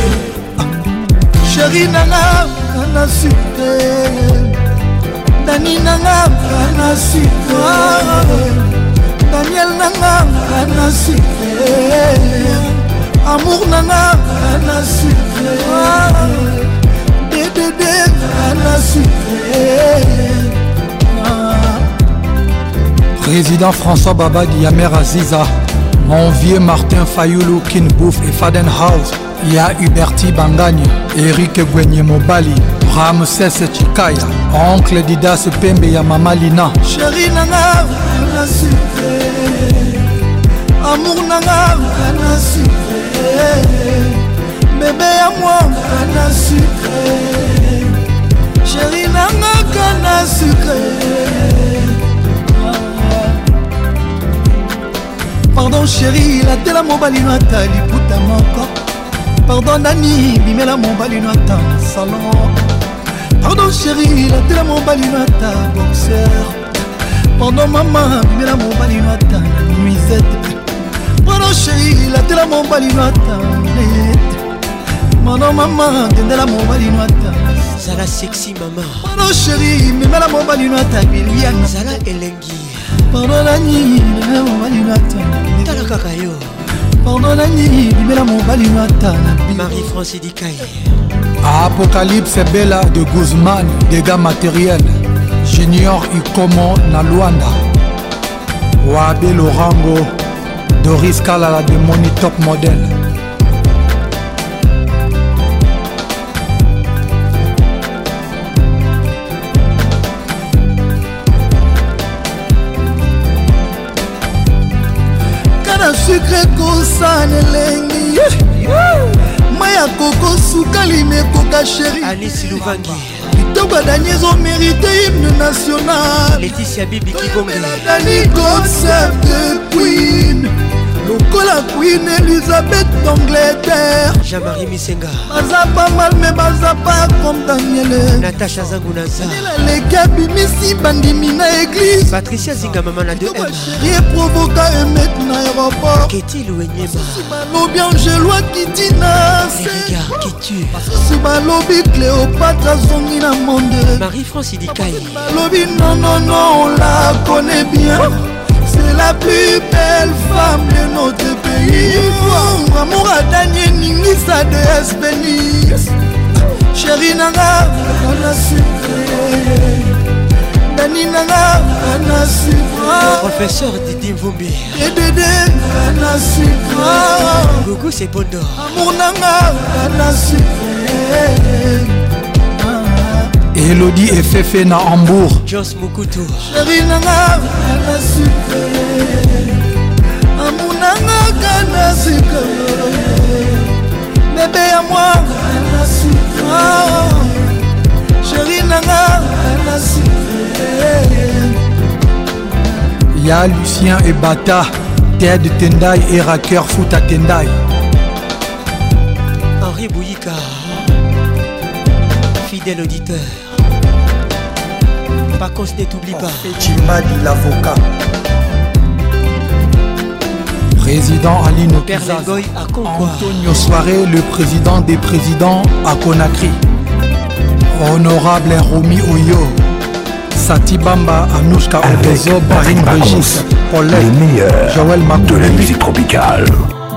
chéri nanga kana sucre Dani nanga kana sucre Daniel nanga kana sucre amour nanga kana sucre Dédé kana sucre Président François Babadi Yamer Aziza mon vieux Martin Fayoulou Kin Bouf et Faden House il y a Huberti Bangagne Eric Gwenye Mobali Ramses Chikaya Oncle Didas Pembe ya Mama Lina Chéri nanga kana sucre amour nanga kana sucre bébé ya moi kana sucre chéri nanga kana sucre. Pardon chéri latela mobali no ata liputa moko. Pardon nani bimela mobali no ata salon. Pardon chéri latela mobali no ata boxer. Pardon maman bimela mobali no ata nuisette. Pardon chéri latela mobali no ata net. Pardon maman dendela mobali no ata
Zala sexy maman.
Pardon chéri bimela mobali no ata Liliane.
Zala elengi.
Pardon nani bimela mobali no ata
Tala kaka yo.
Pardon nani bimela mobali no ata
Marie-France Dikaï.
Apocalypse Bella de Guzman, dégâts matériels. Junior Ikomo na Luanda. Wabe Lorango, Doris Kalala de Money Top Model.
Kana sucre kosana lengi. Maya koko sukali mekoka chéri.
Alice Louvangi.
Toba Daniels ont mérité hymne national.
Laetitia Bibi Kibonge.
Dani concept de Queen. Lokola Queen Elizabeth d'Angleterre.
Jean-Marie Misenga.
Baza pas mal mais baza pas comme Daniel.
Natasha Zangunaza.
Les gabi Messi bandimi na église.
Patricia Zinga maman na deux M.
Rien provoca et mettre na aéroport.
Keti Louenyema.
Lobby Angelois Kitina.
Les regards qui tuent.
Suba lobby Cléopâtre zongi na monde.
Marie-France Idikaï.
Lobby non non non on la connaît bien. C'est la plus belle femme de notre pays. Oh, amour à Daniel Ningisa de Espénis. Chérie Nanga, on a sucré. Dani Nanga, on a sucré.
Professeur Didi Mvumbi.
Et Dédé, on a sucré.
Gougou c'est Bondo.
Amour Nanga, on a sucré.
Elodie et Fefe na Hambourg.
Joss Mukutu.
Chérie Nanga, kana sucre. Amour Nanga, kana sucre. Bébé à moi, kana sucre. Chérie Nanga, kana sucre.
Ya Lucien et Bata, Ted Tendai et Racker Foot à Tendai.
Henri Bouyika, fidèle auditeur. Par contre, ne t'oublie pas.
Chimbadi l'avocat. Président Aline
Perlengoy à Concours.
Antonio Soiré, le président des présidents à Conakry. Honorable Romy Oyo. Sati Bamba, Anouchka Obezo, Barine Brigitte, Paulette,
les meilleurs
Joël Makouli,
de la musique tropicale.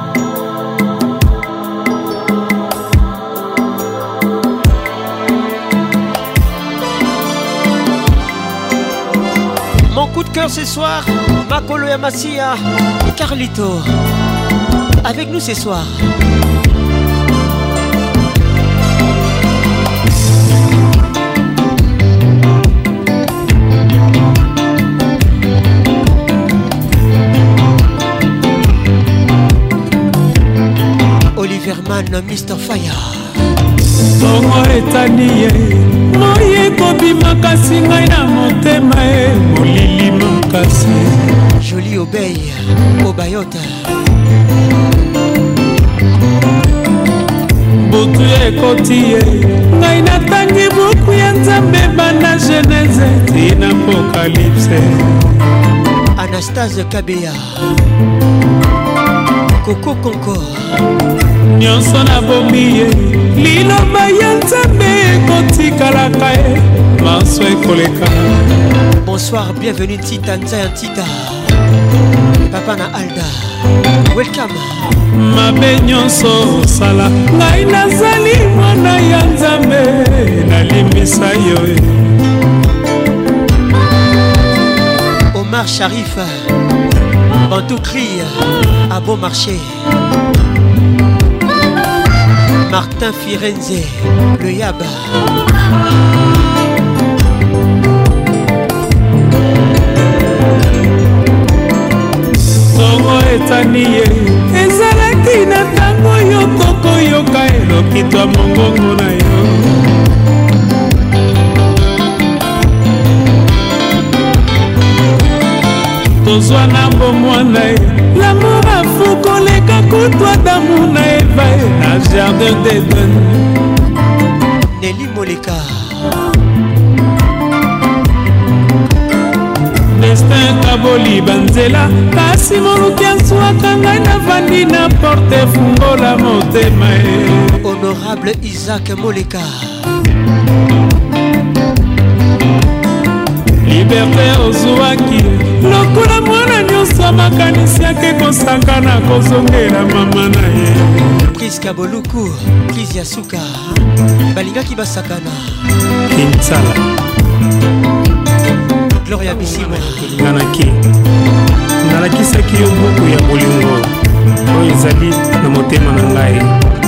Mon coup de cœur ce soir, Makolo Yamasia, Carlito. Avec nous ce soir. Oliver Mann, mister Fire.
Tongo etani ye moye kobima kasi ngai na motema ye molili makasi.
Jolie Obey, Obayota.
Butu ekoti ye ngai natangi buku ya Nzambe banda Genèse tina Apocalypse.
Anastase Kabea, Coco Conco.
Nyonso na bombi ye liloba ya Nzambe ekotikalaka ye maso ekoleka.
Bonsoir, bienvenue Tita Nzaya Tita. Papa na Alda, welcome.
Mabe nyonso osala ngai nazali mwana ya Nzambe nalimbisa yo.
Omar Sharif, Bantou Cri, à bon marché. Martin Firenze, le Yaba.
Tongo etani ye ezalaki na tango kitwa mongongo na yo. Tozwa na bomwana ye l'amour afou koleka kutwa damu na eva ye na jardin d'Eden.
Nelly Moleka
destin kaboli banzela kasi moluki azwaka ngai navandi na porte fungola motema ye.
Honorable Isaac Moleka
liberté ozwaki lokola mwana nyonso makanisi yake kosaka na kozongela mama na ye.
Priska Boluku Pris Yasuka balingaki basakana
Kinsala
Gloria Bissima
nganaki nalakisaki yo buku ya bolingo oyo ezali na motema na ngai.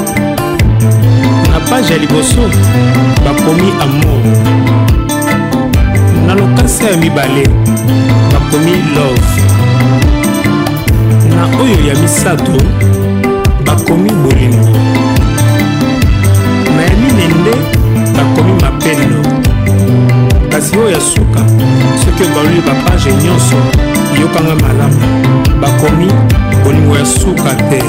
Na page ya liboso bakomi amour, na lokasa ya mibale bakomi love, na oyo ya misato bakomi bolingo, na ya minende bakomi mapendo. Kasi oyo ya suka soki obaloli bapage nyonso yokanga malamu bakomi bolingo ya suka te.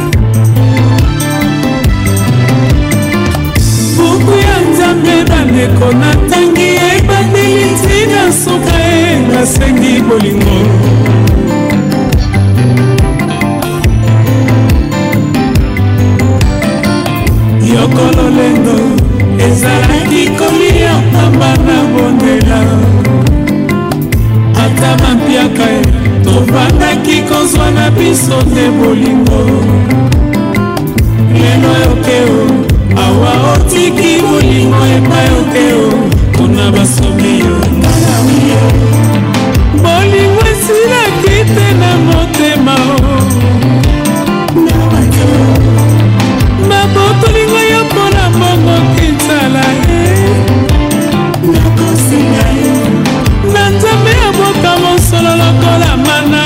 buku ya nzambe bandeko natangi ebandeli ntina suka e nasengi bolingo. yokolo lendo ezalaki kolia pamba na bondela ata bampiaka e tovandaki kozwa na biso te bolingo. lelo yokeo awa otiki bolingo epai okeo kuna basomi yo nanawiyo bolingo esilaki te na motema mabotolingo yo mpona mbongo kinsala na nzambe ya boka mosolo lokola mana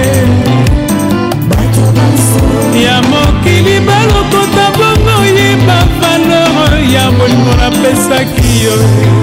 ya mokili balokota bongo yeba valeur ya bolingo napesaki yo.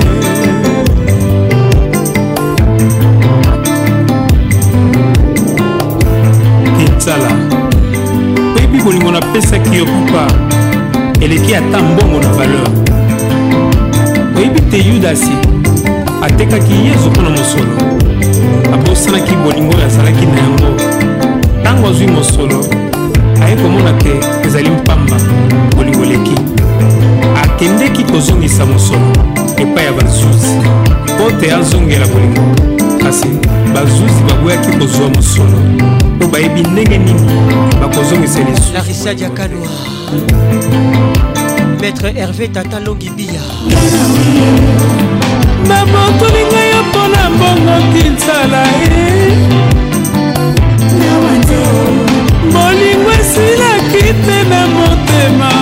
kinsala oyebi bolingo napesaki yo papa eleki ata mbongo na valeur. oyebi te yudasi atekaki yesu mpona mosolo abosanaki bolingo oyo azalaki na yango. ntango azwi mosolo aye komona te ezali mpamba bolingo leki akendeki kozongisa mosolo epai ya bazuzi mpo te azongela bolingo. kasi bazuzi baboyaki kozwa mosolo mpo bayebi ndenge nini bakozongisa lisusu.
Larissa Diakanoa Maître Hervé Tata Longibia
babotolinga yo mpona mbongo kinsala bolingo esilaki te na motema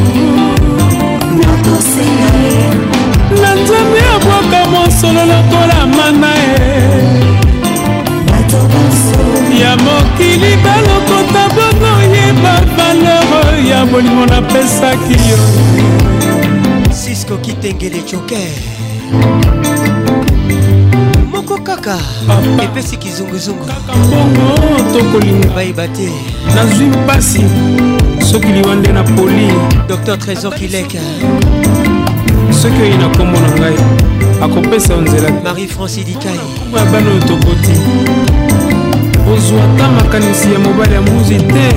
na nzambe abwaka mosolo lokola mana ya mokili balokota bongo yeba valeur ya bolingo napesaki yo.
Cisco Kitengele Joker moko kaka epesi kizunguzungu
bongo tokolinga
bayeba te
nazwi mpasi soki liwande na poli.
Docteur Trésor Kileka
soki oyi na kombo na ngai akopesa yo nzela.
Marie-France Dikai
ya bana oyo tokoti ozwa ata makanisi ya mobali ya mbuzi te.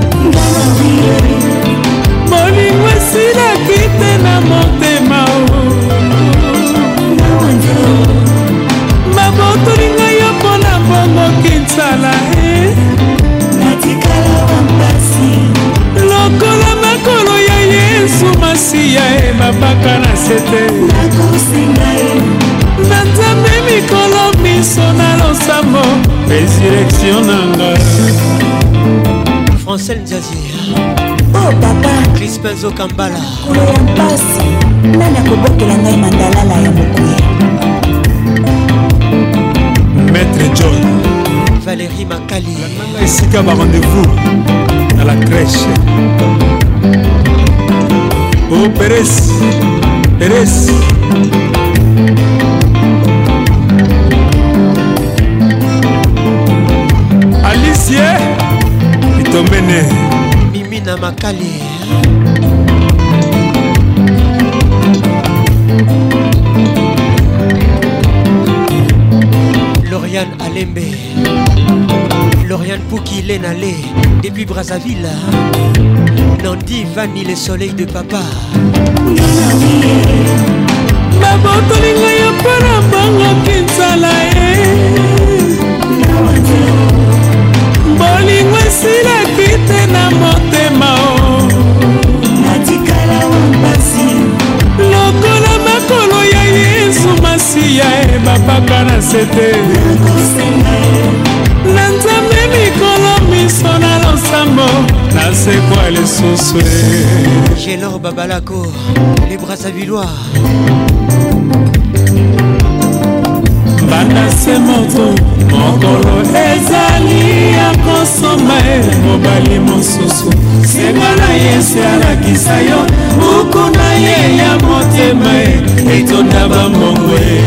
bolingo esilaki te na motema babotolinga yo mpona bongo kinsala lokola makolo ya yesu masiya e babaka na sete na nzambe mikolo miso na losambo resurrection nanga.
Francel Nzazi
oh papa
Crispin Zokambala
koya mpasi nani akobokela ngai mandalala ya mokuya.
Maître John
Valérie Makali
esika ba rendez-vous à la crèche.
Oh Pérez, Pérez. Alicia, Itomene.
Mimina Makali. Lauriane Alembe, Lauriane Pouki Lenale, depuis Brazzaville. Nandi Vani, le soleil de papa.
Babotolinga ya para bango kinsala e. Bolingo esila kite na motema o. Natikala wambasi. Lokola makolo ya Yesu masiya e babaka na sete. Na nzambe mikolo miso na losambo. Na sekwa lisusu e.
Gélor Babalako, les Brazzavillois.
Banda se moto mokolo ezali ya kosomba e mobali mosusu senga na ye se alakisa yo buku na ye ya motema e etonda bambongo e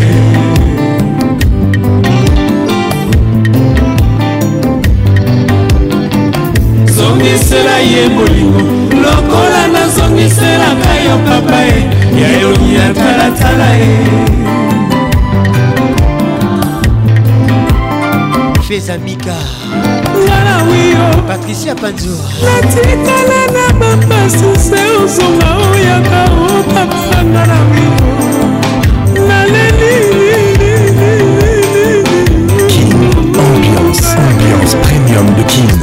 zongisela ye bolingo lokola nazongiselaka yo papa e yayoki ya talatala e
Amika
Patricia Panzo natikala na bapasi se uzonga oyaka o papa ngana wio naleli
Kin Ambiance, ambiance premium de Kin.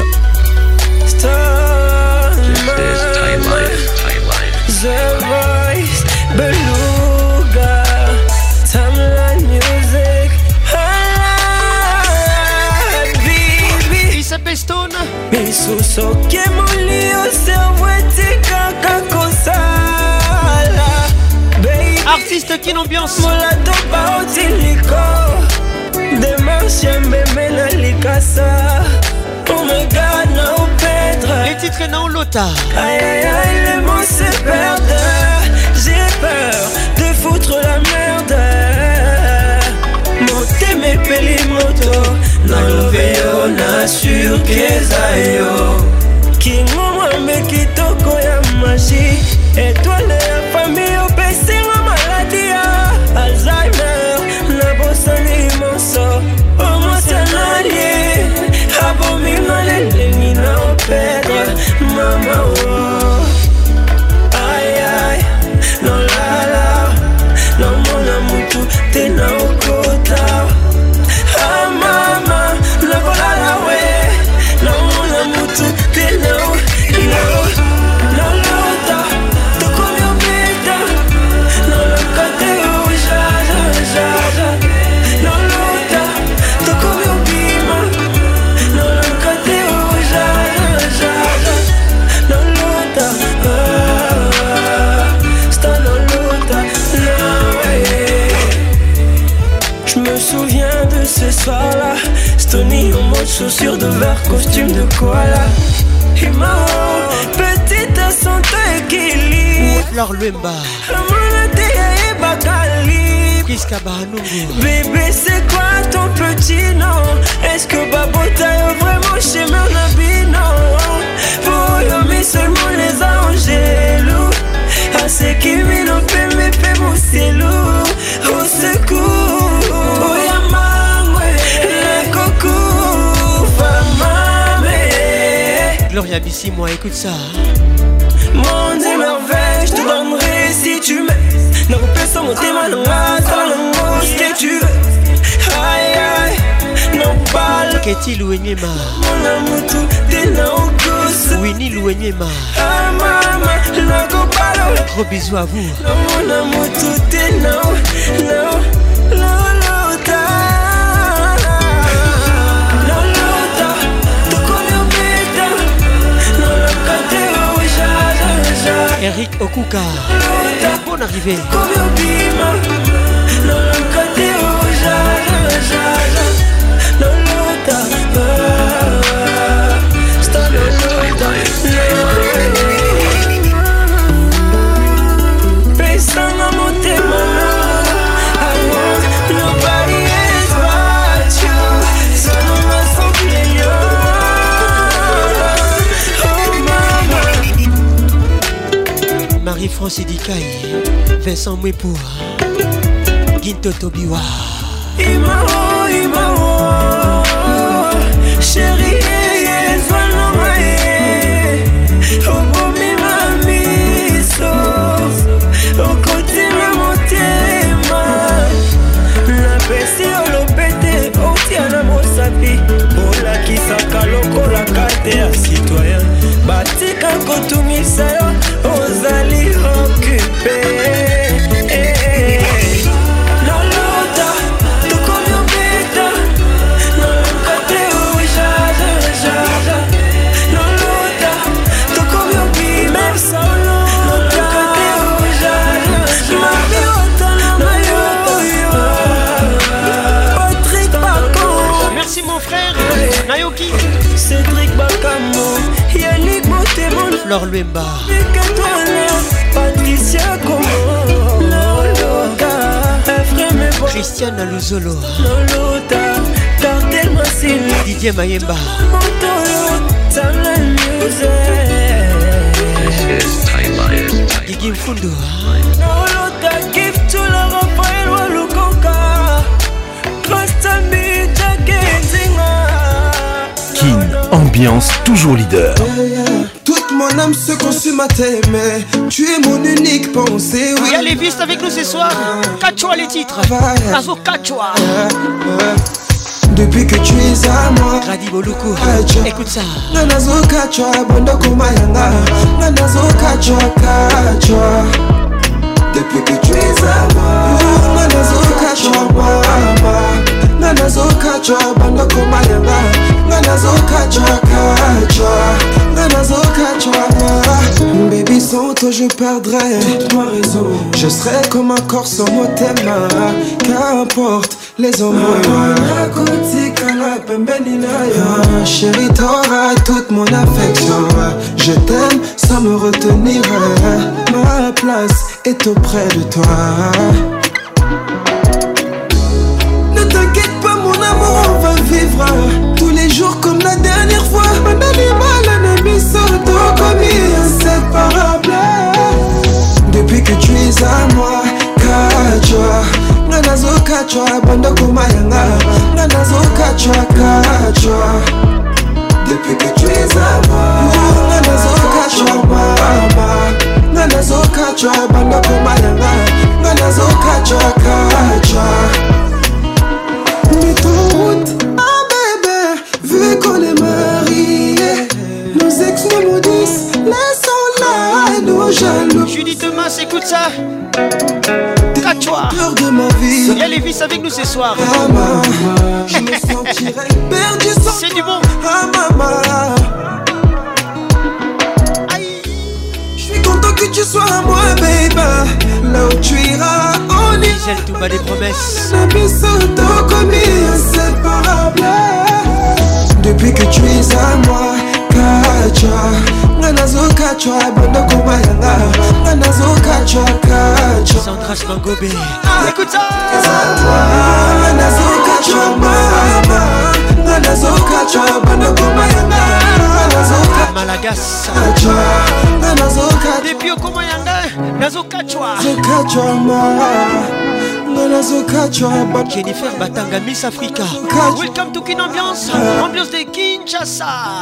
Misusoke mulio serwetika kakosala
artiste Kin Ambiance
molato baotiliko demarche mbeme na likasa oh my god no pedre
les titres non lota
aïe aïe aïe les mots se perdent j'ai peur de foutre la merde mote me peli moto naloveyo nasurkeza yo kingomwambe kitoko ya mashi etwale ya fami opesinga maladi ya alzheimer nabosani moso omosanali abominga lelengi na opedre mama o ayay nolala nomona mutu te na okota mama nakolala we naona mutu tena nalota tokomi obeta nalokate ujajajaja nalota tokomi obima nalokate ujajajaja nalota sta nalota nawe. Je me souviens de ce soir-là, Stony en mode chaussures de verre, costume de koala. Hima, petite santé équilibre.
Fleur Luemba.
Bébé, c'est quoi ton petit nom? Est-ce que Babota est vraiment chez Mernabino? Pour yomi seulement les angélous. À ce qui m'en fait me fait mon cellou. Au secours.
Gloria Bissi, moi écoute ça.
Monde et merveille, je te donnerai si tu m'aimes. Non, personne mon témoin, non, attends, ce que tu veux. Aïe, aïe, non, pas.
Keti Louenyema.
Mon amour, tout est là au cous.
Winnie Louenyema.
Ah, maman, non, pas.
Gros bisous à vous.
Mon amour, tout est là, non, non, non.
Eric Okuka, bonne arrivée. Francis Dikaï, Vincent Mwepo, Ginto Tobiwa.
Imao, Imao, chérie, Zwanamae, Obomi Mamiso, Okotima Motema, La Pessi Olopete, Otiana Mosapi, Ola Kisaka Loko la carte à citoyen, Batika Kotumisa, Ozali occupé.
Nayoki,
Cédric Bakamo, Yannick Motemon,
Flore Luemba,
Patricia Como, Lolota, Efreme Bo,
Christiane Luzolo,
Lolota, Cartel Massine,
Didier Mayemba,
Montoro, Tamla Music,
Gigi Mfundu,
Lolota, give to la Raphaël Walukoka, Rastami, Jakezinga.
Kin, ambiance toujours leader.
Toute mon âme se consume à t'aimer. Tu es mon unique pensée.
Oui, allez, vite avec nous ce soir. Kachoa les titres. Azo Kachoa.
Depuis que tu es à moi,
Radi Boluku, écoute ça.
Nanazo Kachoa, Bondoko Mayanga. Nanazo Kachoa, Kachoa. Depuis que tu es à moi, Nanazo Kachoa, Mama. Nanazo Kachoa, Bondoko Mayanga. Nanazo Kachoa, Kachoa. Nanazo Kachoa. Baby, sans toi je perdrais toute ma raison. Je serais comme un corps sans mot thème. Qu'importe les hommes. Chérie, t'auras toute mon affection. Je t'aime sans me retenir. Ma place est auprès de toi. Ne t'inquiète pas mon amour, on va vivre tous les jours comme la dernière fois. Un animal, un ami soto comme inséparable. Depuis que tu es à moi, Kachoa. Nanazo Kachoa, Bondoko Mayanga. Nanazo Kachoa, Kachoa. Depuis que tu es à moi, Nanazo Kachoa, Mama. Nanazo Kachoa, Bondoko Mayanga. Nanazo Kachoa, Kachoa. Mets ton route, ah bébé, vu qu'on est mariés, nos ex nous maudissent, laissons-la, nos jaloux.
Julie Thomas, écoute ça. Kachoa,
peur de ma vie.
Il y a les vis avec nous ce soir.
Ah maman, je me sentirais perdu sans
c'est du bon.
Ah maman, je suis content que tu sois à moi, baby. Là où tu iras, on ira.
Gisèle Toumba des promesses.
Depuis que tu es à moi, Kachoa. Nanazo Kachoa, Bondoko Mayanga. Nanazo Kachoa, Kachoa.
Sandra Mangobé, écoute ça.
Nanazo Kachoa, Mama. Nanazo Kachoa, Bondoko Mayanga. Nanazo
Malagas,
Nanazo Kachoa.
depuis Okomayanga, Nazo Kachoa.
Kachoa, Mama. Nanazo Kachoa,
Jennifer Batanga, Miss Africa. Welcome to Kin Ambiance, ambiance de Kinshasa.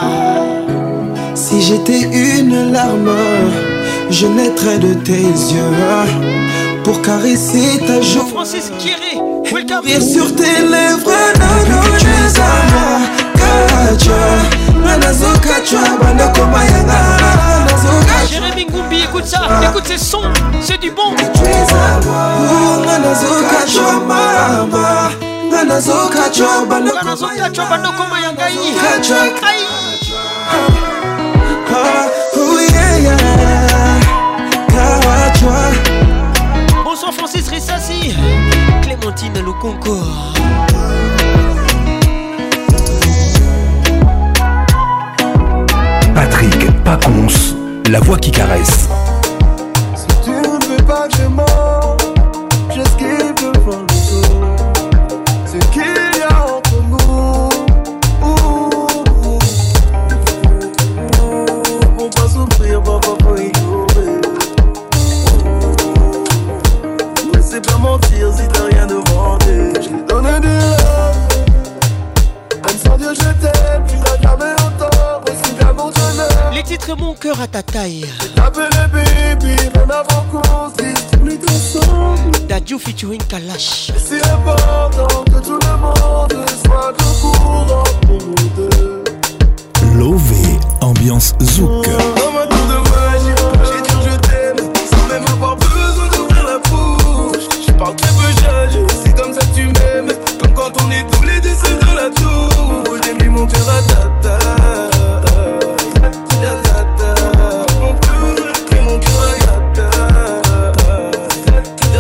Si j'étais une larme, je naîtrais de tes yeux pour caresser ta joue.
Francis Kieré, welcome.
Rire sur tes lèvres, depuis que tu es à moi, Kachoa. Nanazo Kachoa, Bondoko Mayanga.
Jérémy Ngoumbi, écoute ça, écoute ces sons, c'est du bon.
Tu es à moi, Nanazo Kachoa, Mama. Nanazo Kachoa, Bondoko
Nanazo Kachoa, Bondoko Mayanga.
Oh yeah, yeah. Kachoa.
Bonsoir Francis Rissassi, Clémentine Lukonko.
Patrick Pacons, la voix qui caresse.
Si tu ne veux pas que je mens, j'esquive devant le dos ce qu'il y a entre nous. Pour pas souffrir, pour pas ignorer.
pas mentir si t'as rien demandé. Je t'ai donné des rêves, même sans dire je t'aime, tu n'as jamais autant reçu d'amour de neuf.
Les titres Mon cœur à ta taille.
J'ai tapé les baby, même avant qu'on se dise tous les deux ensemble.
Dadju featuring Kalash.
Et c'est important que tout le monde soit au courant pour nous deux.
Lové, ambiance zouk.
Comme un tour de magie, j'ai dit je t'aime, sans même avoir besoin d'ouvrir la bouche. Je parle très peu, j'agis, c'est comme ça que tu m'aimes. Comme quand on est tous les deux seuls dans la tour. J'ai mis mon cœur à ta taille. Mon cœur, j'ai mon cœur à ta taille.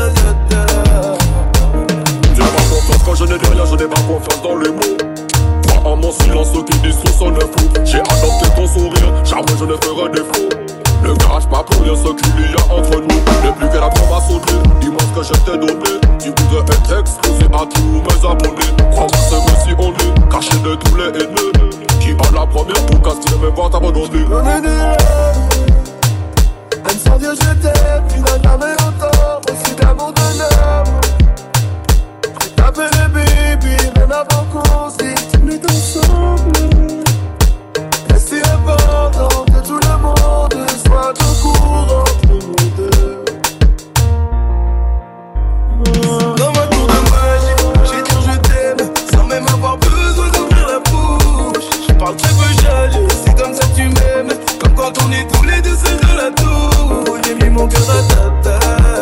Tu n'as pas confiance quand je n'ai dit rien, je n'ai pas confiance dans les mots. À mon silence qui dit sous son fou. J'ai adopté ton sourire, jamais je ne ferai défaut. Ne cache pas pour rien ce qu'il y a entre nous. Ne plus qu'elle a trop à sauter, dis-moi ce que je t'ai donné. Tu voudrais être exposé à tous mes abonnés. Crois-moi c'est vrai si on est caché de tous les haineux qui ont la première pour casse qui ne veut pas t'abandonner.
Donner des rêves, même sans dire je t'aime, tu n'as jamais autant reçu d'amour de neuf. J'ai tapé les baby, même avant qu'on se dise tous les deux ensemble. Et c'est important que tout le monde soit au courant pour nous deux. Comme un tour de magie, j'ai dit je t'aime, sans même avoir besoin d'ouvrir la bouche. Je parle très peu, j'agis, c'est comme ça que tu m'aimes. Comme quand on est tous les deux seuls dans la tour. J'ai mis mon cœur à ta taille.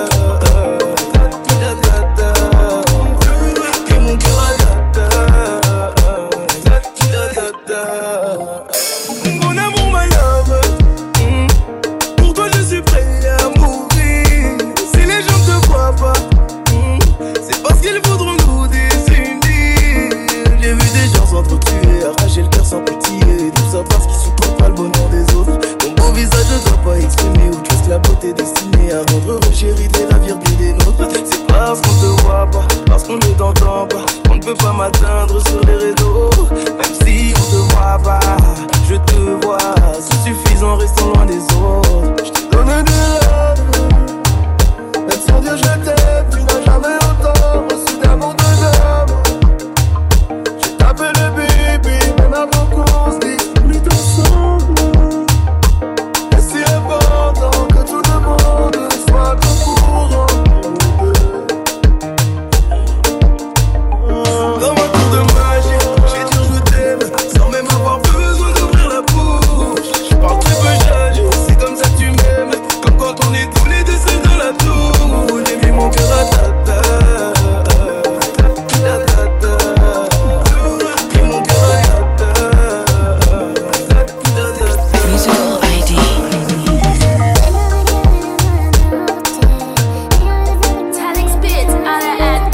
Mon amour, my love, mm. Pour toi je suis prêt à mourir. Si les gens te voient pas, mm. c'est parce qu'ils voudront nous désunir. J'ai vu des gens s'entretuer, arracher le cœur sans pitié. Tout ça parce qu'ils supportent pas le bonheur des autres. Ton beau visage ne doit pas exprimer ou juste la beauté destinée à rendre heureux chéri de la virgule des nôtres. C'est parce qu'on te voit pas, parce qu'on ne t'entend pas, on ne peut pas m'atteindre sur les réseaux. Même si on te voit pas, je te vois, c'est suffisant, restons loin des autres. Je t'ai donné des rêves, même sans dire je t'aime, tu n'as jamais autant reçu d'amour de neuf. J'ai tapé les baby, même avant qu'on se dise tous les deux ensemble. Et c'est important que tout le monde soit au courant pour nous deux. Comme un tour de magie, j'ai dit je t'aime, sans même avoir besoin d'ouvrir la bouche. Je parle très peu, j'agis, c'est comme ça que tu m'aimes. Comme quand on est tous les deux seuls dans la tour. J'ai mis mon cœur à ta taille. J'ai mon cœur à ta taille. Musical I D.
Talent spits à la haine.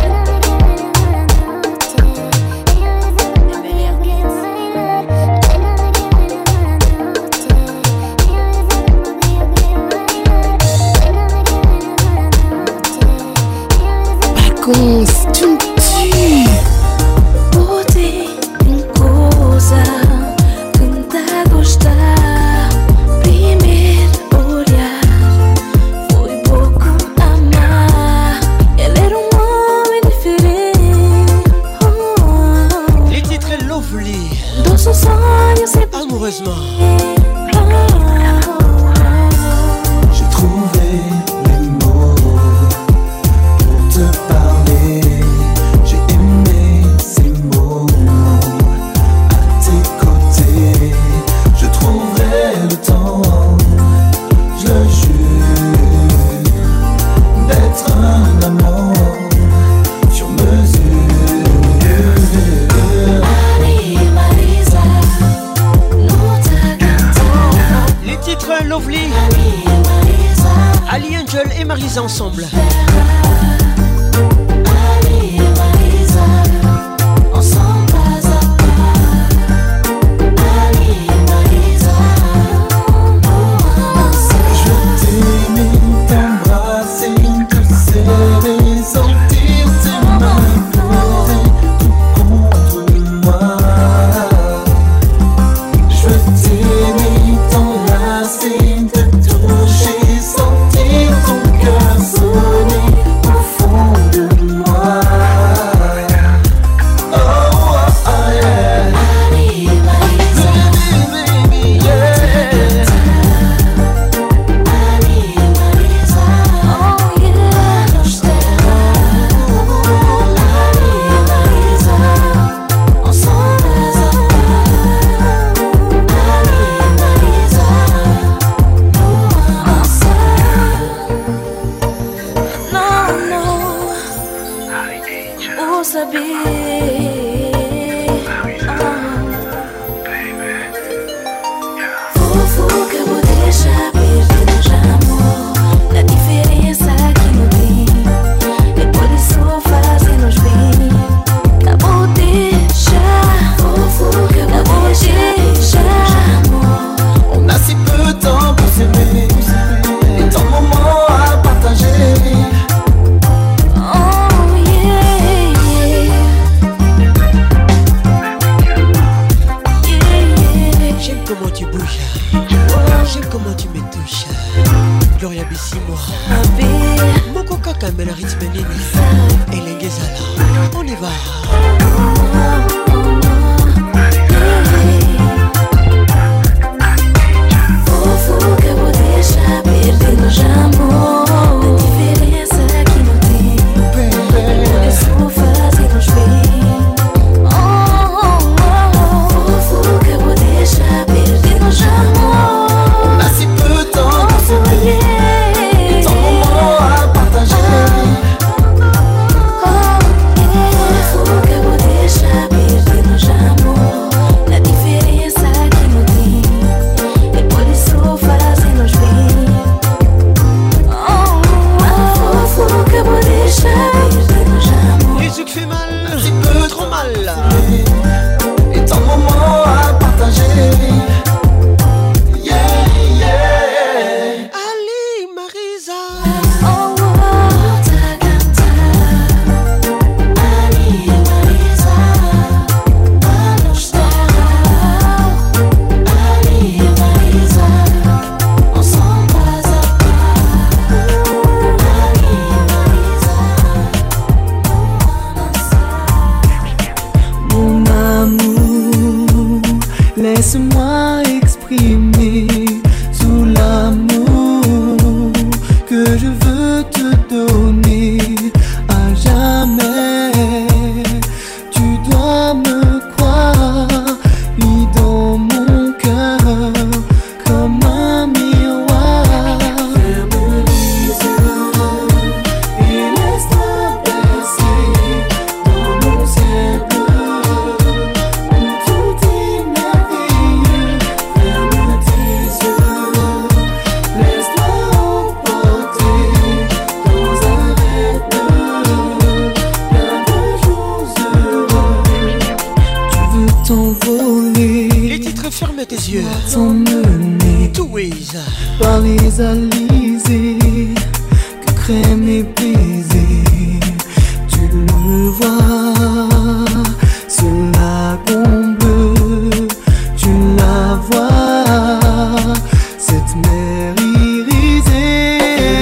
Bagunça, tum, tum.
Botei em coisa, tenta gostar. Primeiro olhar, foi pouco amar. Ele era um homem diferente. Oh.
Les titres Lovely.
Dans son sonho sempre
amoureusement.
J'ai trouvé les mots pour te parler. J'ai aimé ces mots à tes côtés. Je trouverai le temps, je le jure, d'être un amant sur mesure.
Les titres Lovely. Ali Angel et Marisa ensemble.
Sentir ton cœur sourire.
vou saber. Fofoca vou deixar perder nos amor. A diferença que não tem, depois disso fazem-nos bem. Não vou deixar, fofoca não vou deixar.
On a si peu de temps pour s'aimer, et tant de moments à partager.
J'aime comment tu bouges, j'aime comment tu me touches. Gloria Bissimo, Moko Kaka Mela rythme nini, Elengezala, on y va.
Fofoca vou deixar perder nos amor. A diferença que não tem, por isso fazem-nos bem. Fofoca vou deixar perder nos amor.
On a si peu de temps pour s'aimer, et tant de moments à partager.
Fofoca vou deixar perder nos amor. A diferença que não tem, e por isso fazem-nos bem. Fofoca vou deixar perder nos amor.
Musique fait mal, trop mal.
Et tant de moments à partager. Yeah, yeah.
Ali Marisa,
Mon amour, laisse-moi exprimer tout l'amour que je veux te donner à jamais. Tu dois me croire, mis dans mon cœur comme un miroir. Ferme les yeux et laisse-toi bercer dans mon ciel bleu où tout est merveilleux. Ferme tes yeux, laisse-toi emporter dans un rêve bleu, plein de jours heureux. Tu veux t'envoler,
les titres ferme tes yeux.
t'emmener
Two ways.
par les alizés que crème et baiser. Tu le vois, ce lagon bleu, tu la vois, cette mer irisée.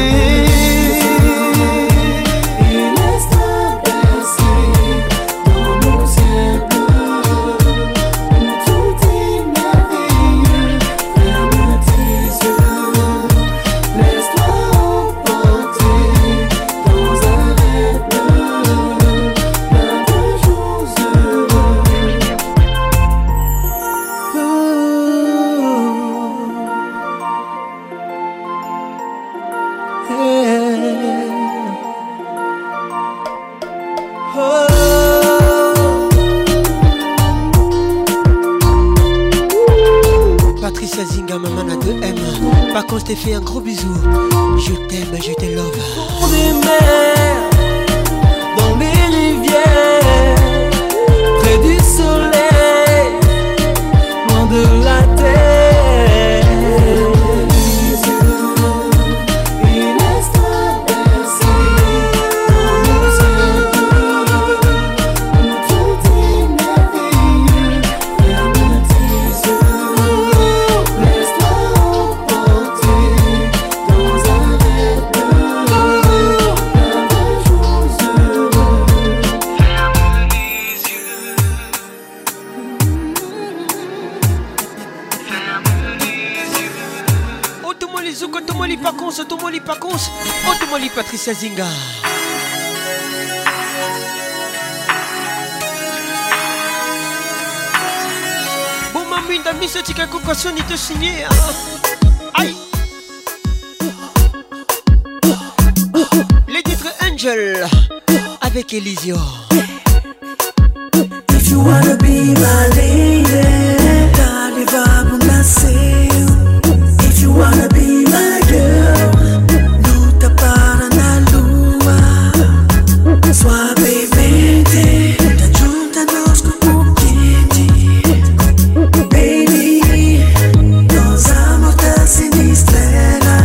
Et laisse-toi bercer dans mon ciel bleu où tout est merveilleux. Ferme tes yeux, laisse-toi emporter dans un rêve bleu, plein de jours heureux. Oh,
Patricia Zinga, maman à deux M. Par contre, je t'ai fait un gros bisou. Je t'aime, je te love.
Dans des mers, dans les rivières, près du soleil, loin de la terre. Et laisse-toi bercer dans mon ciel bleu où tout est merveilleux. Ferme tes yeux, laisse-toi emporter dans un rêve bleu, plein de jours heureux. Ferme les yeux, ferme les yeux.
Otomoli Zuko, Otomoli Pacons, Otomoli Pacons, Otomoli Patricia Zinga. Bon, mamie, t'as mis ce petit caco quoi, son, il te signé. Aïe. Les titres Angel avec Elisio.
you wanna be my lady, dale vamos nascer. If you wanna be my girl, luta para na lua. Suavemente, te junta-nos como quente. Baby, nos amor tá sinistrela.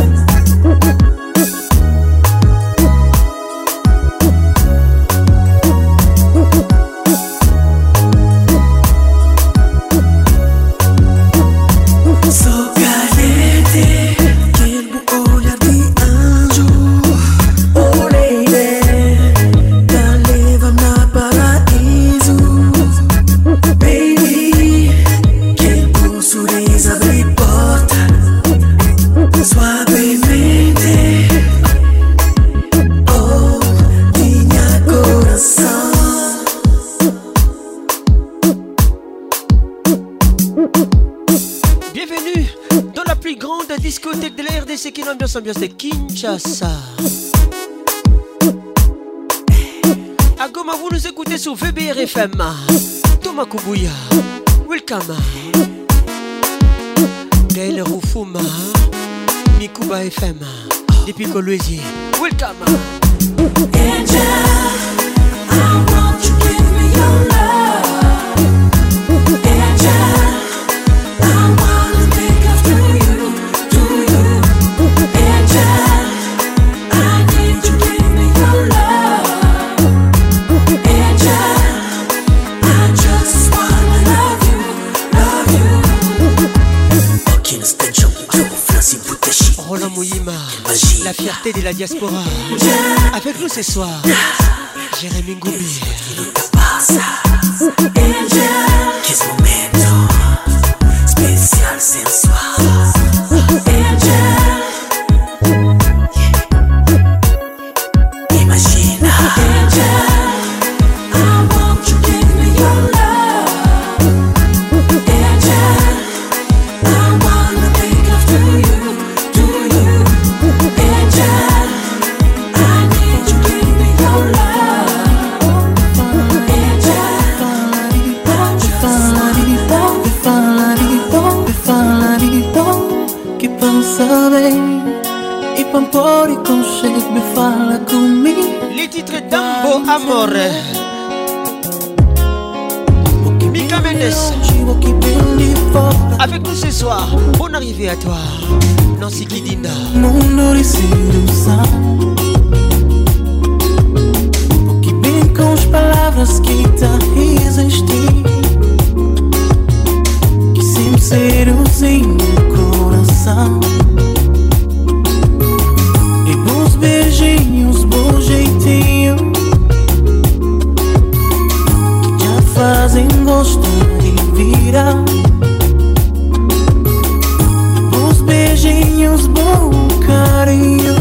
Ambiance de Kinshasa. À Goma, vous nous écoutez sur V B R F M. Thomas Kubuya, welcome. Gaël Rufuma, Mikuba F M. Depuis Kolwezi, welcome.
Angel, I want you to give me your love. Angel, I wanna make love to you, to you. Angel, I need you to give me your love. Angel, I just wanna love you, love you. Aucune extension, Francis Boutechi.
Roland Mouyima, la fierté de la diaspora. Avec nous ce soir, Jérémy Ngoubi.
Angel, qu'est-ce momento spécial ce soir. Angel, imagine. Angel, I want you to give me your love. Angel, I wanna make love to you, to you. Angel, I need you to give me your love. Angel,
que pensa bem e pampori com cheiro me fala comigo.
Les titres d'Ambo Amore. Mika Mendes. Avec nous ce soir, bonne arrivée à toi. Nancy Kidinda.
Mundo de sedução. Porque bem com as palavras que tá existir. Que sempre seduzem meu coração. E bons beijinhos, bom jeitinho. Que já fazem gostar e virar. Bons beijinhos, bom carinho.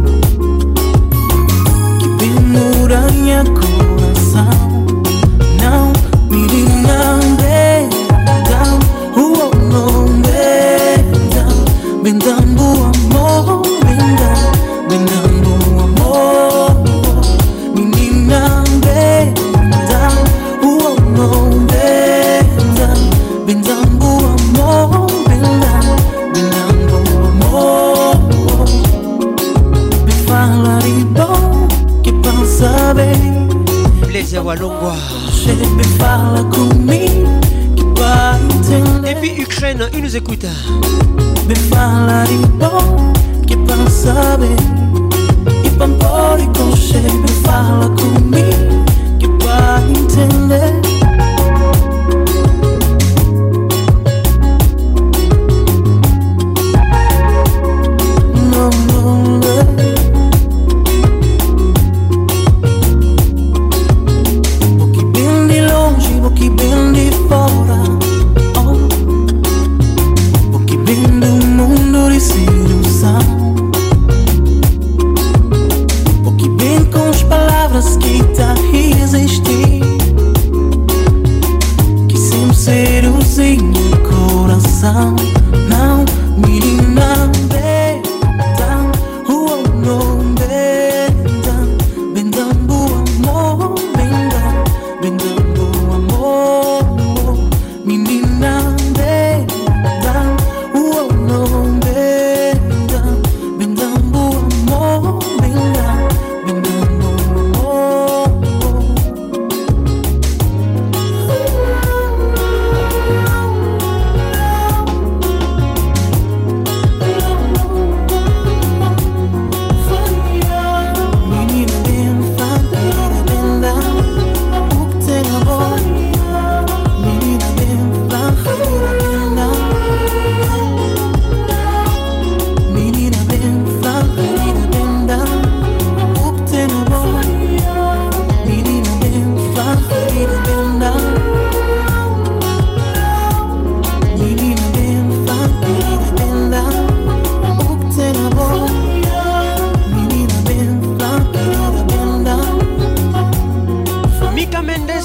Que penura minha coração. Não me não bendam, oh não bendam, bendam o amor, bendam, bendam o amor. Menina bendam, oh não bendam, bendam o amor, bendam, bendam o amor. Me fala de bom que pensa bem.
Blaise Walongwa.
Me fala comigo que vai entender.
Depuis Ukraine, il nous écoute.
Me fala de bom que pensa bem. E pampori com cheiro. Me fala comigo que vai entender. Não, não, não. Que bem de fora, oh. Porque bem do mundo de sedução. Porque bem com as palavras que tá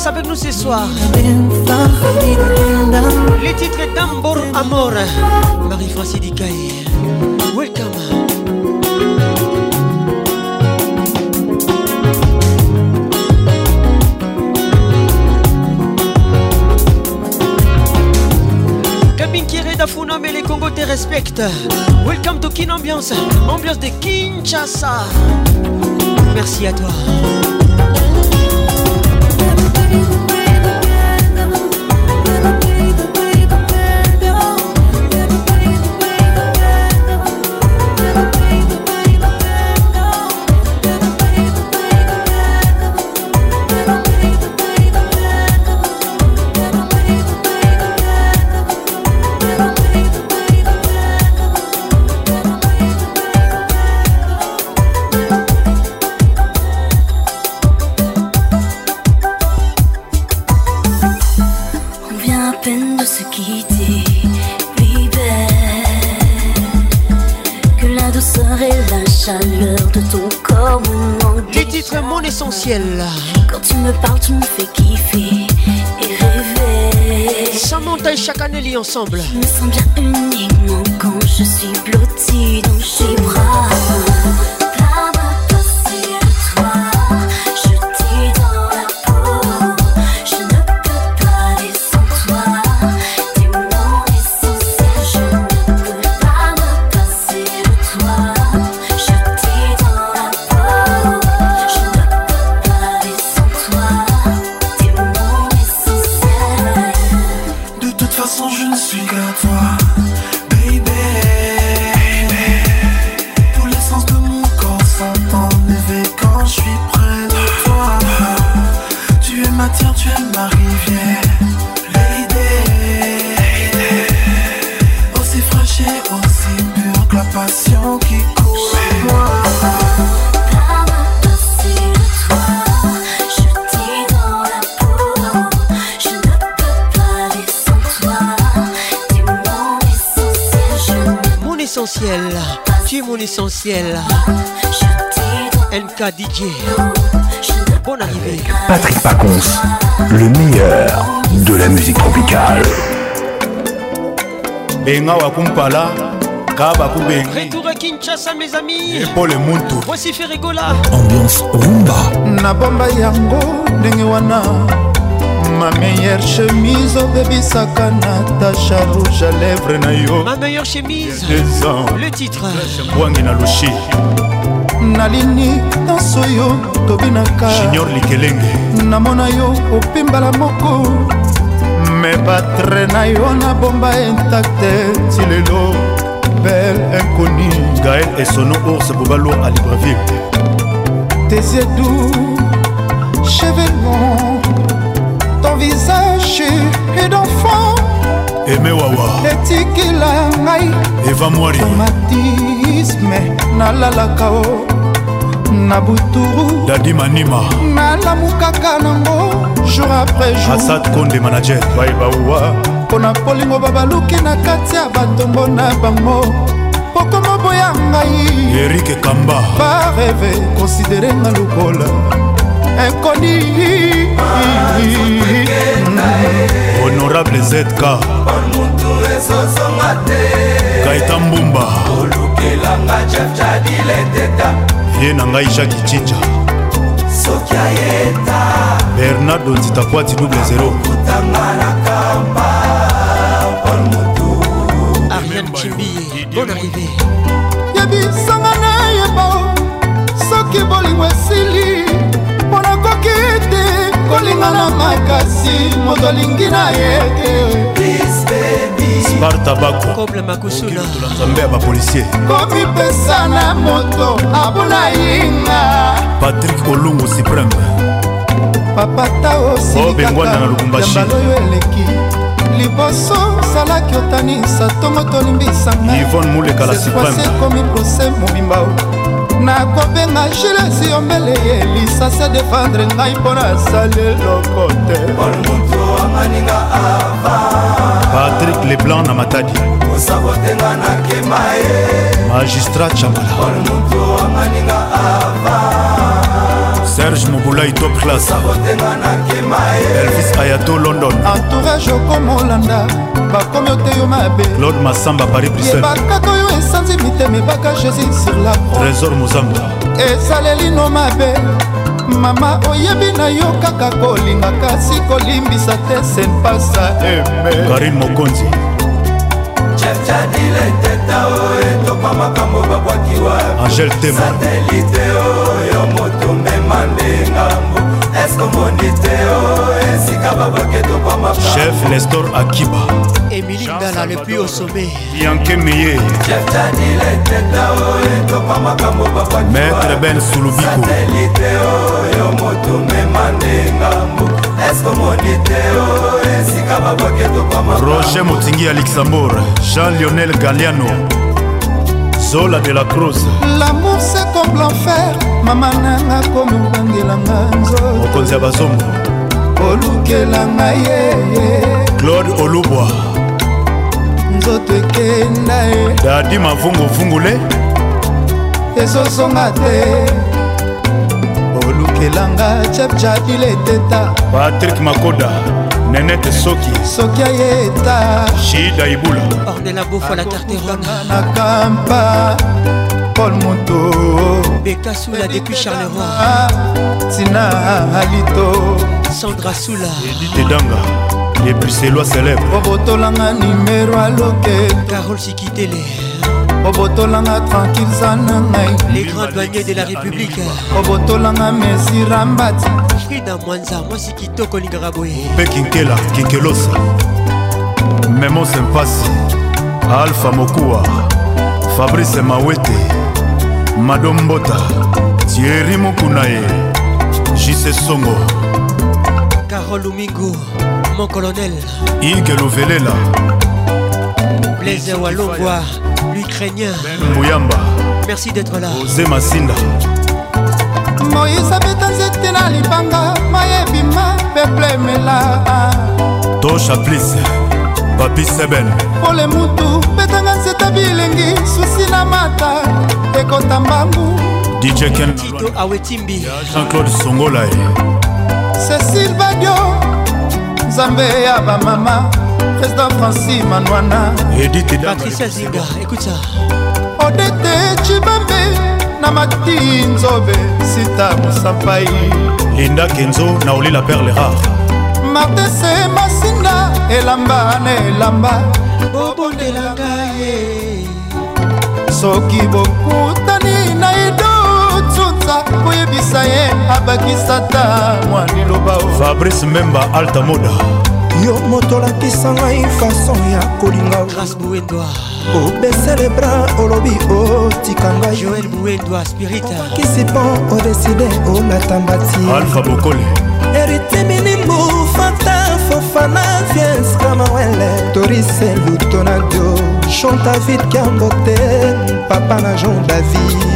Ambiance avec nous ce soir. Les titres d'Ambor Amor. Marie-Francis Dikaï. Welcome. Kabin Kéré d'Afuna, mais les Congos te respectent. Welcome to Kin Ambiance. Ambiance de Kinshasa. Merci à toi. Essentiel.
Quand tu me parles, tu me fais kiffer et rêver.
Samantha et Chakaneli ensemble.
Je me sens bien uniquement quand je suis blottie dans tes bras. Pas me passer de toi, je t'ai dans la peau. Je ne peux pas aller sans toi. T'es mon essentiel. Je ne peux pas me passer de toi. Je t'ai dans la peau.
Je ne suis qu'à toi, baby. Tous les sens de mon corps sont enlevés quand je suis près de toi. Tu es ma terre, tu es ma rivière, lady. Aussi fraîche et aussi pure que la passion qui coule en moi.
Essentiel, tu es mon essentiel. N K D J. Bonne arrivée.
Patrick Pacons, le meilleur de la musique tropicale.
Benga wakumpala, kaba kubengi.
Retour à Kinshasa mes amis.
Et pour le Muntu.
Voici Ferregola.
Ambiance rumba.
Na bomba yango ndenge wana. Ma meilleure chemise obebisaka Natacha rouge à lèvres na yo.
Ma meilleure chemise. Le titre.
Wangi na lushi.
Nalini danso yo tobinaka.
Junior Likelenge.
Namona yo opimbala moko. Me batre na yo na bomba intacte tilelo. Belle inconnue.
Gaël et Sono Ours Bobalo à Libreville.
Tes yeux doux, cheveux longs. Ton visage est d'enfant.
Aimé Wawa.
Etikila ngai.
Eva Mwari.
Traumatisme nalalaka o. Nabuturu.
Dadi Manima.
Nalamukaka nango jour après jour.
Assad Konde manager.
Baiba uwa. Pona polingo babaluki na kati ya batombo na bango. Pokoma boya ngai.
Eric Kamba.
Pas rêver, considérer nga lukola. Inconnu.
Honorable Z K Kaita Mbumba Vie na ngai Jacques Chinja Bernardo Nzitakwati double zéro
Ariane Chimbi, bonne arrivée.
Yebisanga na yeba soki bolingo esili mpona kokite kolingana makasi moto alingi na ye
Sparta Bako
Koble Makusuna
Nzambe ya bapolisier
komipesa na moto abuna yinga
Patrick Olungu Supreme
papata
Obengwana na Lubumbashi
yambalo yo eleki liboso salaki otanisa tongo tolimbisanga
Yvonne Muleka la Supreme
komi prose mobimba nakobenga Jules yombele ye lisase defendre ngai mpo nasali eloko te
Patrick Leblanc na Matadi Magistrat Chambala Serge Moboulaï top class Elvis Ayato London
entourage okomolanda bakomi oteyo mabe
Claude Massamba Paris Bruxelles
yebakaka oyo esanzi mitema ebaka Jésus sur la croix
Trésor Mozamba
ezaleli no mabe mama oyebi na yo kaka kolinga kasi kolimbisa te senpasa eme
Karine Mokonzi Angèle Tema Chef Nestor Akiba
Émilie Ndala le plus au sommet
Bianke Meye Maître Ben Soulubiko Roger Motingi à Luxembourg Jean-Lionel Galliano Zola de la Cruz
l'amour c'est comme l'enfer mama nanga komi obangelanga nzoto
Mokonzi ya Bazombo
olukelanga ye
Claude Olubwa
nzoto ekenda e
Dadi Mavungu Vungule
ezosonga te olukelanga chepchadile teta
Patrick Makoda Nenete Soki
soki ayeta
Shida Ibula
Ornella Boffa la Carterone
na kampa Paul Moto
Beka Soula depuis Charleroi
Tina Alito
Sandra Soula
Edith Edanga Les Bruxellois célèbres
Obotolanga numéro à loquet
Carole Sikitele
Obotolanga tranquille Zanangai
Les grands douaniers de la République
Obotolanga Messi Rambati
Frida Mwanza Mwasi Kitoko Lingaraboe
Pekinkela Kinkelosa Memo Sempasi Alpha Mokua Fabrice Mawete Madombota Thierry Mokunae Jise Songo
Carole Umingo Mon colonel
Ige Lovelela
Blaise Walongwa l'Ukrainien
Mouyamba
merci d'être là
Ose Masinda
Moïse abeta nzete na libanga mayebima peple mela
Tosha please Papi Seben
Pole mutu betanga nzete bilengi susi na mata ekota mbambu
D J Ken
Tito Awetimbi
Jean-Claude Songolae
Cécile Badio Nzambe ya bamama Président Francis Manouana
Edith
Patricia Zinga écoute ça
Odete Chibambe Namati Nzobe Sita Moussapai
Linda Kenzo Naoli la perle rare
Martin Se Masinda Elamba ne elamba
Bobo de la Gaye
Soki bokutani na ido Tsunza Koyebisa ye Abakisata Mwani loba
Fabrice Memba Alta Moda
Yo motolakisa ngai fason ya kolinga
Grâce Bouendoa
obese le bras olobi otika ngai
Joël Bouendoa Spirita
kisipan odeside olatambati
Alpha Bokole
Erite minimbu Fanta Fofana Viens Kamawele Torise Lutonadio Chanta vite Kambote Papa na Jean David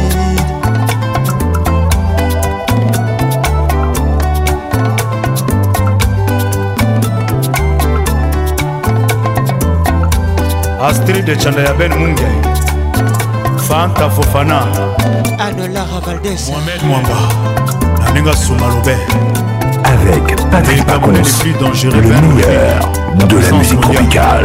Astrid de Chandaya Ben Mungue Fanta Fofana
Anne Lara Valdez
Mohamed Mwamba Naninga Soumarobe
Avec Patrick Pacons, le meilleur de la musique tropicale.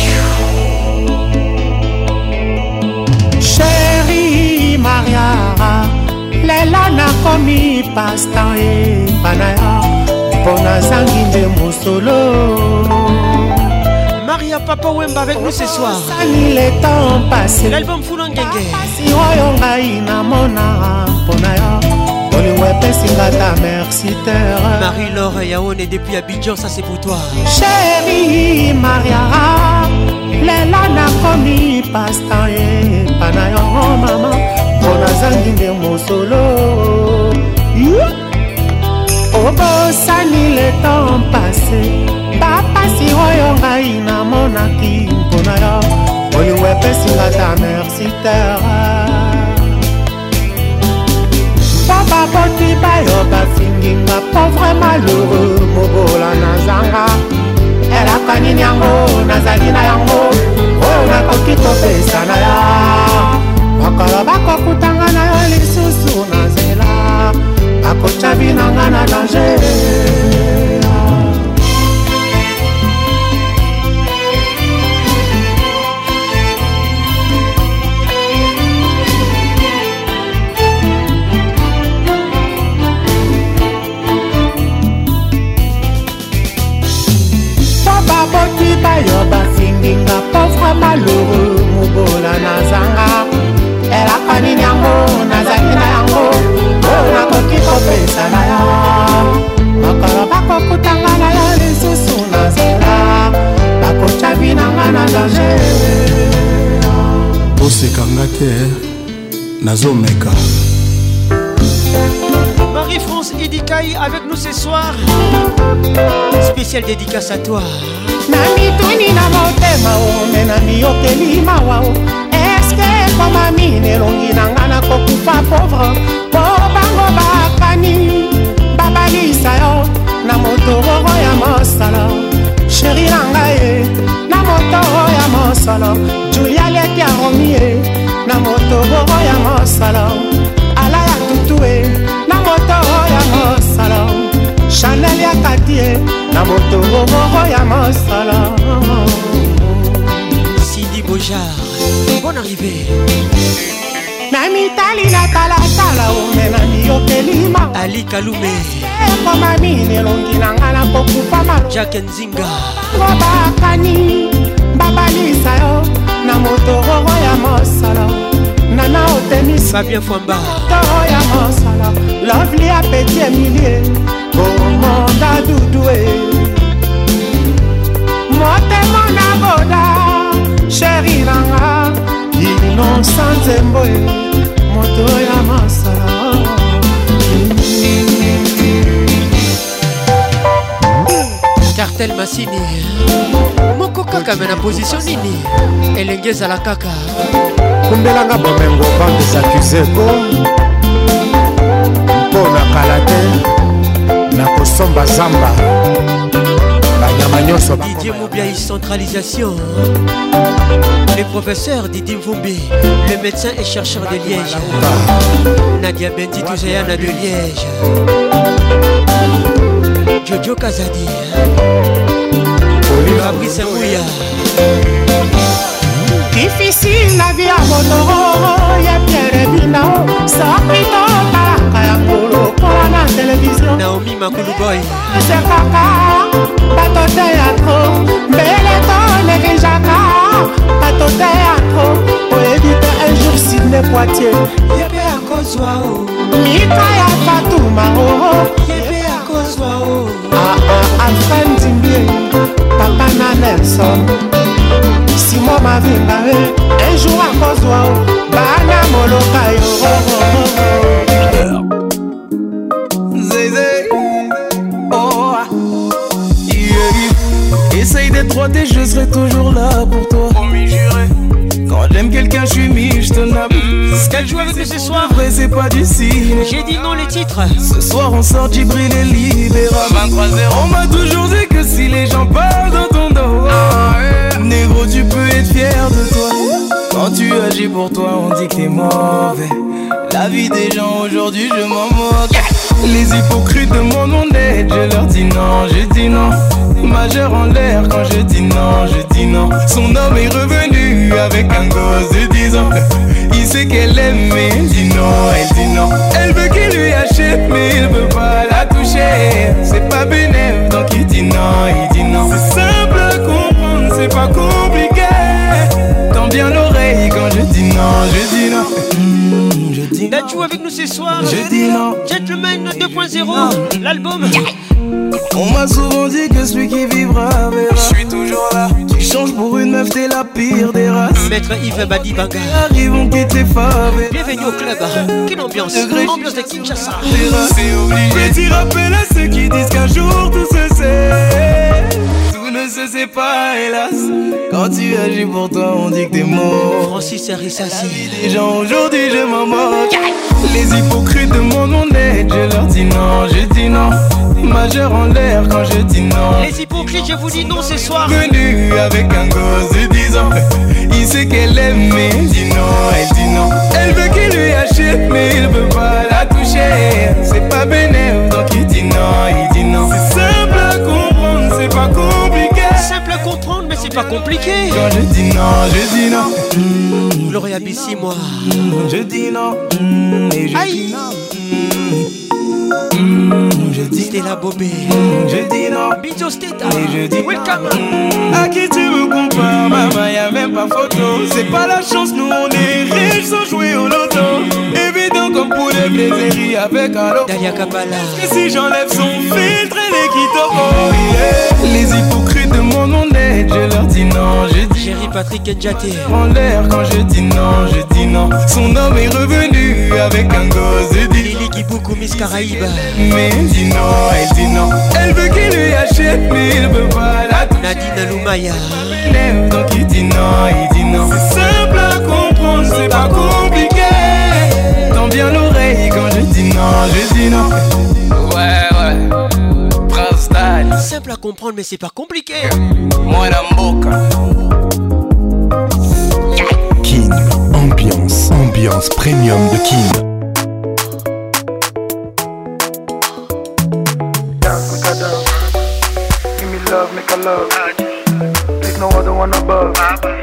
Chérie Maria Lela nakomi pastan epanaya Pona zangi nde mosolo
Maria Papa Wemba avec nous ce soir.
Le temps passé.
L'album Fulangenge.
Si oyo ngai namona mpona yo. Olingo epesinga ta merci terre.
Marie-Laure Yaone depuis Abidjan, ça c'est pour toi.
Chérie Maria, lela nakomi pastan epana yo mama. Mpona zangi nde mosolo. Obosani le temps passé. Papa si oyo ngai namonaki mpona yo olingo epesinga ta merci terre papa boti bayo bafinginga pauvre malheureux mobola nazanga elaka nini yango nazali na yango oyo nakoki kopesa na ya bakolo bakokutanga na yo lisusu na nzela bakotya
kosekanga te nazomeka.
Marie-France Edikaï avec nous ce soir. Spéciale dédicace à toi.
namituni na motema ome na miyokeli mawa eske koma mine elongi na nga na kokufa pauvre po bango bakani babalisa yo na motororo ya mosala sheri na ngai na motororo ya mosala julia leki aromi ye na motororo ya mosala ala ya tutu e na motororo ya mosala Chanel ya Katie na motororo ya mosala.
Cindy Bojar, bonne arrivée.
Na mitali na tala tala ome na miyopelima
Ali Kalume
koma mine elongi na nga na kokufa malo
Jack Nzinga
bakani babalisa yo na motororo ya mosala nana otemis
Fabien Fwamba
motororo ya mosala Lovely ya Petit Emilie Komonda Doudoué motema na boda sheri nanga Innocent Zemboe moto ya masala
Cartel Massini moko kaka me na position nini elengeza la kaka
kumbelanga bomengo bande s'accuseko mpona kala te na kosomba zamba banyama nyonso
Didier Moubiaï centralisation. Le professeur Didi Mvumbi, le médecin et chercheur de Liège. Nadia Bendi Touzayana de Liège. Jojo Kazadi. Fabrice Mouya.
Difficile la vie à Motoro, ya Pierre Binao, Saprito, Kalaka ya Molo, pour la télévision.
Naomi Makuluboy.
C'est Kaka, bateau théâtre, Beleton et Grijaka, bateau théâtre, pour éviter un jour Sidney Poitiers.
Yébé à Kozwao,
Mika ya Fatouma,
Yébé à Kozwao,
Ah ah, Alfred Zimbie, Papa na Nelson. Simon Mavinga, un jour à Kozwao, Bana Moloka yo.
Zézé, oh, yeah. Essaye d'être droite et je serai toujours là pour toi. Promis juré. Quand j'aime quelqu'un, je suis mis, je te nappe.
Ce qu'elle joue avec nous ce soir,
vrai, c'est pas du ciné.
J'ai dit non les titres.
Ce soir, on sort Djibril et Libéra. vingt-trois zéro. On m'a toujours dit que si les gens parlent dans ton dos, négro, tu peux être fier de toi. Quand tu agis pour toi, on dit que t'es mauvais. La vie des gens aujourd'hui, je m'en moque. Les hypocrites demandent mon aide, je leur dis non, je dis non. Majeur en l'air quand je dis non, je dis non. Son homme est revenu avec un gosse de dix ans. Il sait qu'elle aime mais elle dit non, elle dit non. Elle veut qu'il lui achète mais il veut pas la toucher. C'est pas bénéf donc il dit non, il dit non. C'est simple à comprendre, c'est pas compliqué. Tends bien l'oreille quand je dis non, je dis non. Mmh, je dis non.
D'être avec nous ce soir.
Je dis non.
Gentleman deux point zéro, l'album.
On m'a souvent dit que celui qui vivra verra. Je suis toujours là. Tu changes pour une meuf, t'es la pire des races.
Maître Yves Badi Banga.
Arrive, on quitte les faves.
Bienvenue au club. Quelle ambiance. Ambiance de Kinshasa.
C'est obligé. Petit rappel à ceux qui disent qu'un jour tout se sait. Tout ne se sait pas, hélas. Quand tu agis pour toi, on dit que t'es mort.
Francis Arissassi.
Les gens aujourd'hui, je m'en moque. Les hypocrites demandent mon aide, je leur dis non, je dis non. Majeur en l'air quand je dis non.
Les hypocrites, je vous dis non ce soir.
Venu avec un gosse de dix ans. Il sait qu'elle aime mais elle dit non, elle dit non. Elle veut qu'il lui achète mais il veut pas la toucher. C'est pas bénéf donc il dit non, il dit non. C'est simple à comprendre, c'est pas compliqué.
Simple à comprendre mais c'est pas compliqué.
Quand je dis non, je dis non.
Mmh, Gloria Bissi, moi.
Mmh, je dis non. Mmh, et je
Aïe.
dis non. Mmh, je dis
Stella Bobé.
Mmh, je dis non.
Bijo Steta.
Et je dis
welcome.
Mmh, à qui tu me compares, maman, y'a même pas photo. C'est pas la chance, nous on est riches sans jouer au loto. Évident comme pour les plaiseries avec un lot.
Dalia Kabala.
Et si j'enlève son filtre, elle est qui oh yeah. Les hypocrites demandent mon aide, je leur dis non, je dis
Chéri Patrick Ndjate.
En l'air quand je dis non, je dis non. Son homme est revenu avec un gosse de dix.
Lily qui beaucoup Miss Caraïbe.
Mais elle dit non, elle dit non. Elle veut qu'il lui achète, mais il veut pas la toucher.
Nadine Loumaya.
Donc il dit non, il dit non. C'est simple à comprendre, c'est pas compliqué. Tends bien l'oreille quand je dis non, je dis non. Ouais, ouais. Prince Dad.
Simple à comprendre, mais c'est pas compliqué.
Moi la boca.
Kin, ambiance, ambiance premium de Kin.
Dance, make a dance. Give me love, make a love. There's no other one above.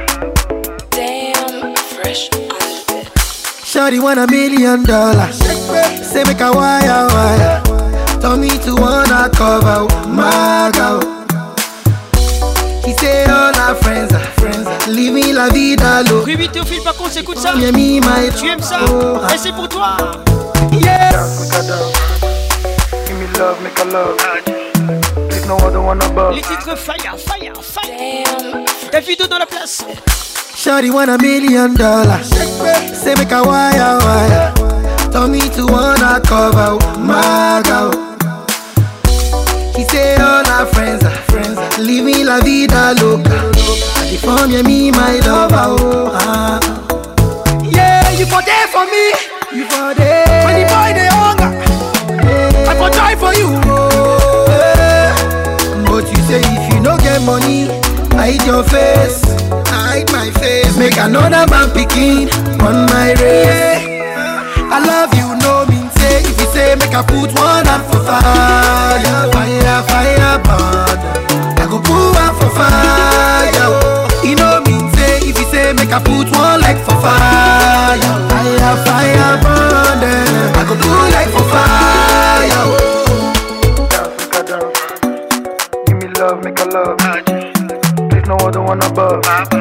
Damn, fresh on the bed.
Shawty want a million dollars. Say make a wire wire. Told me to wanna cover my girl. She say all our friends are friends. Leave me la vida low.
Ruby Théophile par contre écoute ça.
Yeah, me, my
tu aimes ça
oh,
et c'est pour toi.
Yeah.
Dance, make a dance. Give me love, make a love. There's no other one above.
Les titres fire, fire, fire. Davido dans la place.
Shawty want a million dollars. Say make a wire wire. Told me to wanna cover my girl. She say all our friends are friends. Leave me la vida loca. I deform you, me my lover. Oh, ah. Yeah, you for there for me. You for there. When the boy they hunger, I for try for you. Oh, yeah. But you say if you no get money, hide your face. Hide my face. Make another man picking on my race. I love you, no mean say. If you say make I put one up for fire, fire, fire, burn. I go put one for fire. You know mean say. If you say make I put one like for fire, fire, fire, burn. I go put like for fire.
Dance, make a dance. Give me love, make a love. There's no other one above.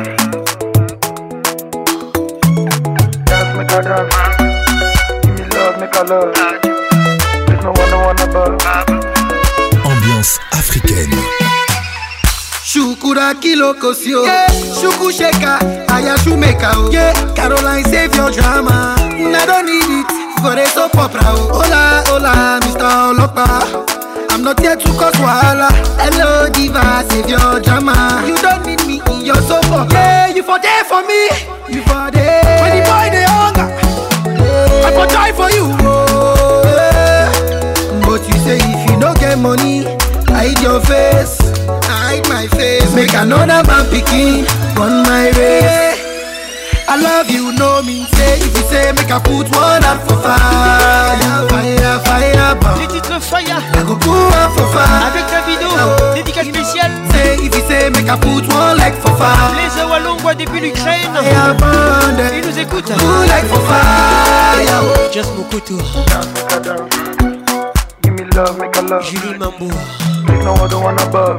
Dance, make a dance. Make a love. There's no one, no one above.
Ambiance africaine.
Shukura kilo kosio, yeah. Shuku sheka, aya shumeka, oh. Yeah. Caroline save your drama. I don't need it for a soap opera. Oh. Hola, hola, Mister Olopa. I'm not here to cause wahala. Hello, diva, save your drama. You don't need me in your soap opera. Yeah, you for there for me. You for there. When the boy they hunger, I for die for you. Oh, yeah. But you say if you don't get money, hide your face. Hide my face. Make another man picking on my race. I love you, no mean say. If you say make I put one up for fire, fire, fire, burn.
Les titres fire.
I go put one for fire.
Avec Davido, dédicace spéciale.
Say if you say make I put one like for fire.
Les Awalongwa depuis l'Ukraine. Ils nous écoutent.
Put like for fire.
Just Mokoto.
Give me love, make a love.
Julie Mambo.
There's no other one above.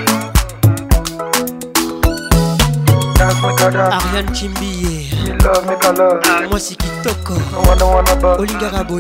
Dance, make a dance.
Ariane Chimbiye.
Give me love, make a love.
Moi c'est Kitoko.
No one, no one above.
Olinga Raboye.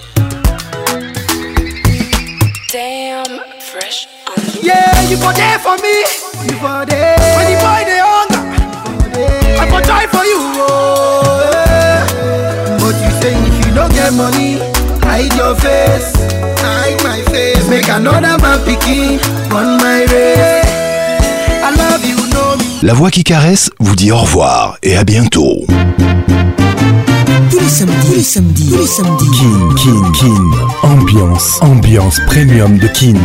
Damn, fresh.
Yeah, you for there for me. You for there. When the boy they hunger, I for die for you. Oh, yeah. But you say if you don't get money, hide your face. Hide my face. Make another man picking on my race. I love you, no me.
La voix qui caresse vous dit au revoir et à bientôt.
Tous les samedis, tous les samedis, tous les samedis.
Kin, Kin, Kin. Ambiance, ambiance premium de Kin.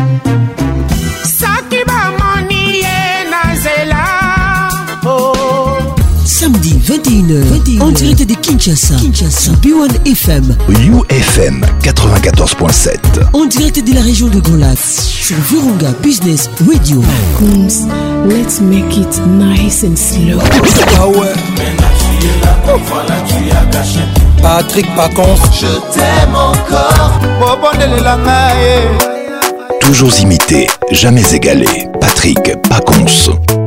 Samedi vingt et une heures, en direct de Kinshasa, Kinshasa, B un F M,
U F M quatre-vingt-quatorze point sept,
en direct de la région de Grand Lac, sur Virunga Business Radio.
Coons, let's make it nice and slow.
Ah ouais. Patrick Pacons,
je t'aime encore.
Toujours imité, jamais égalé. Patrick Pacons.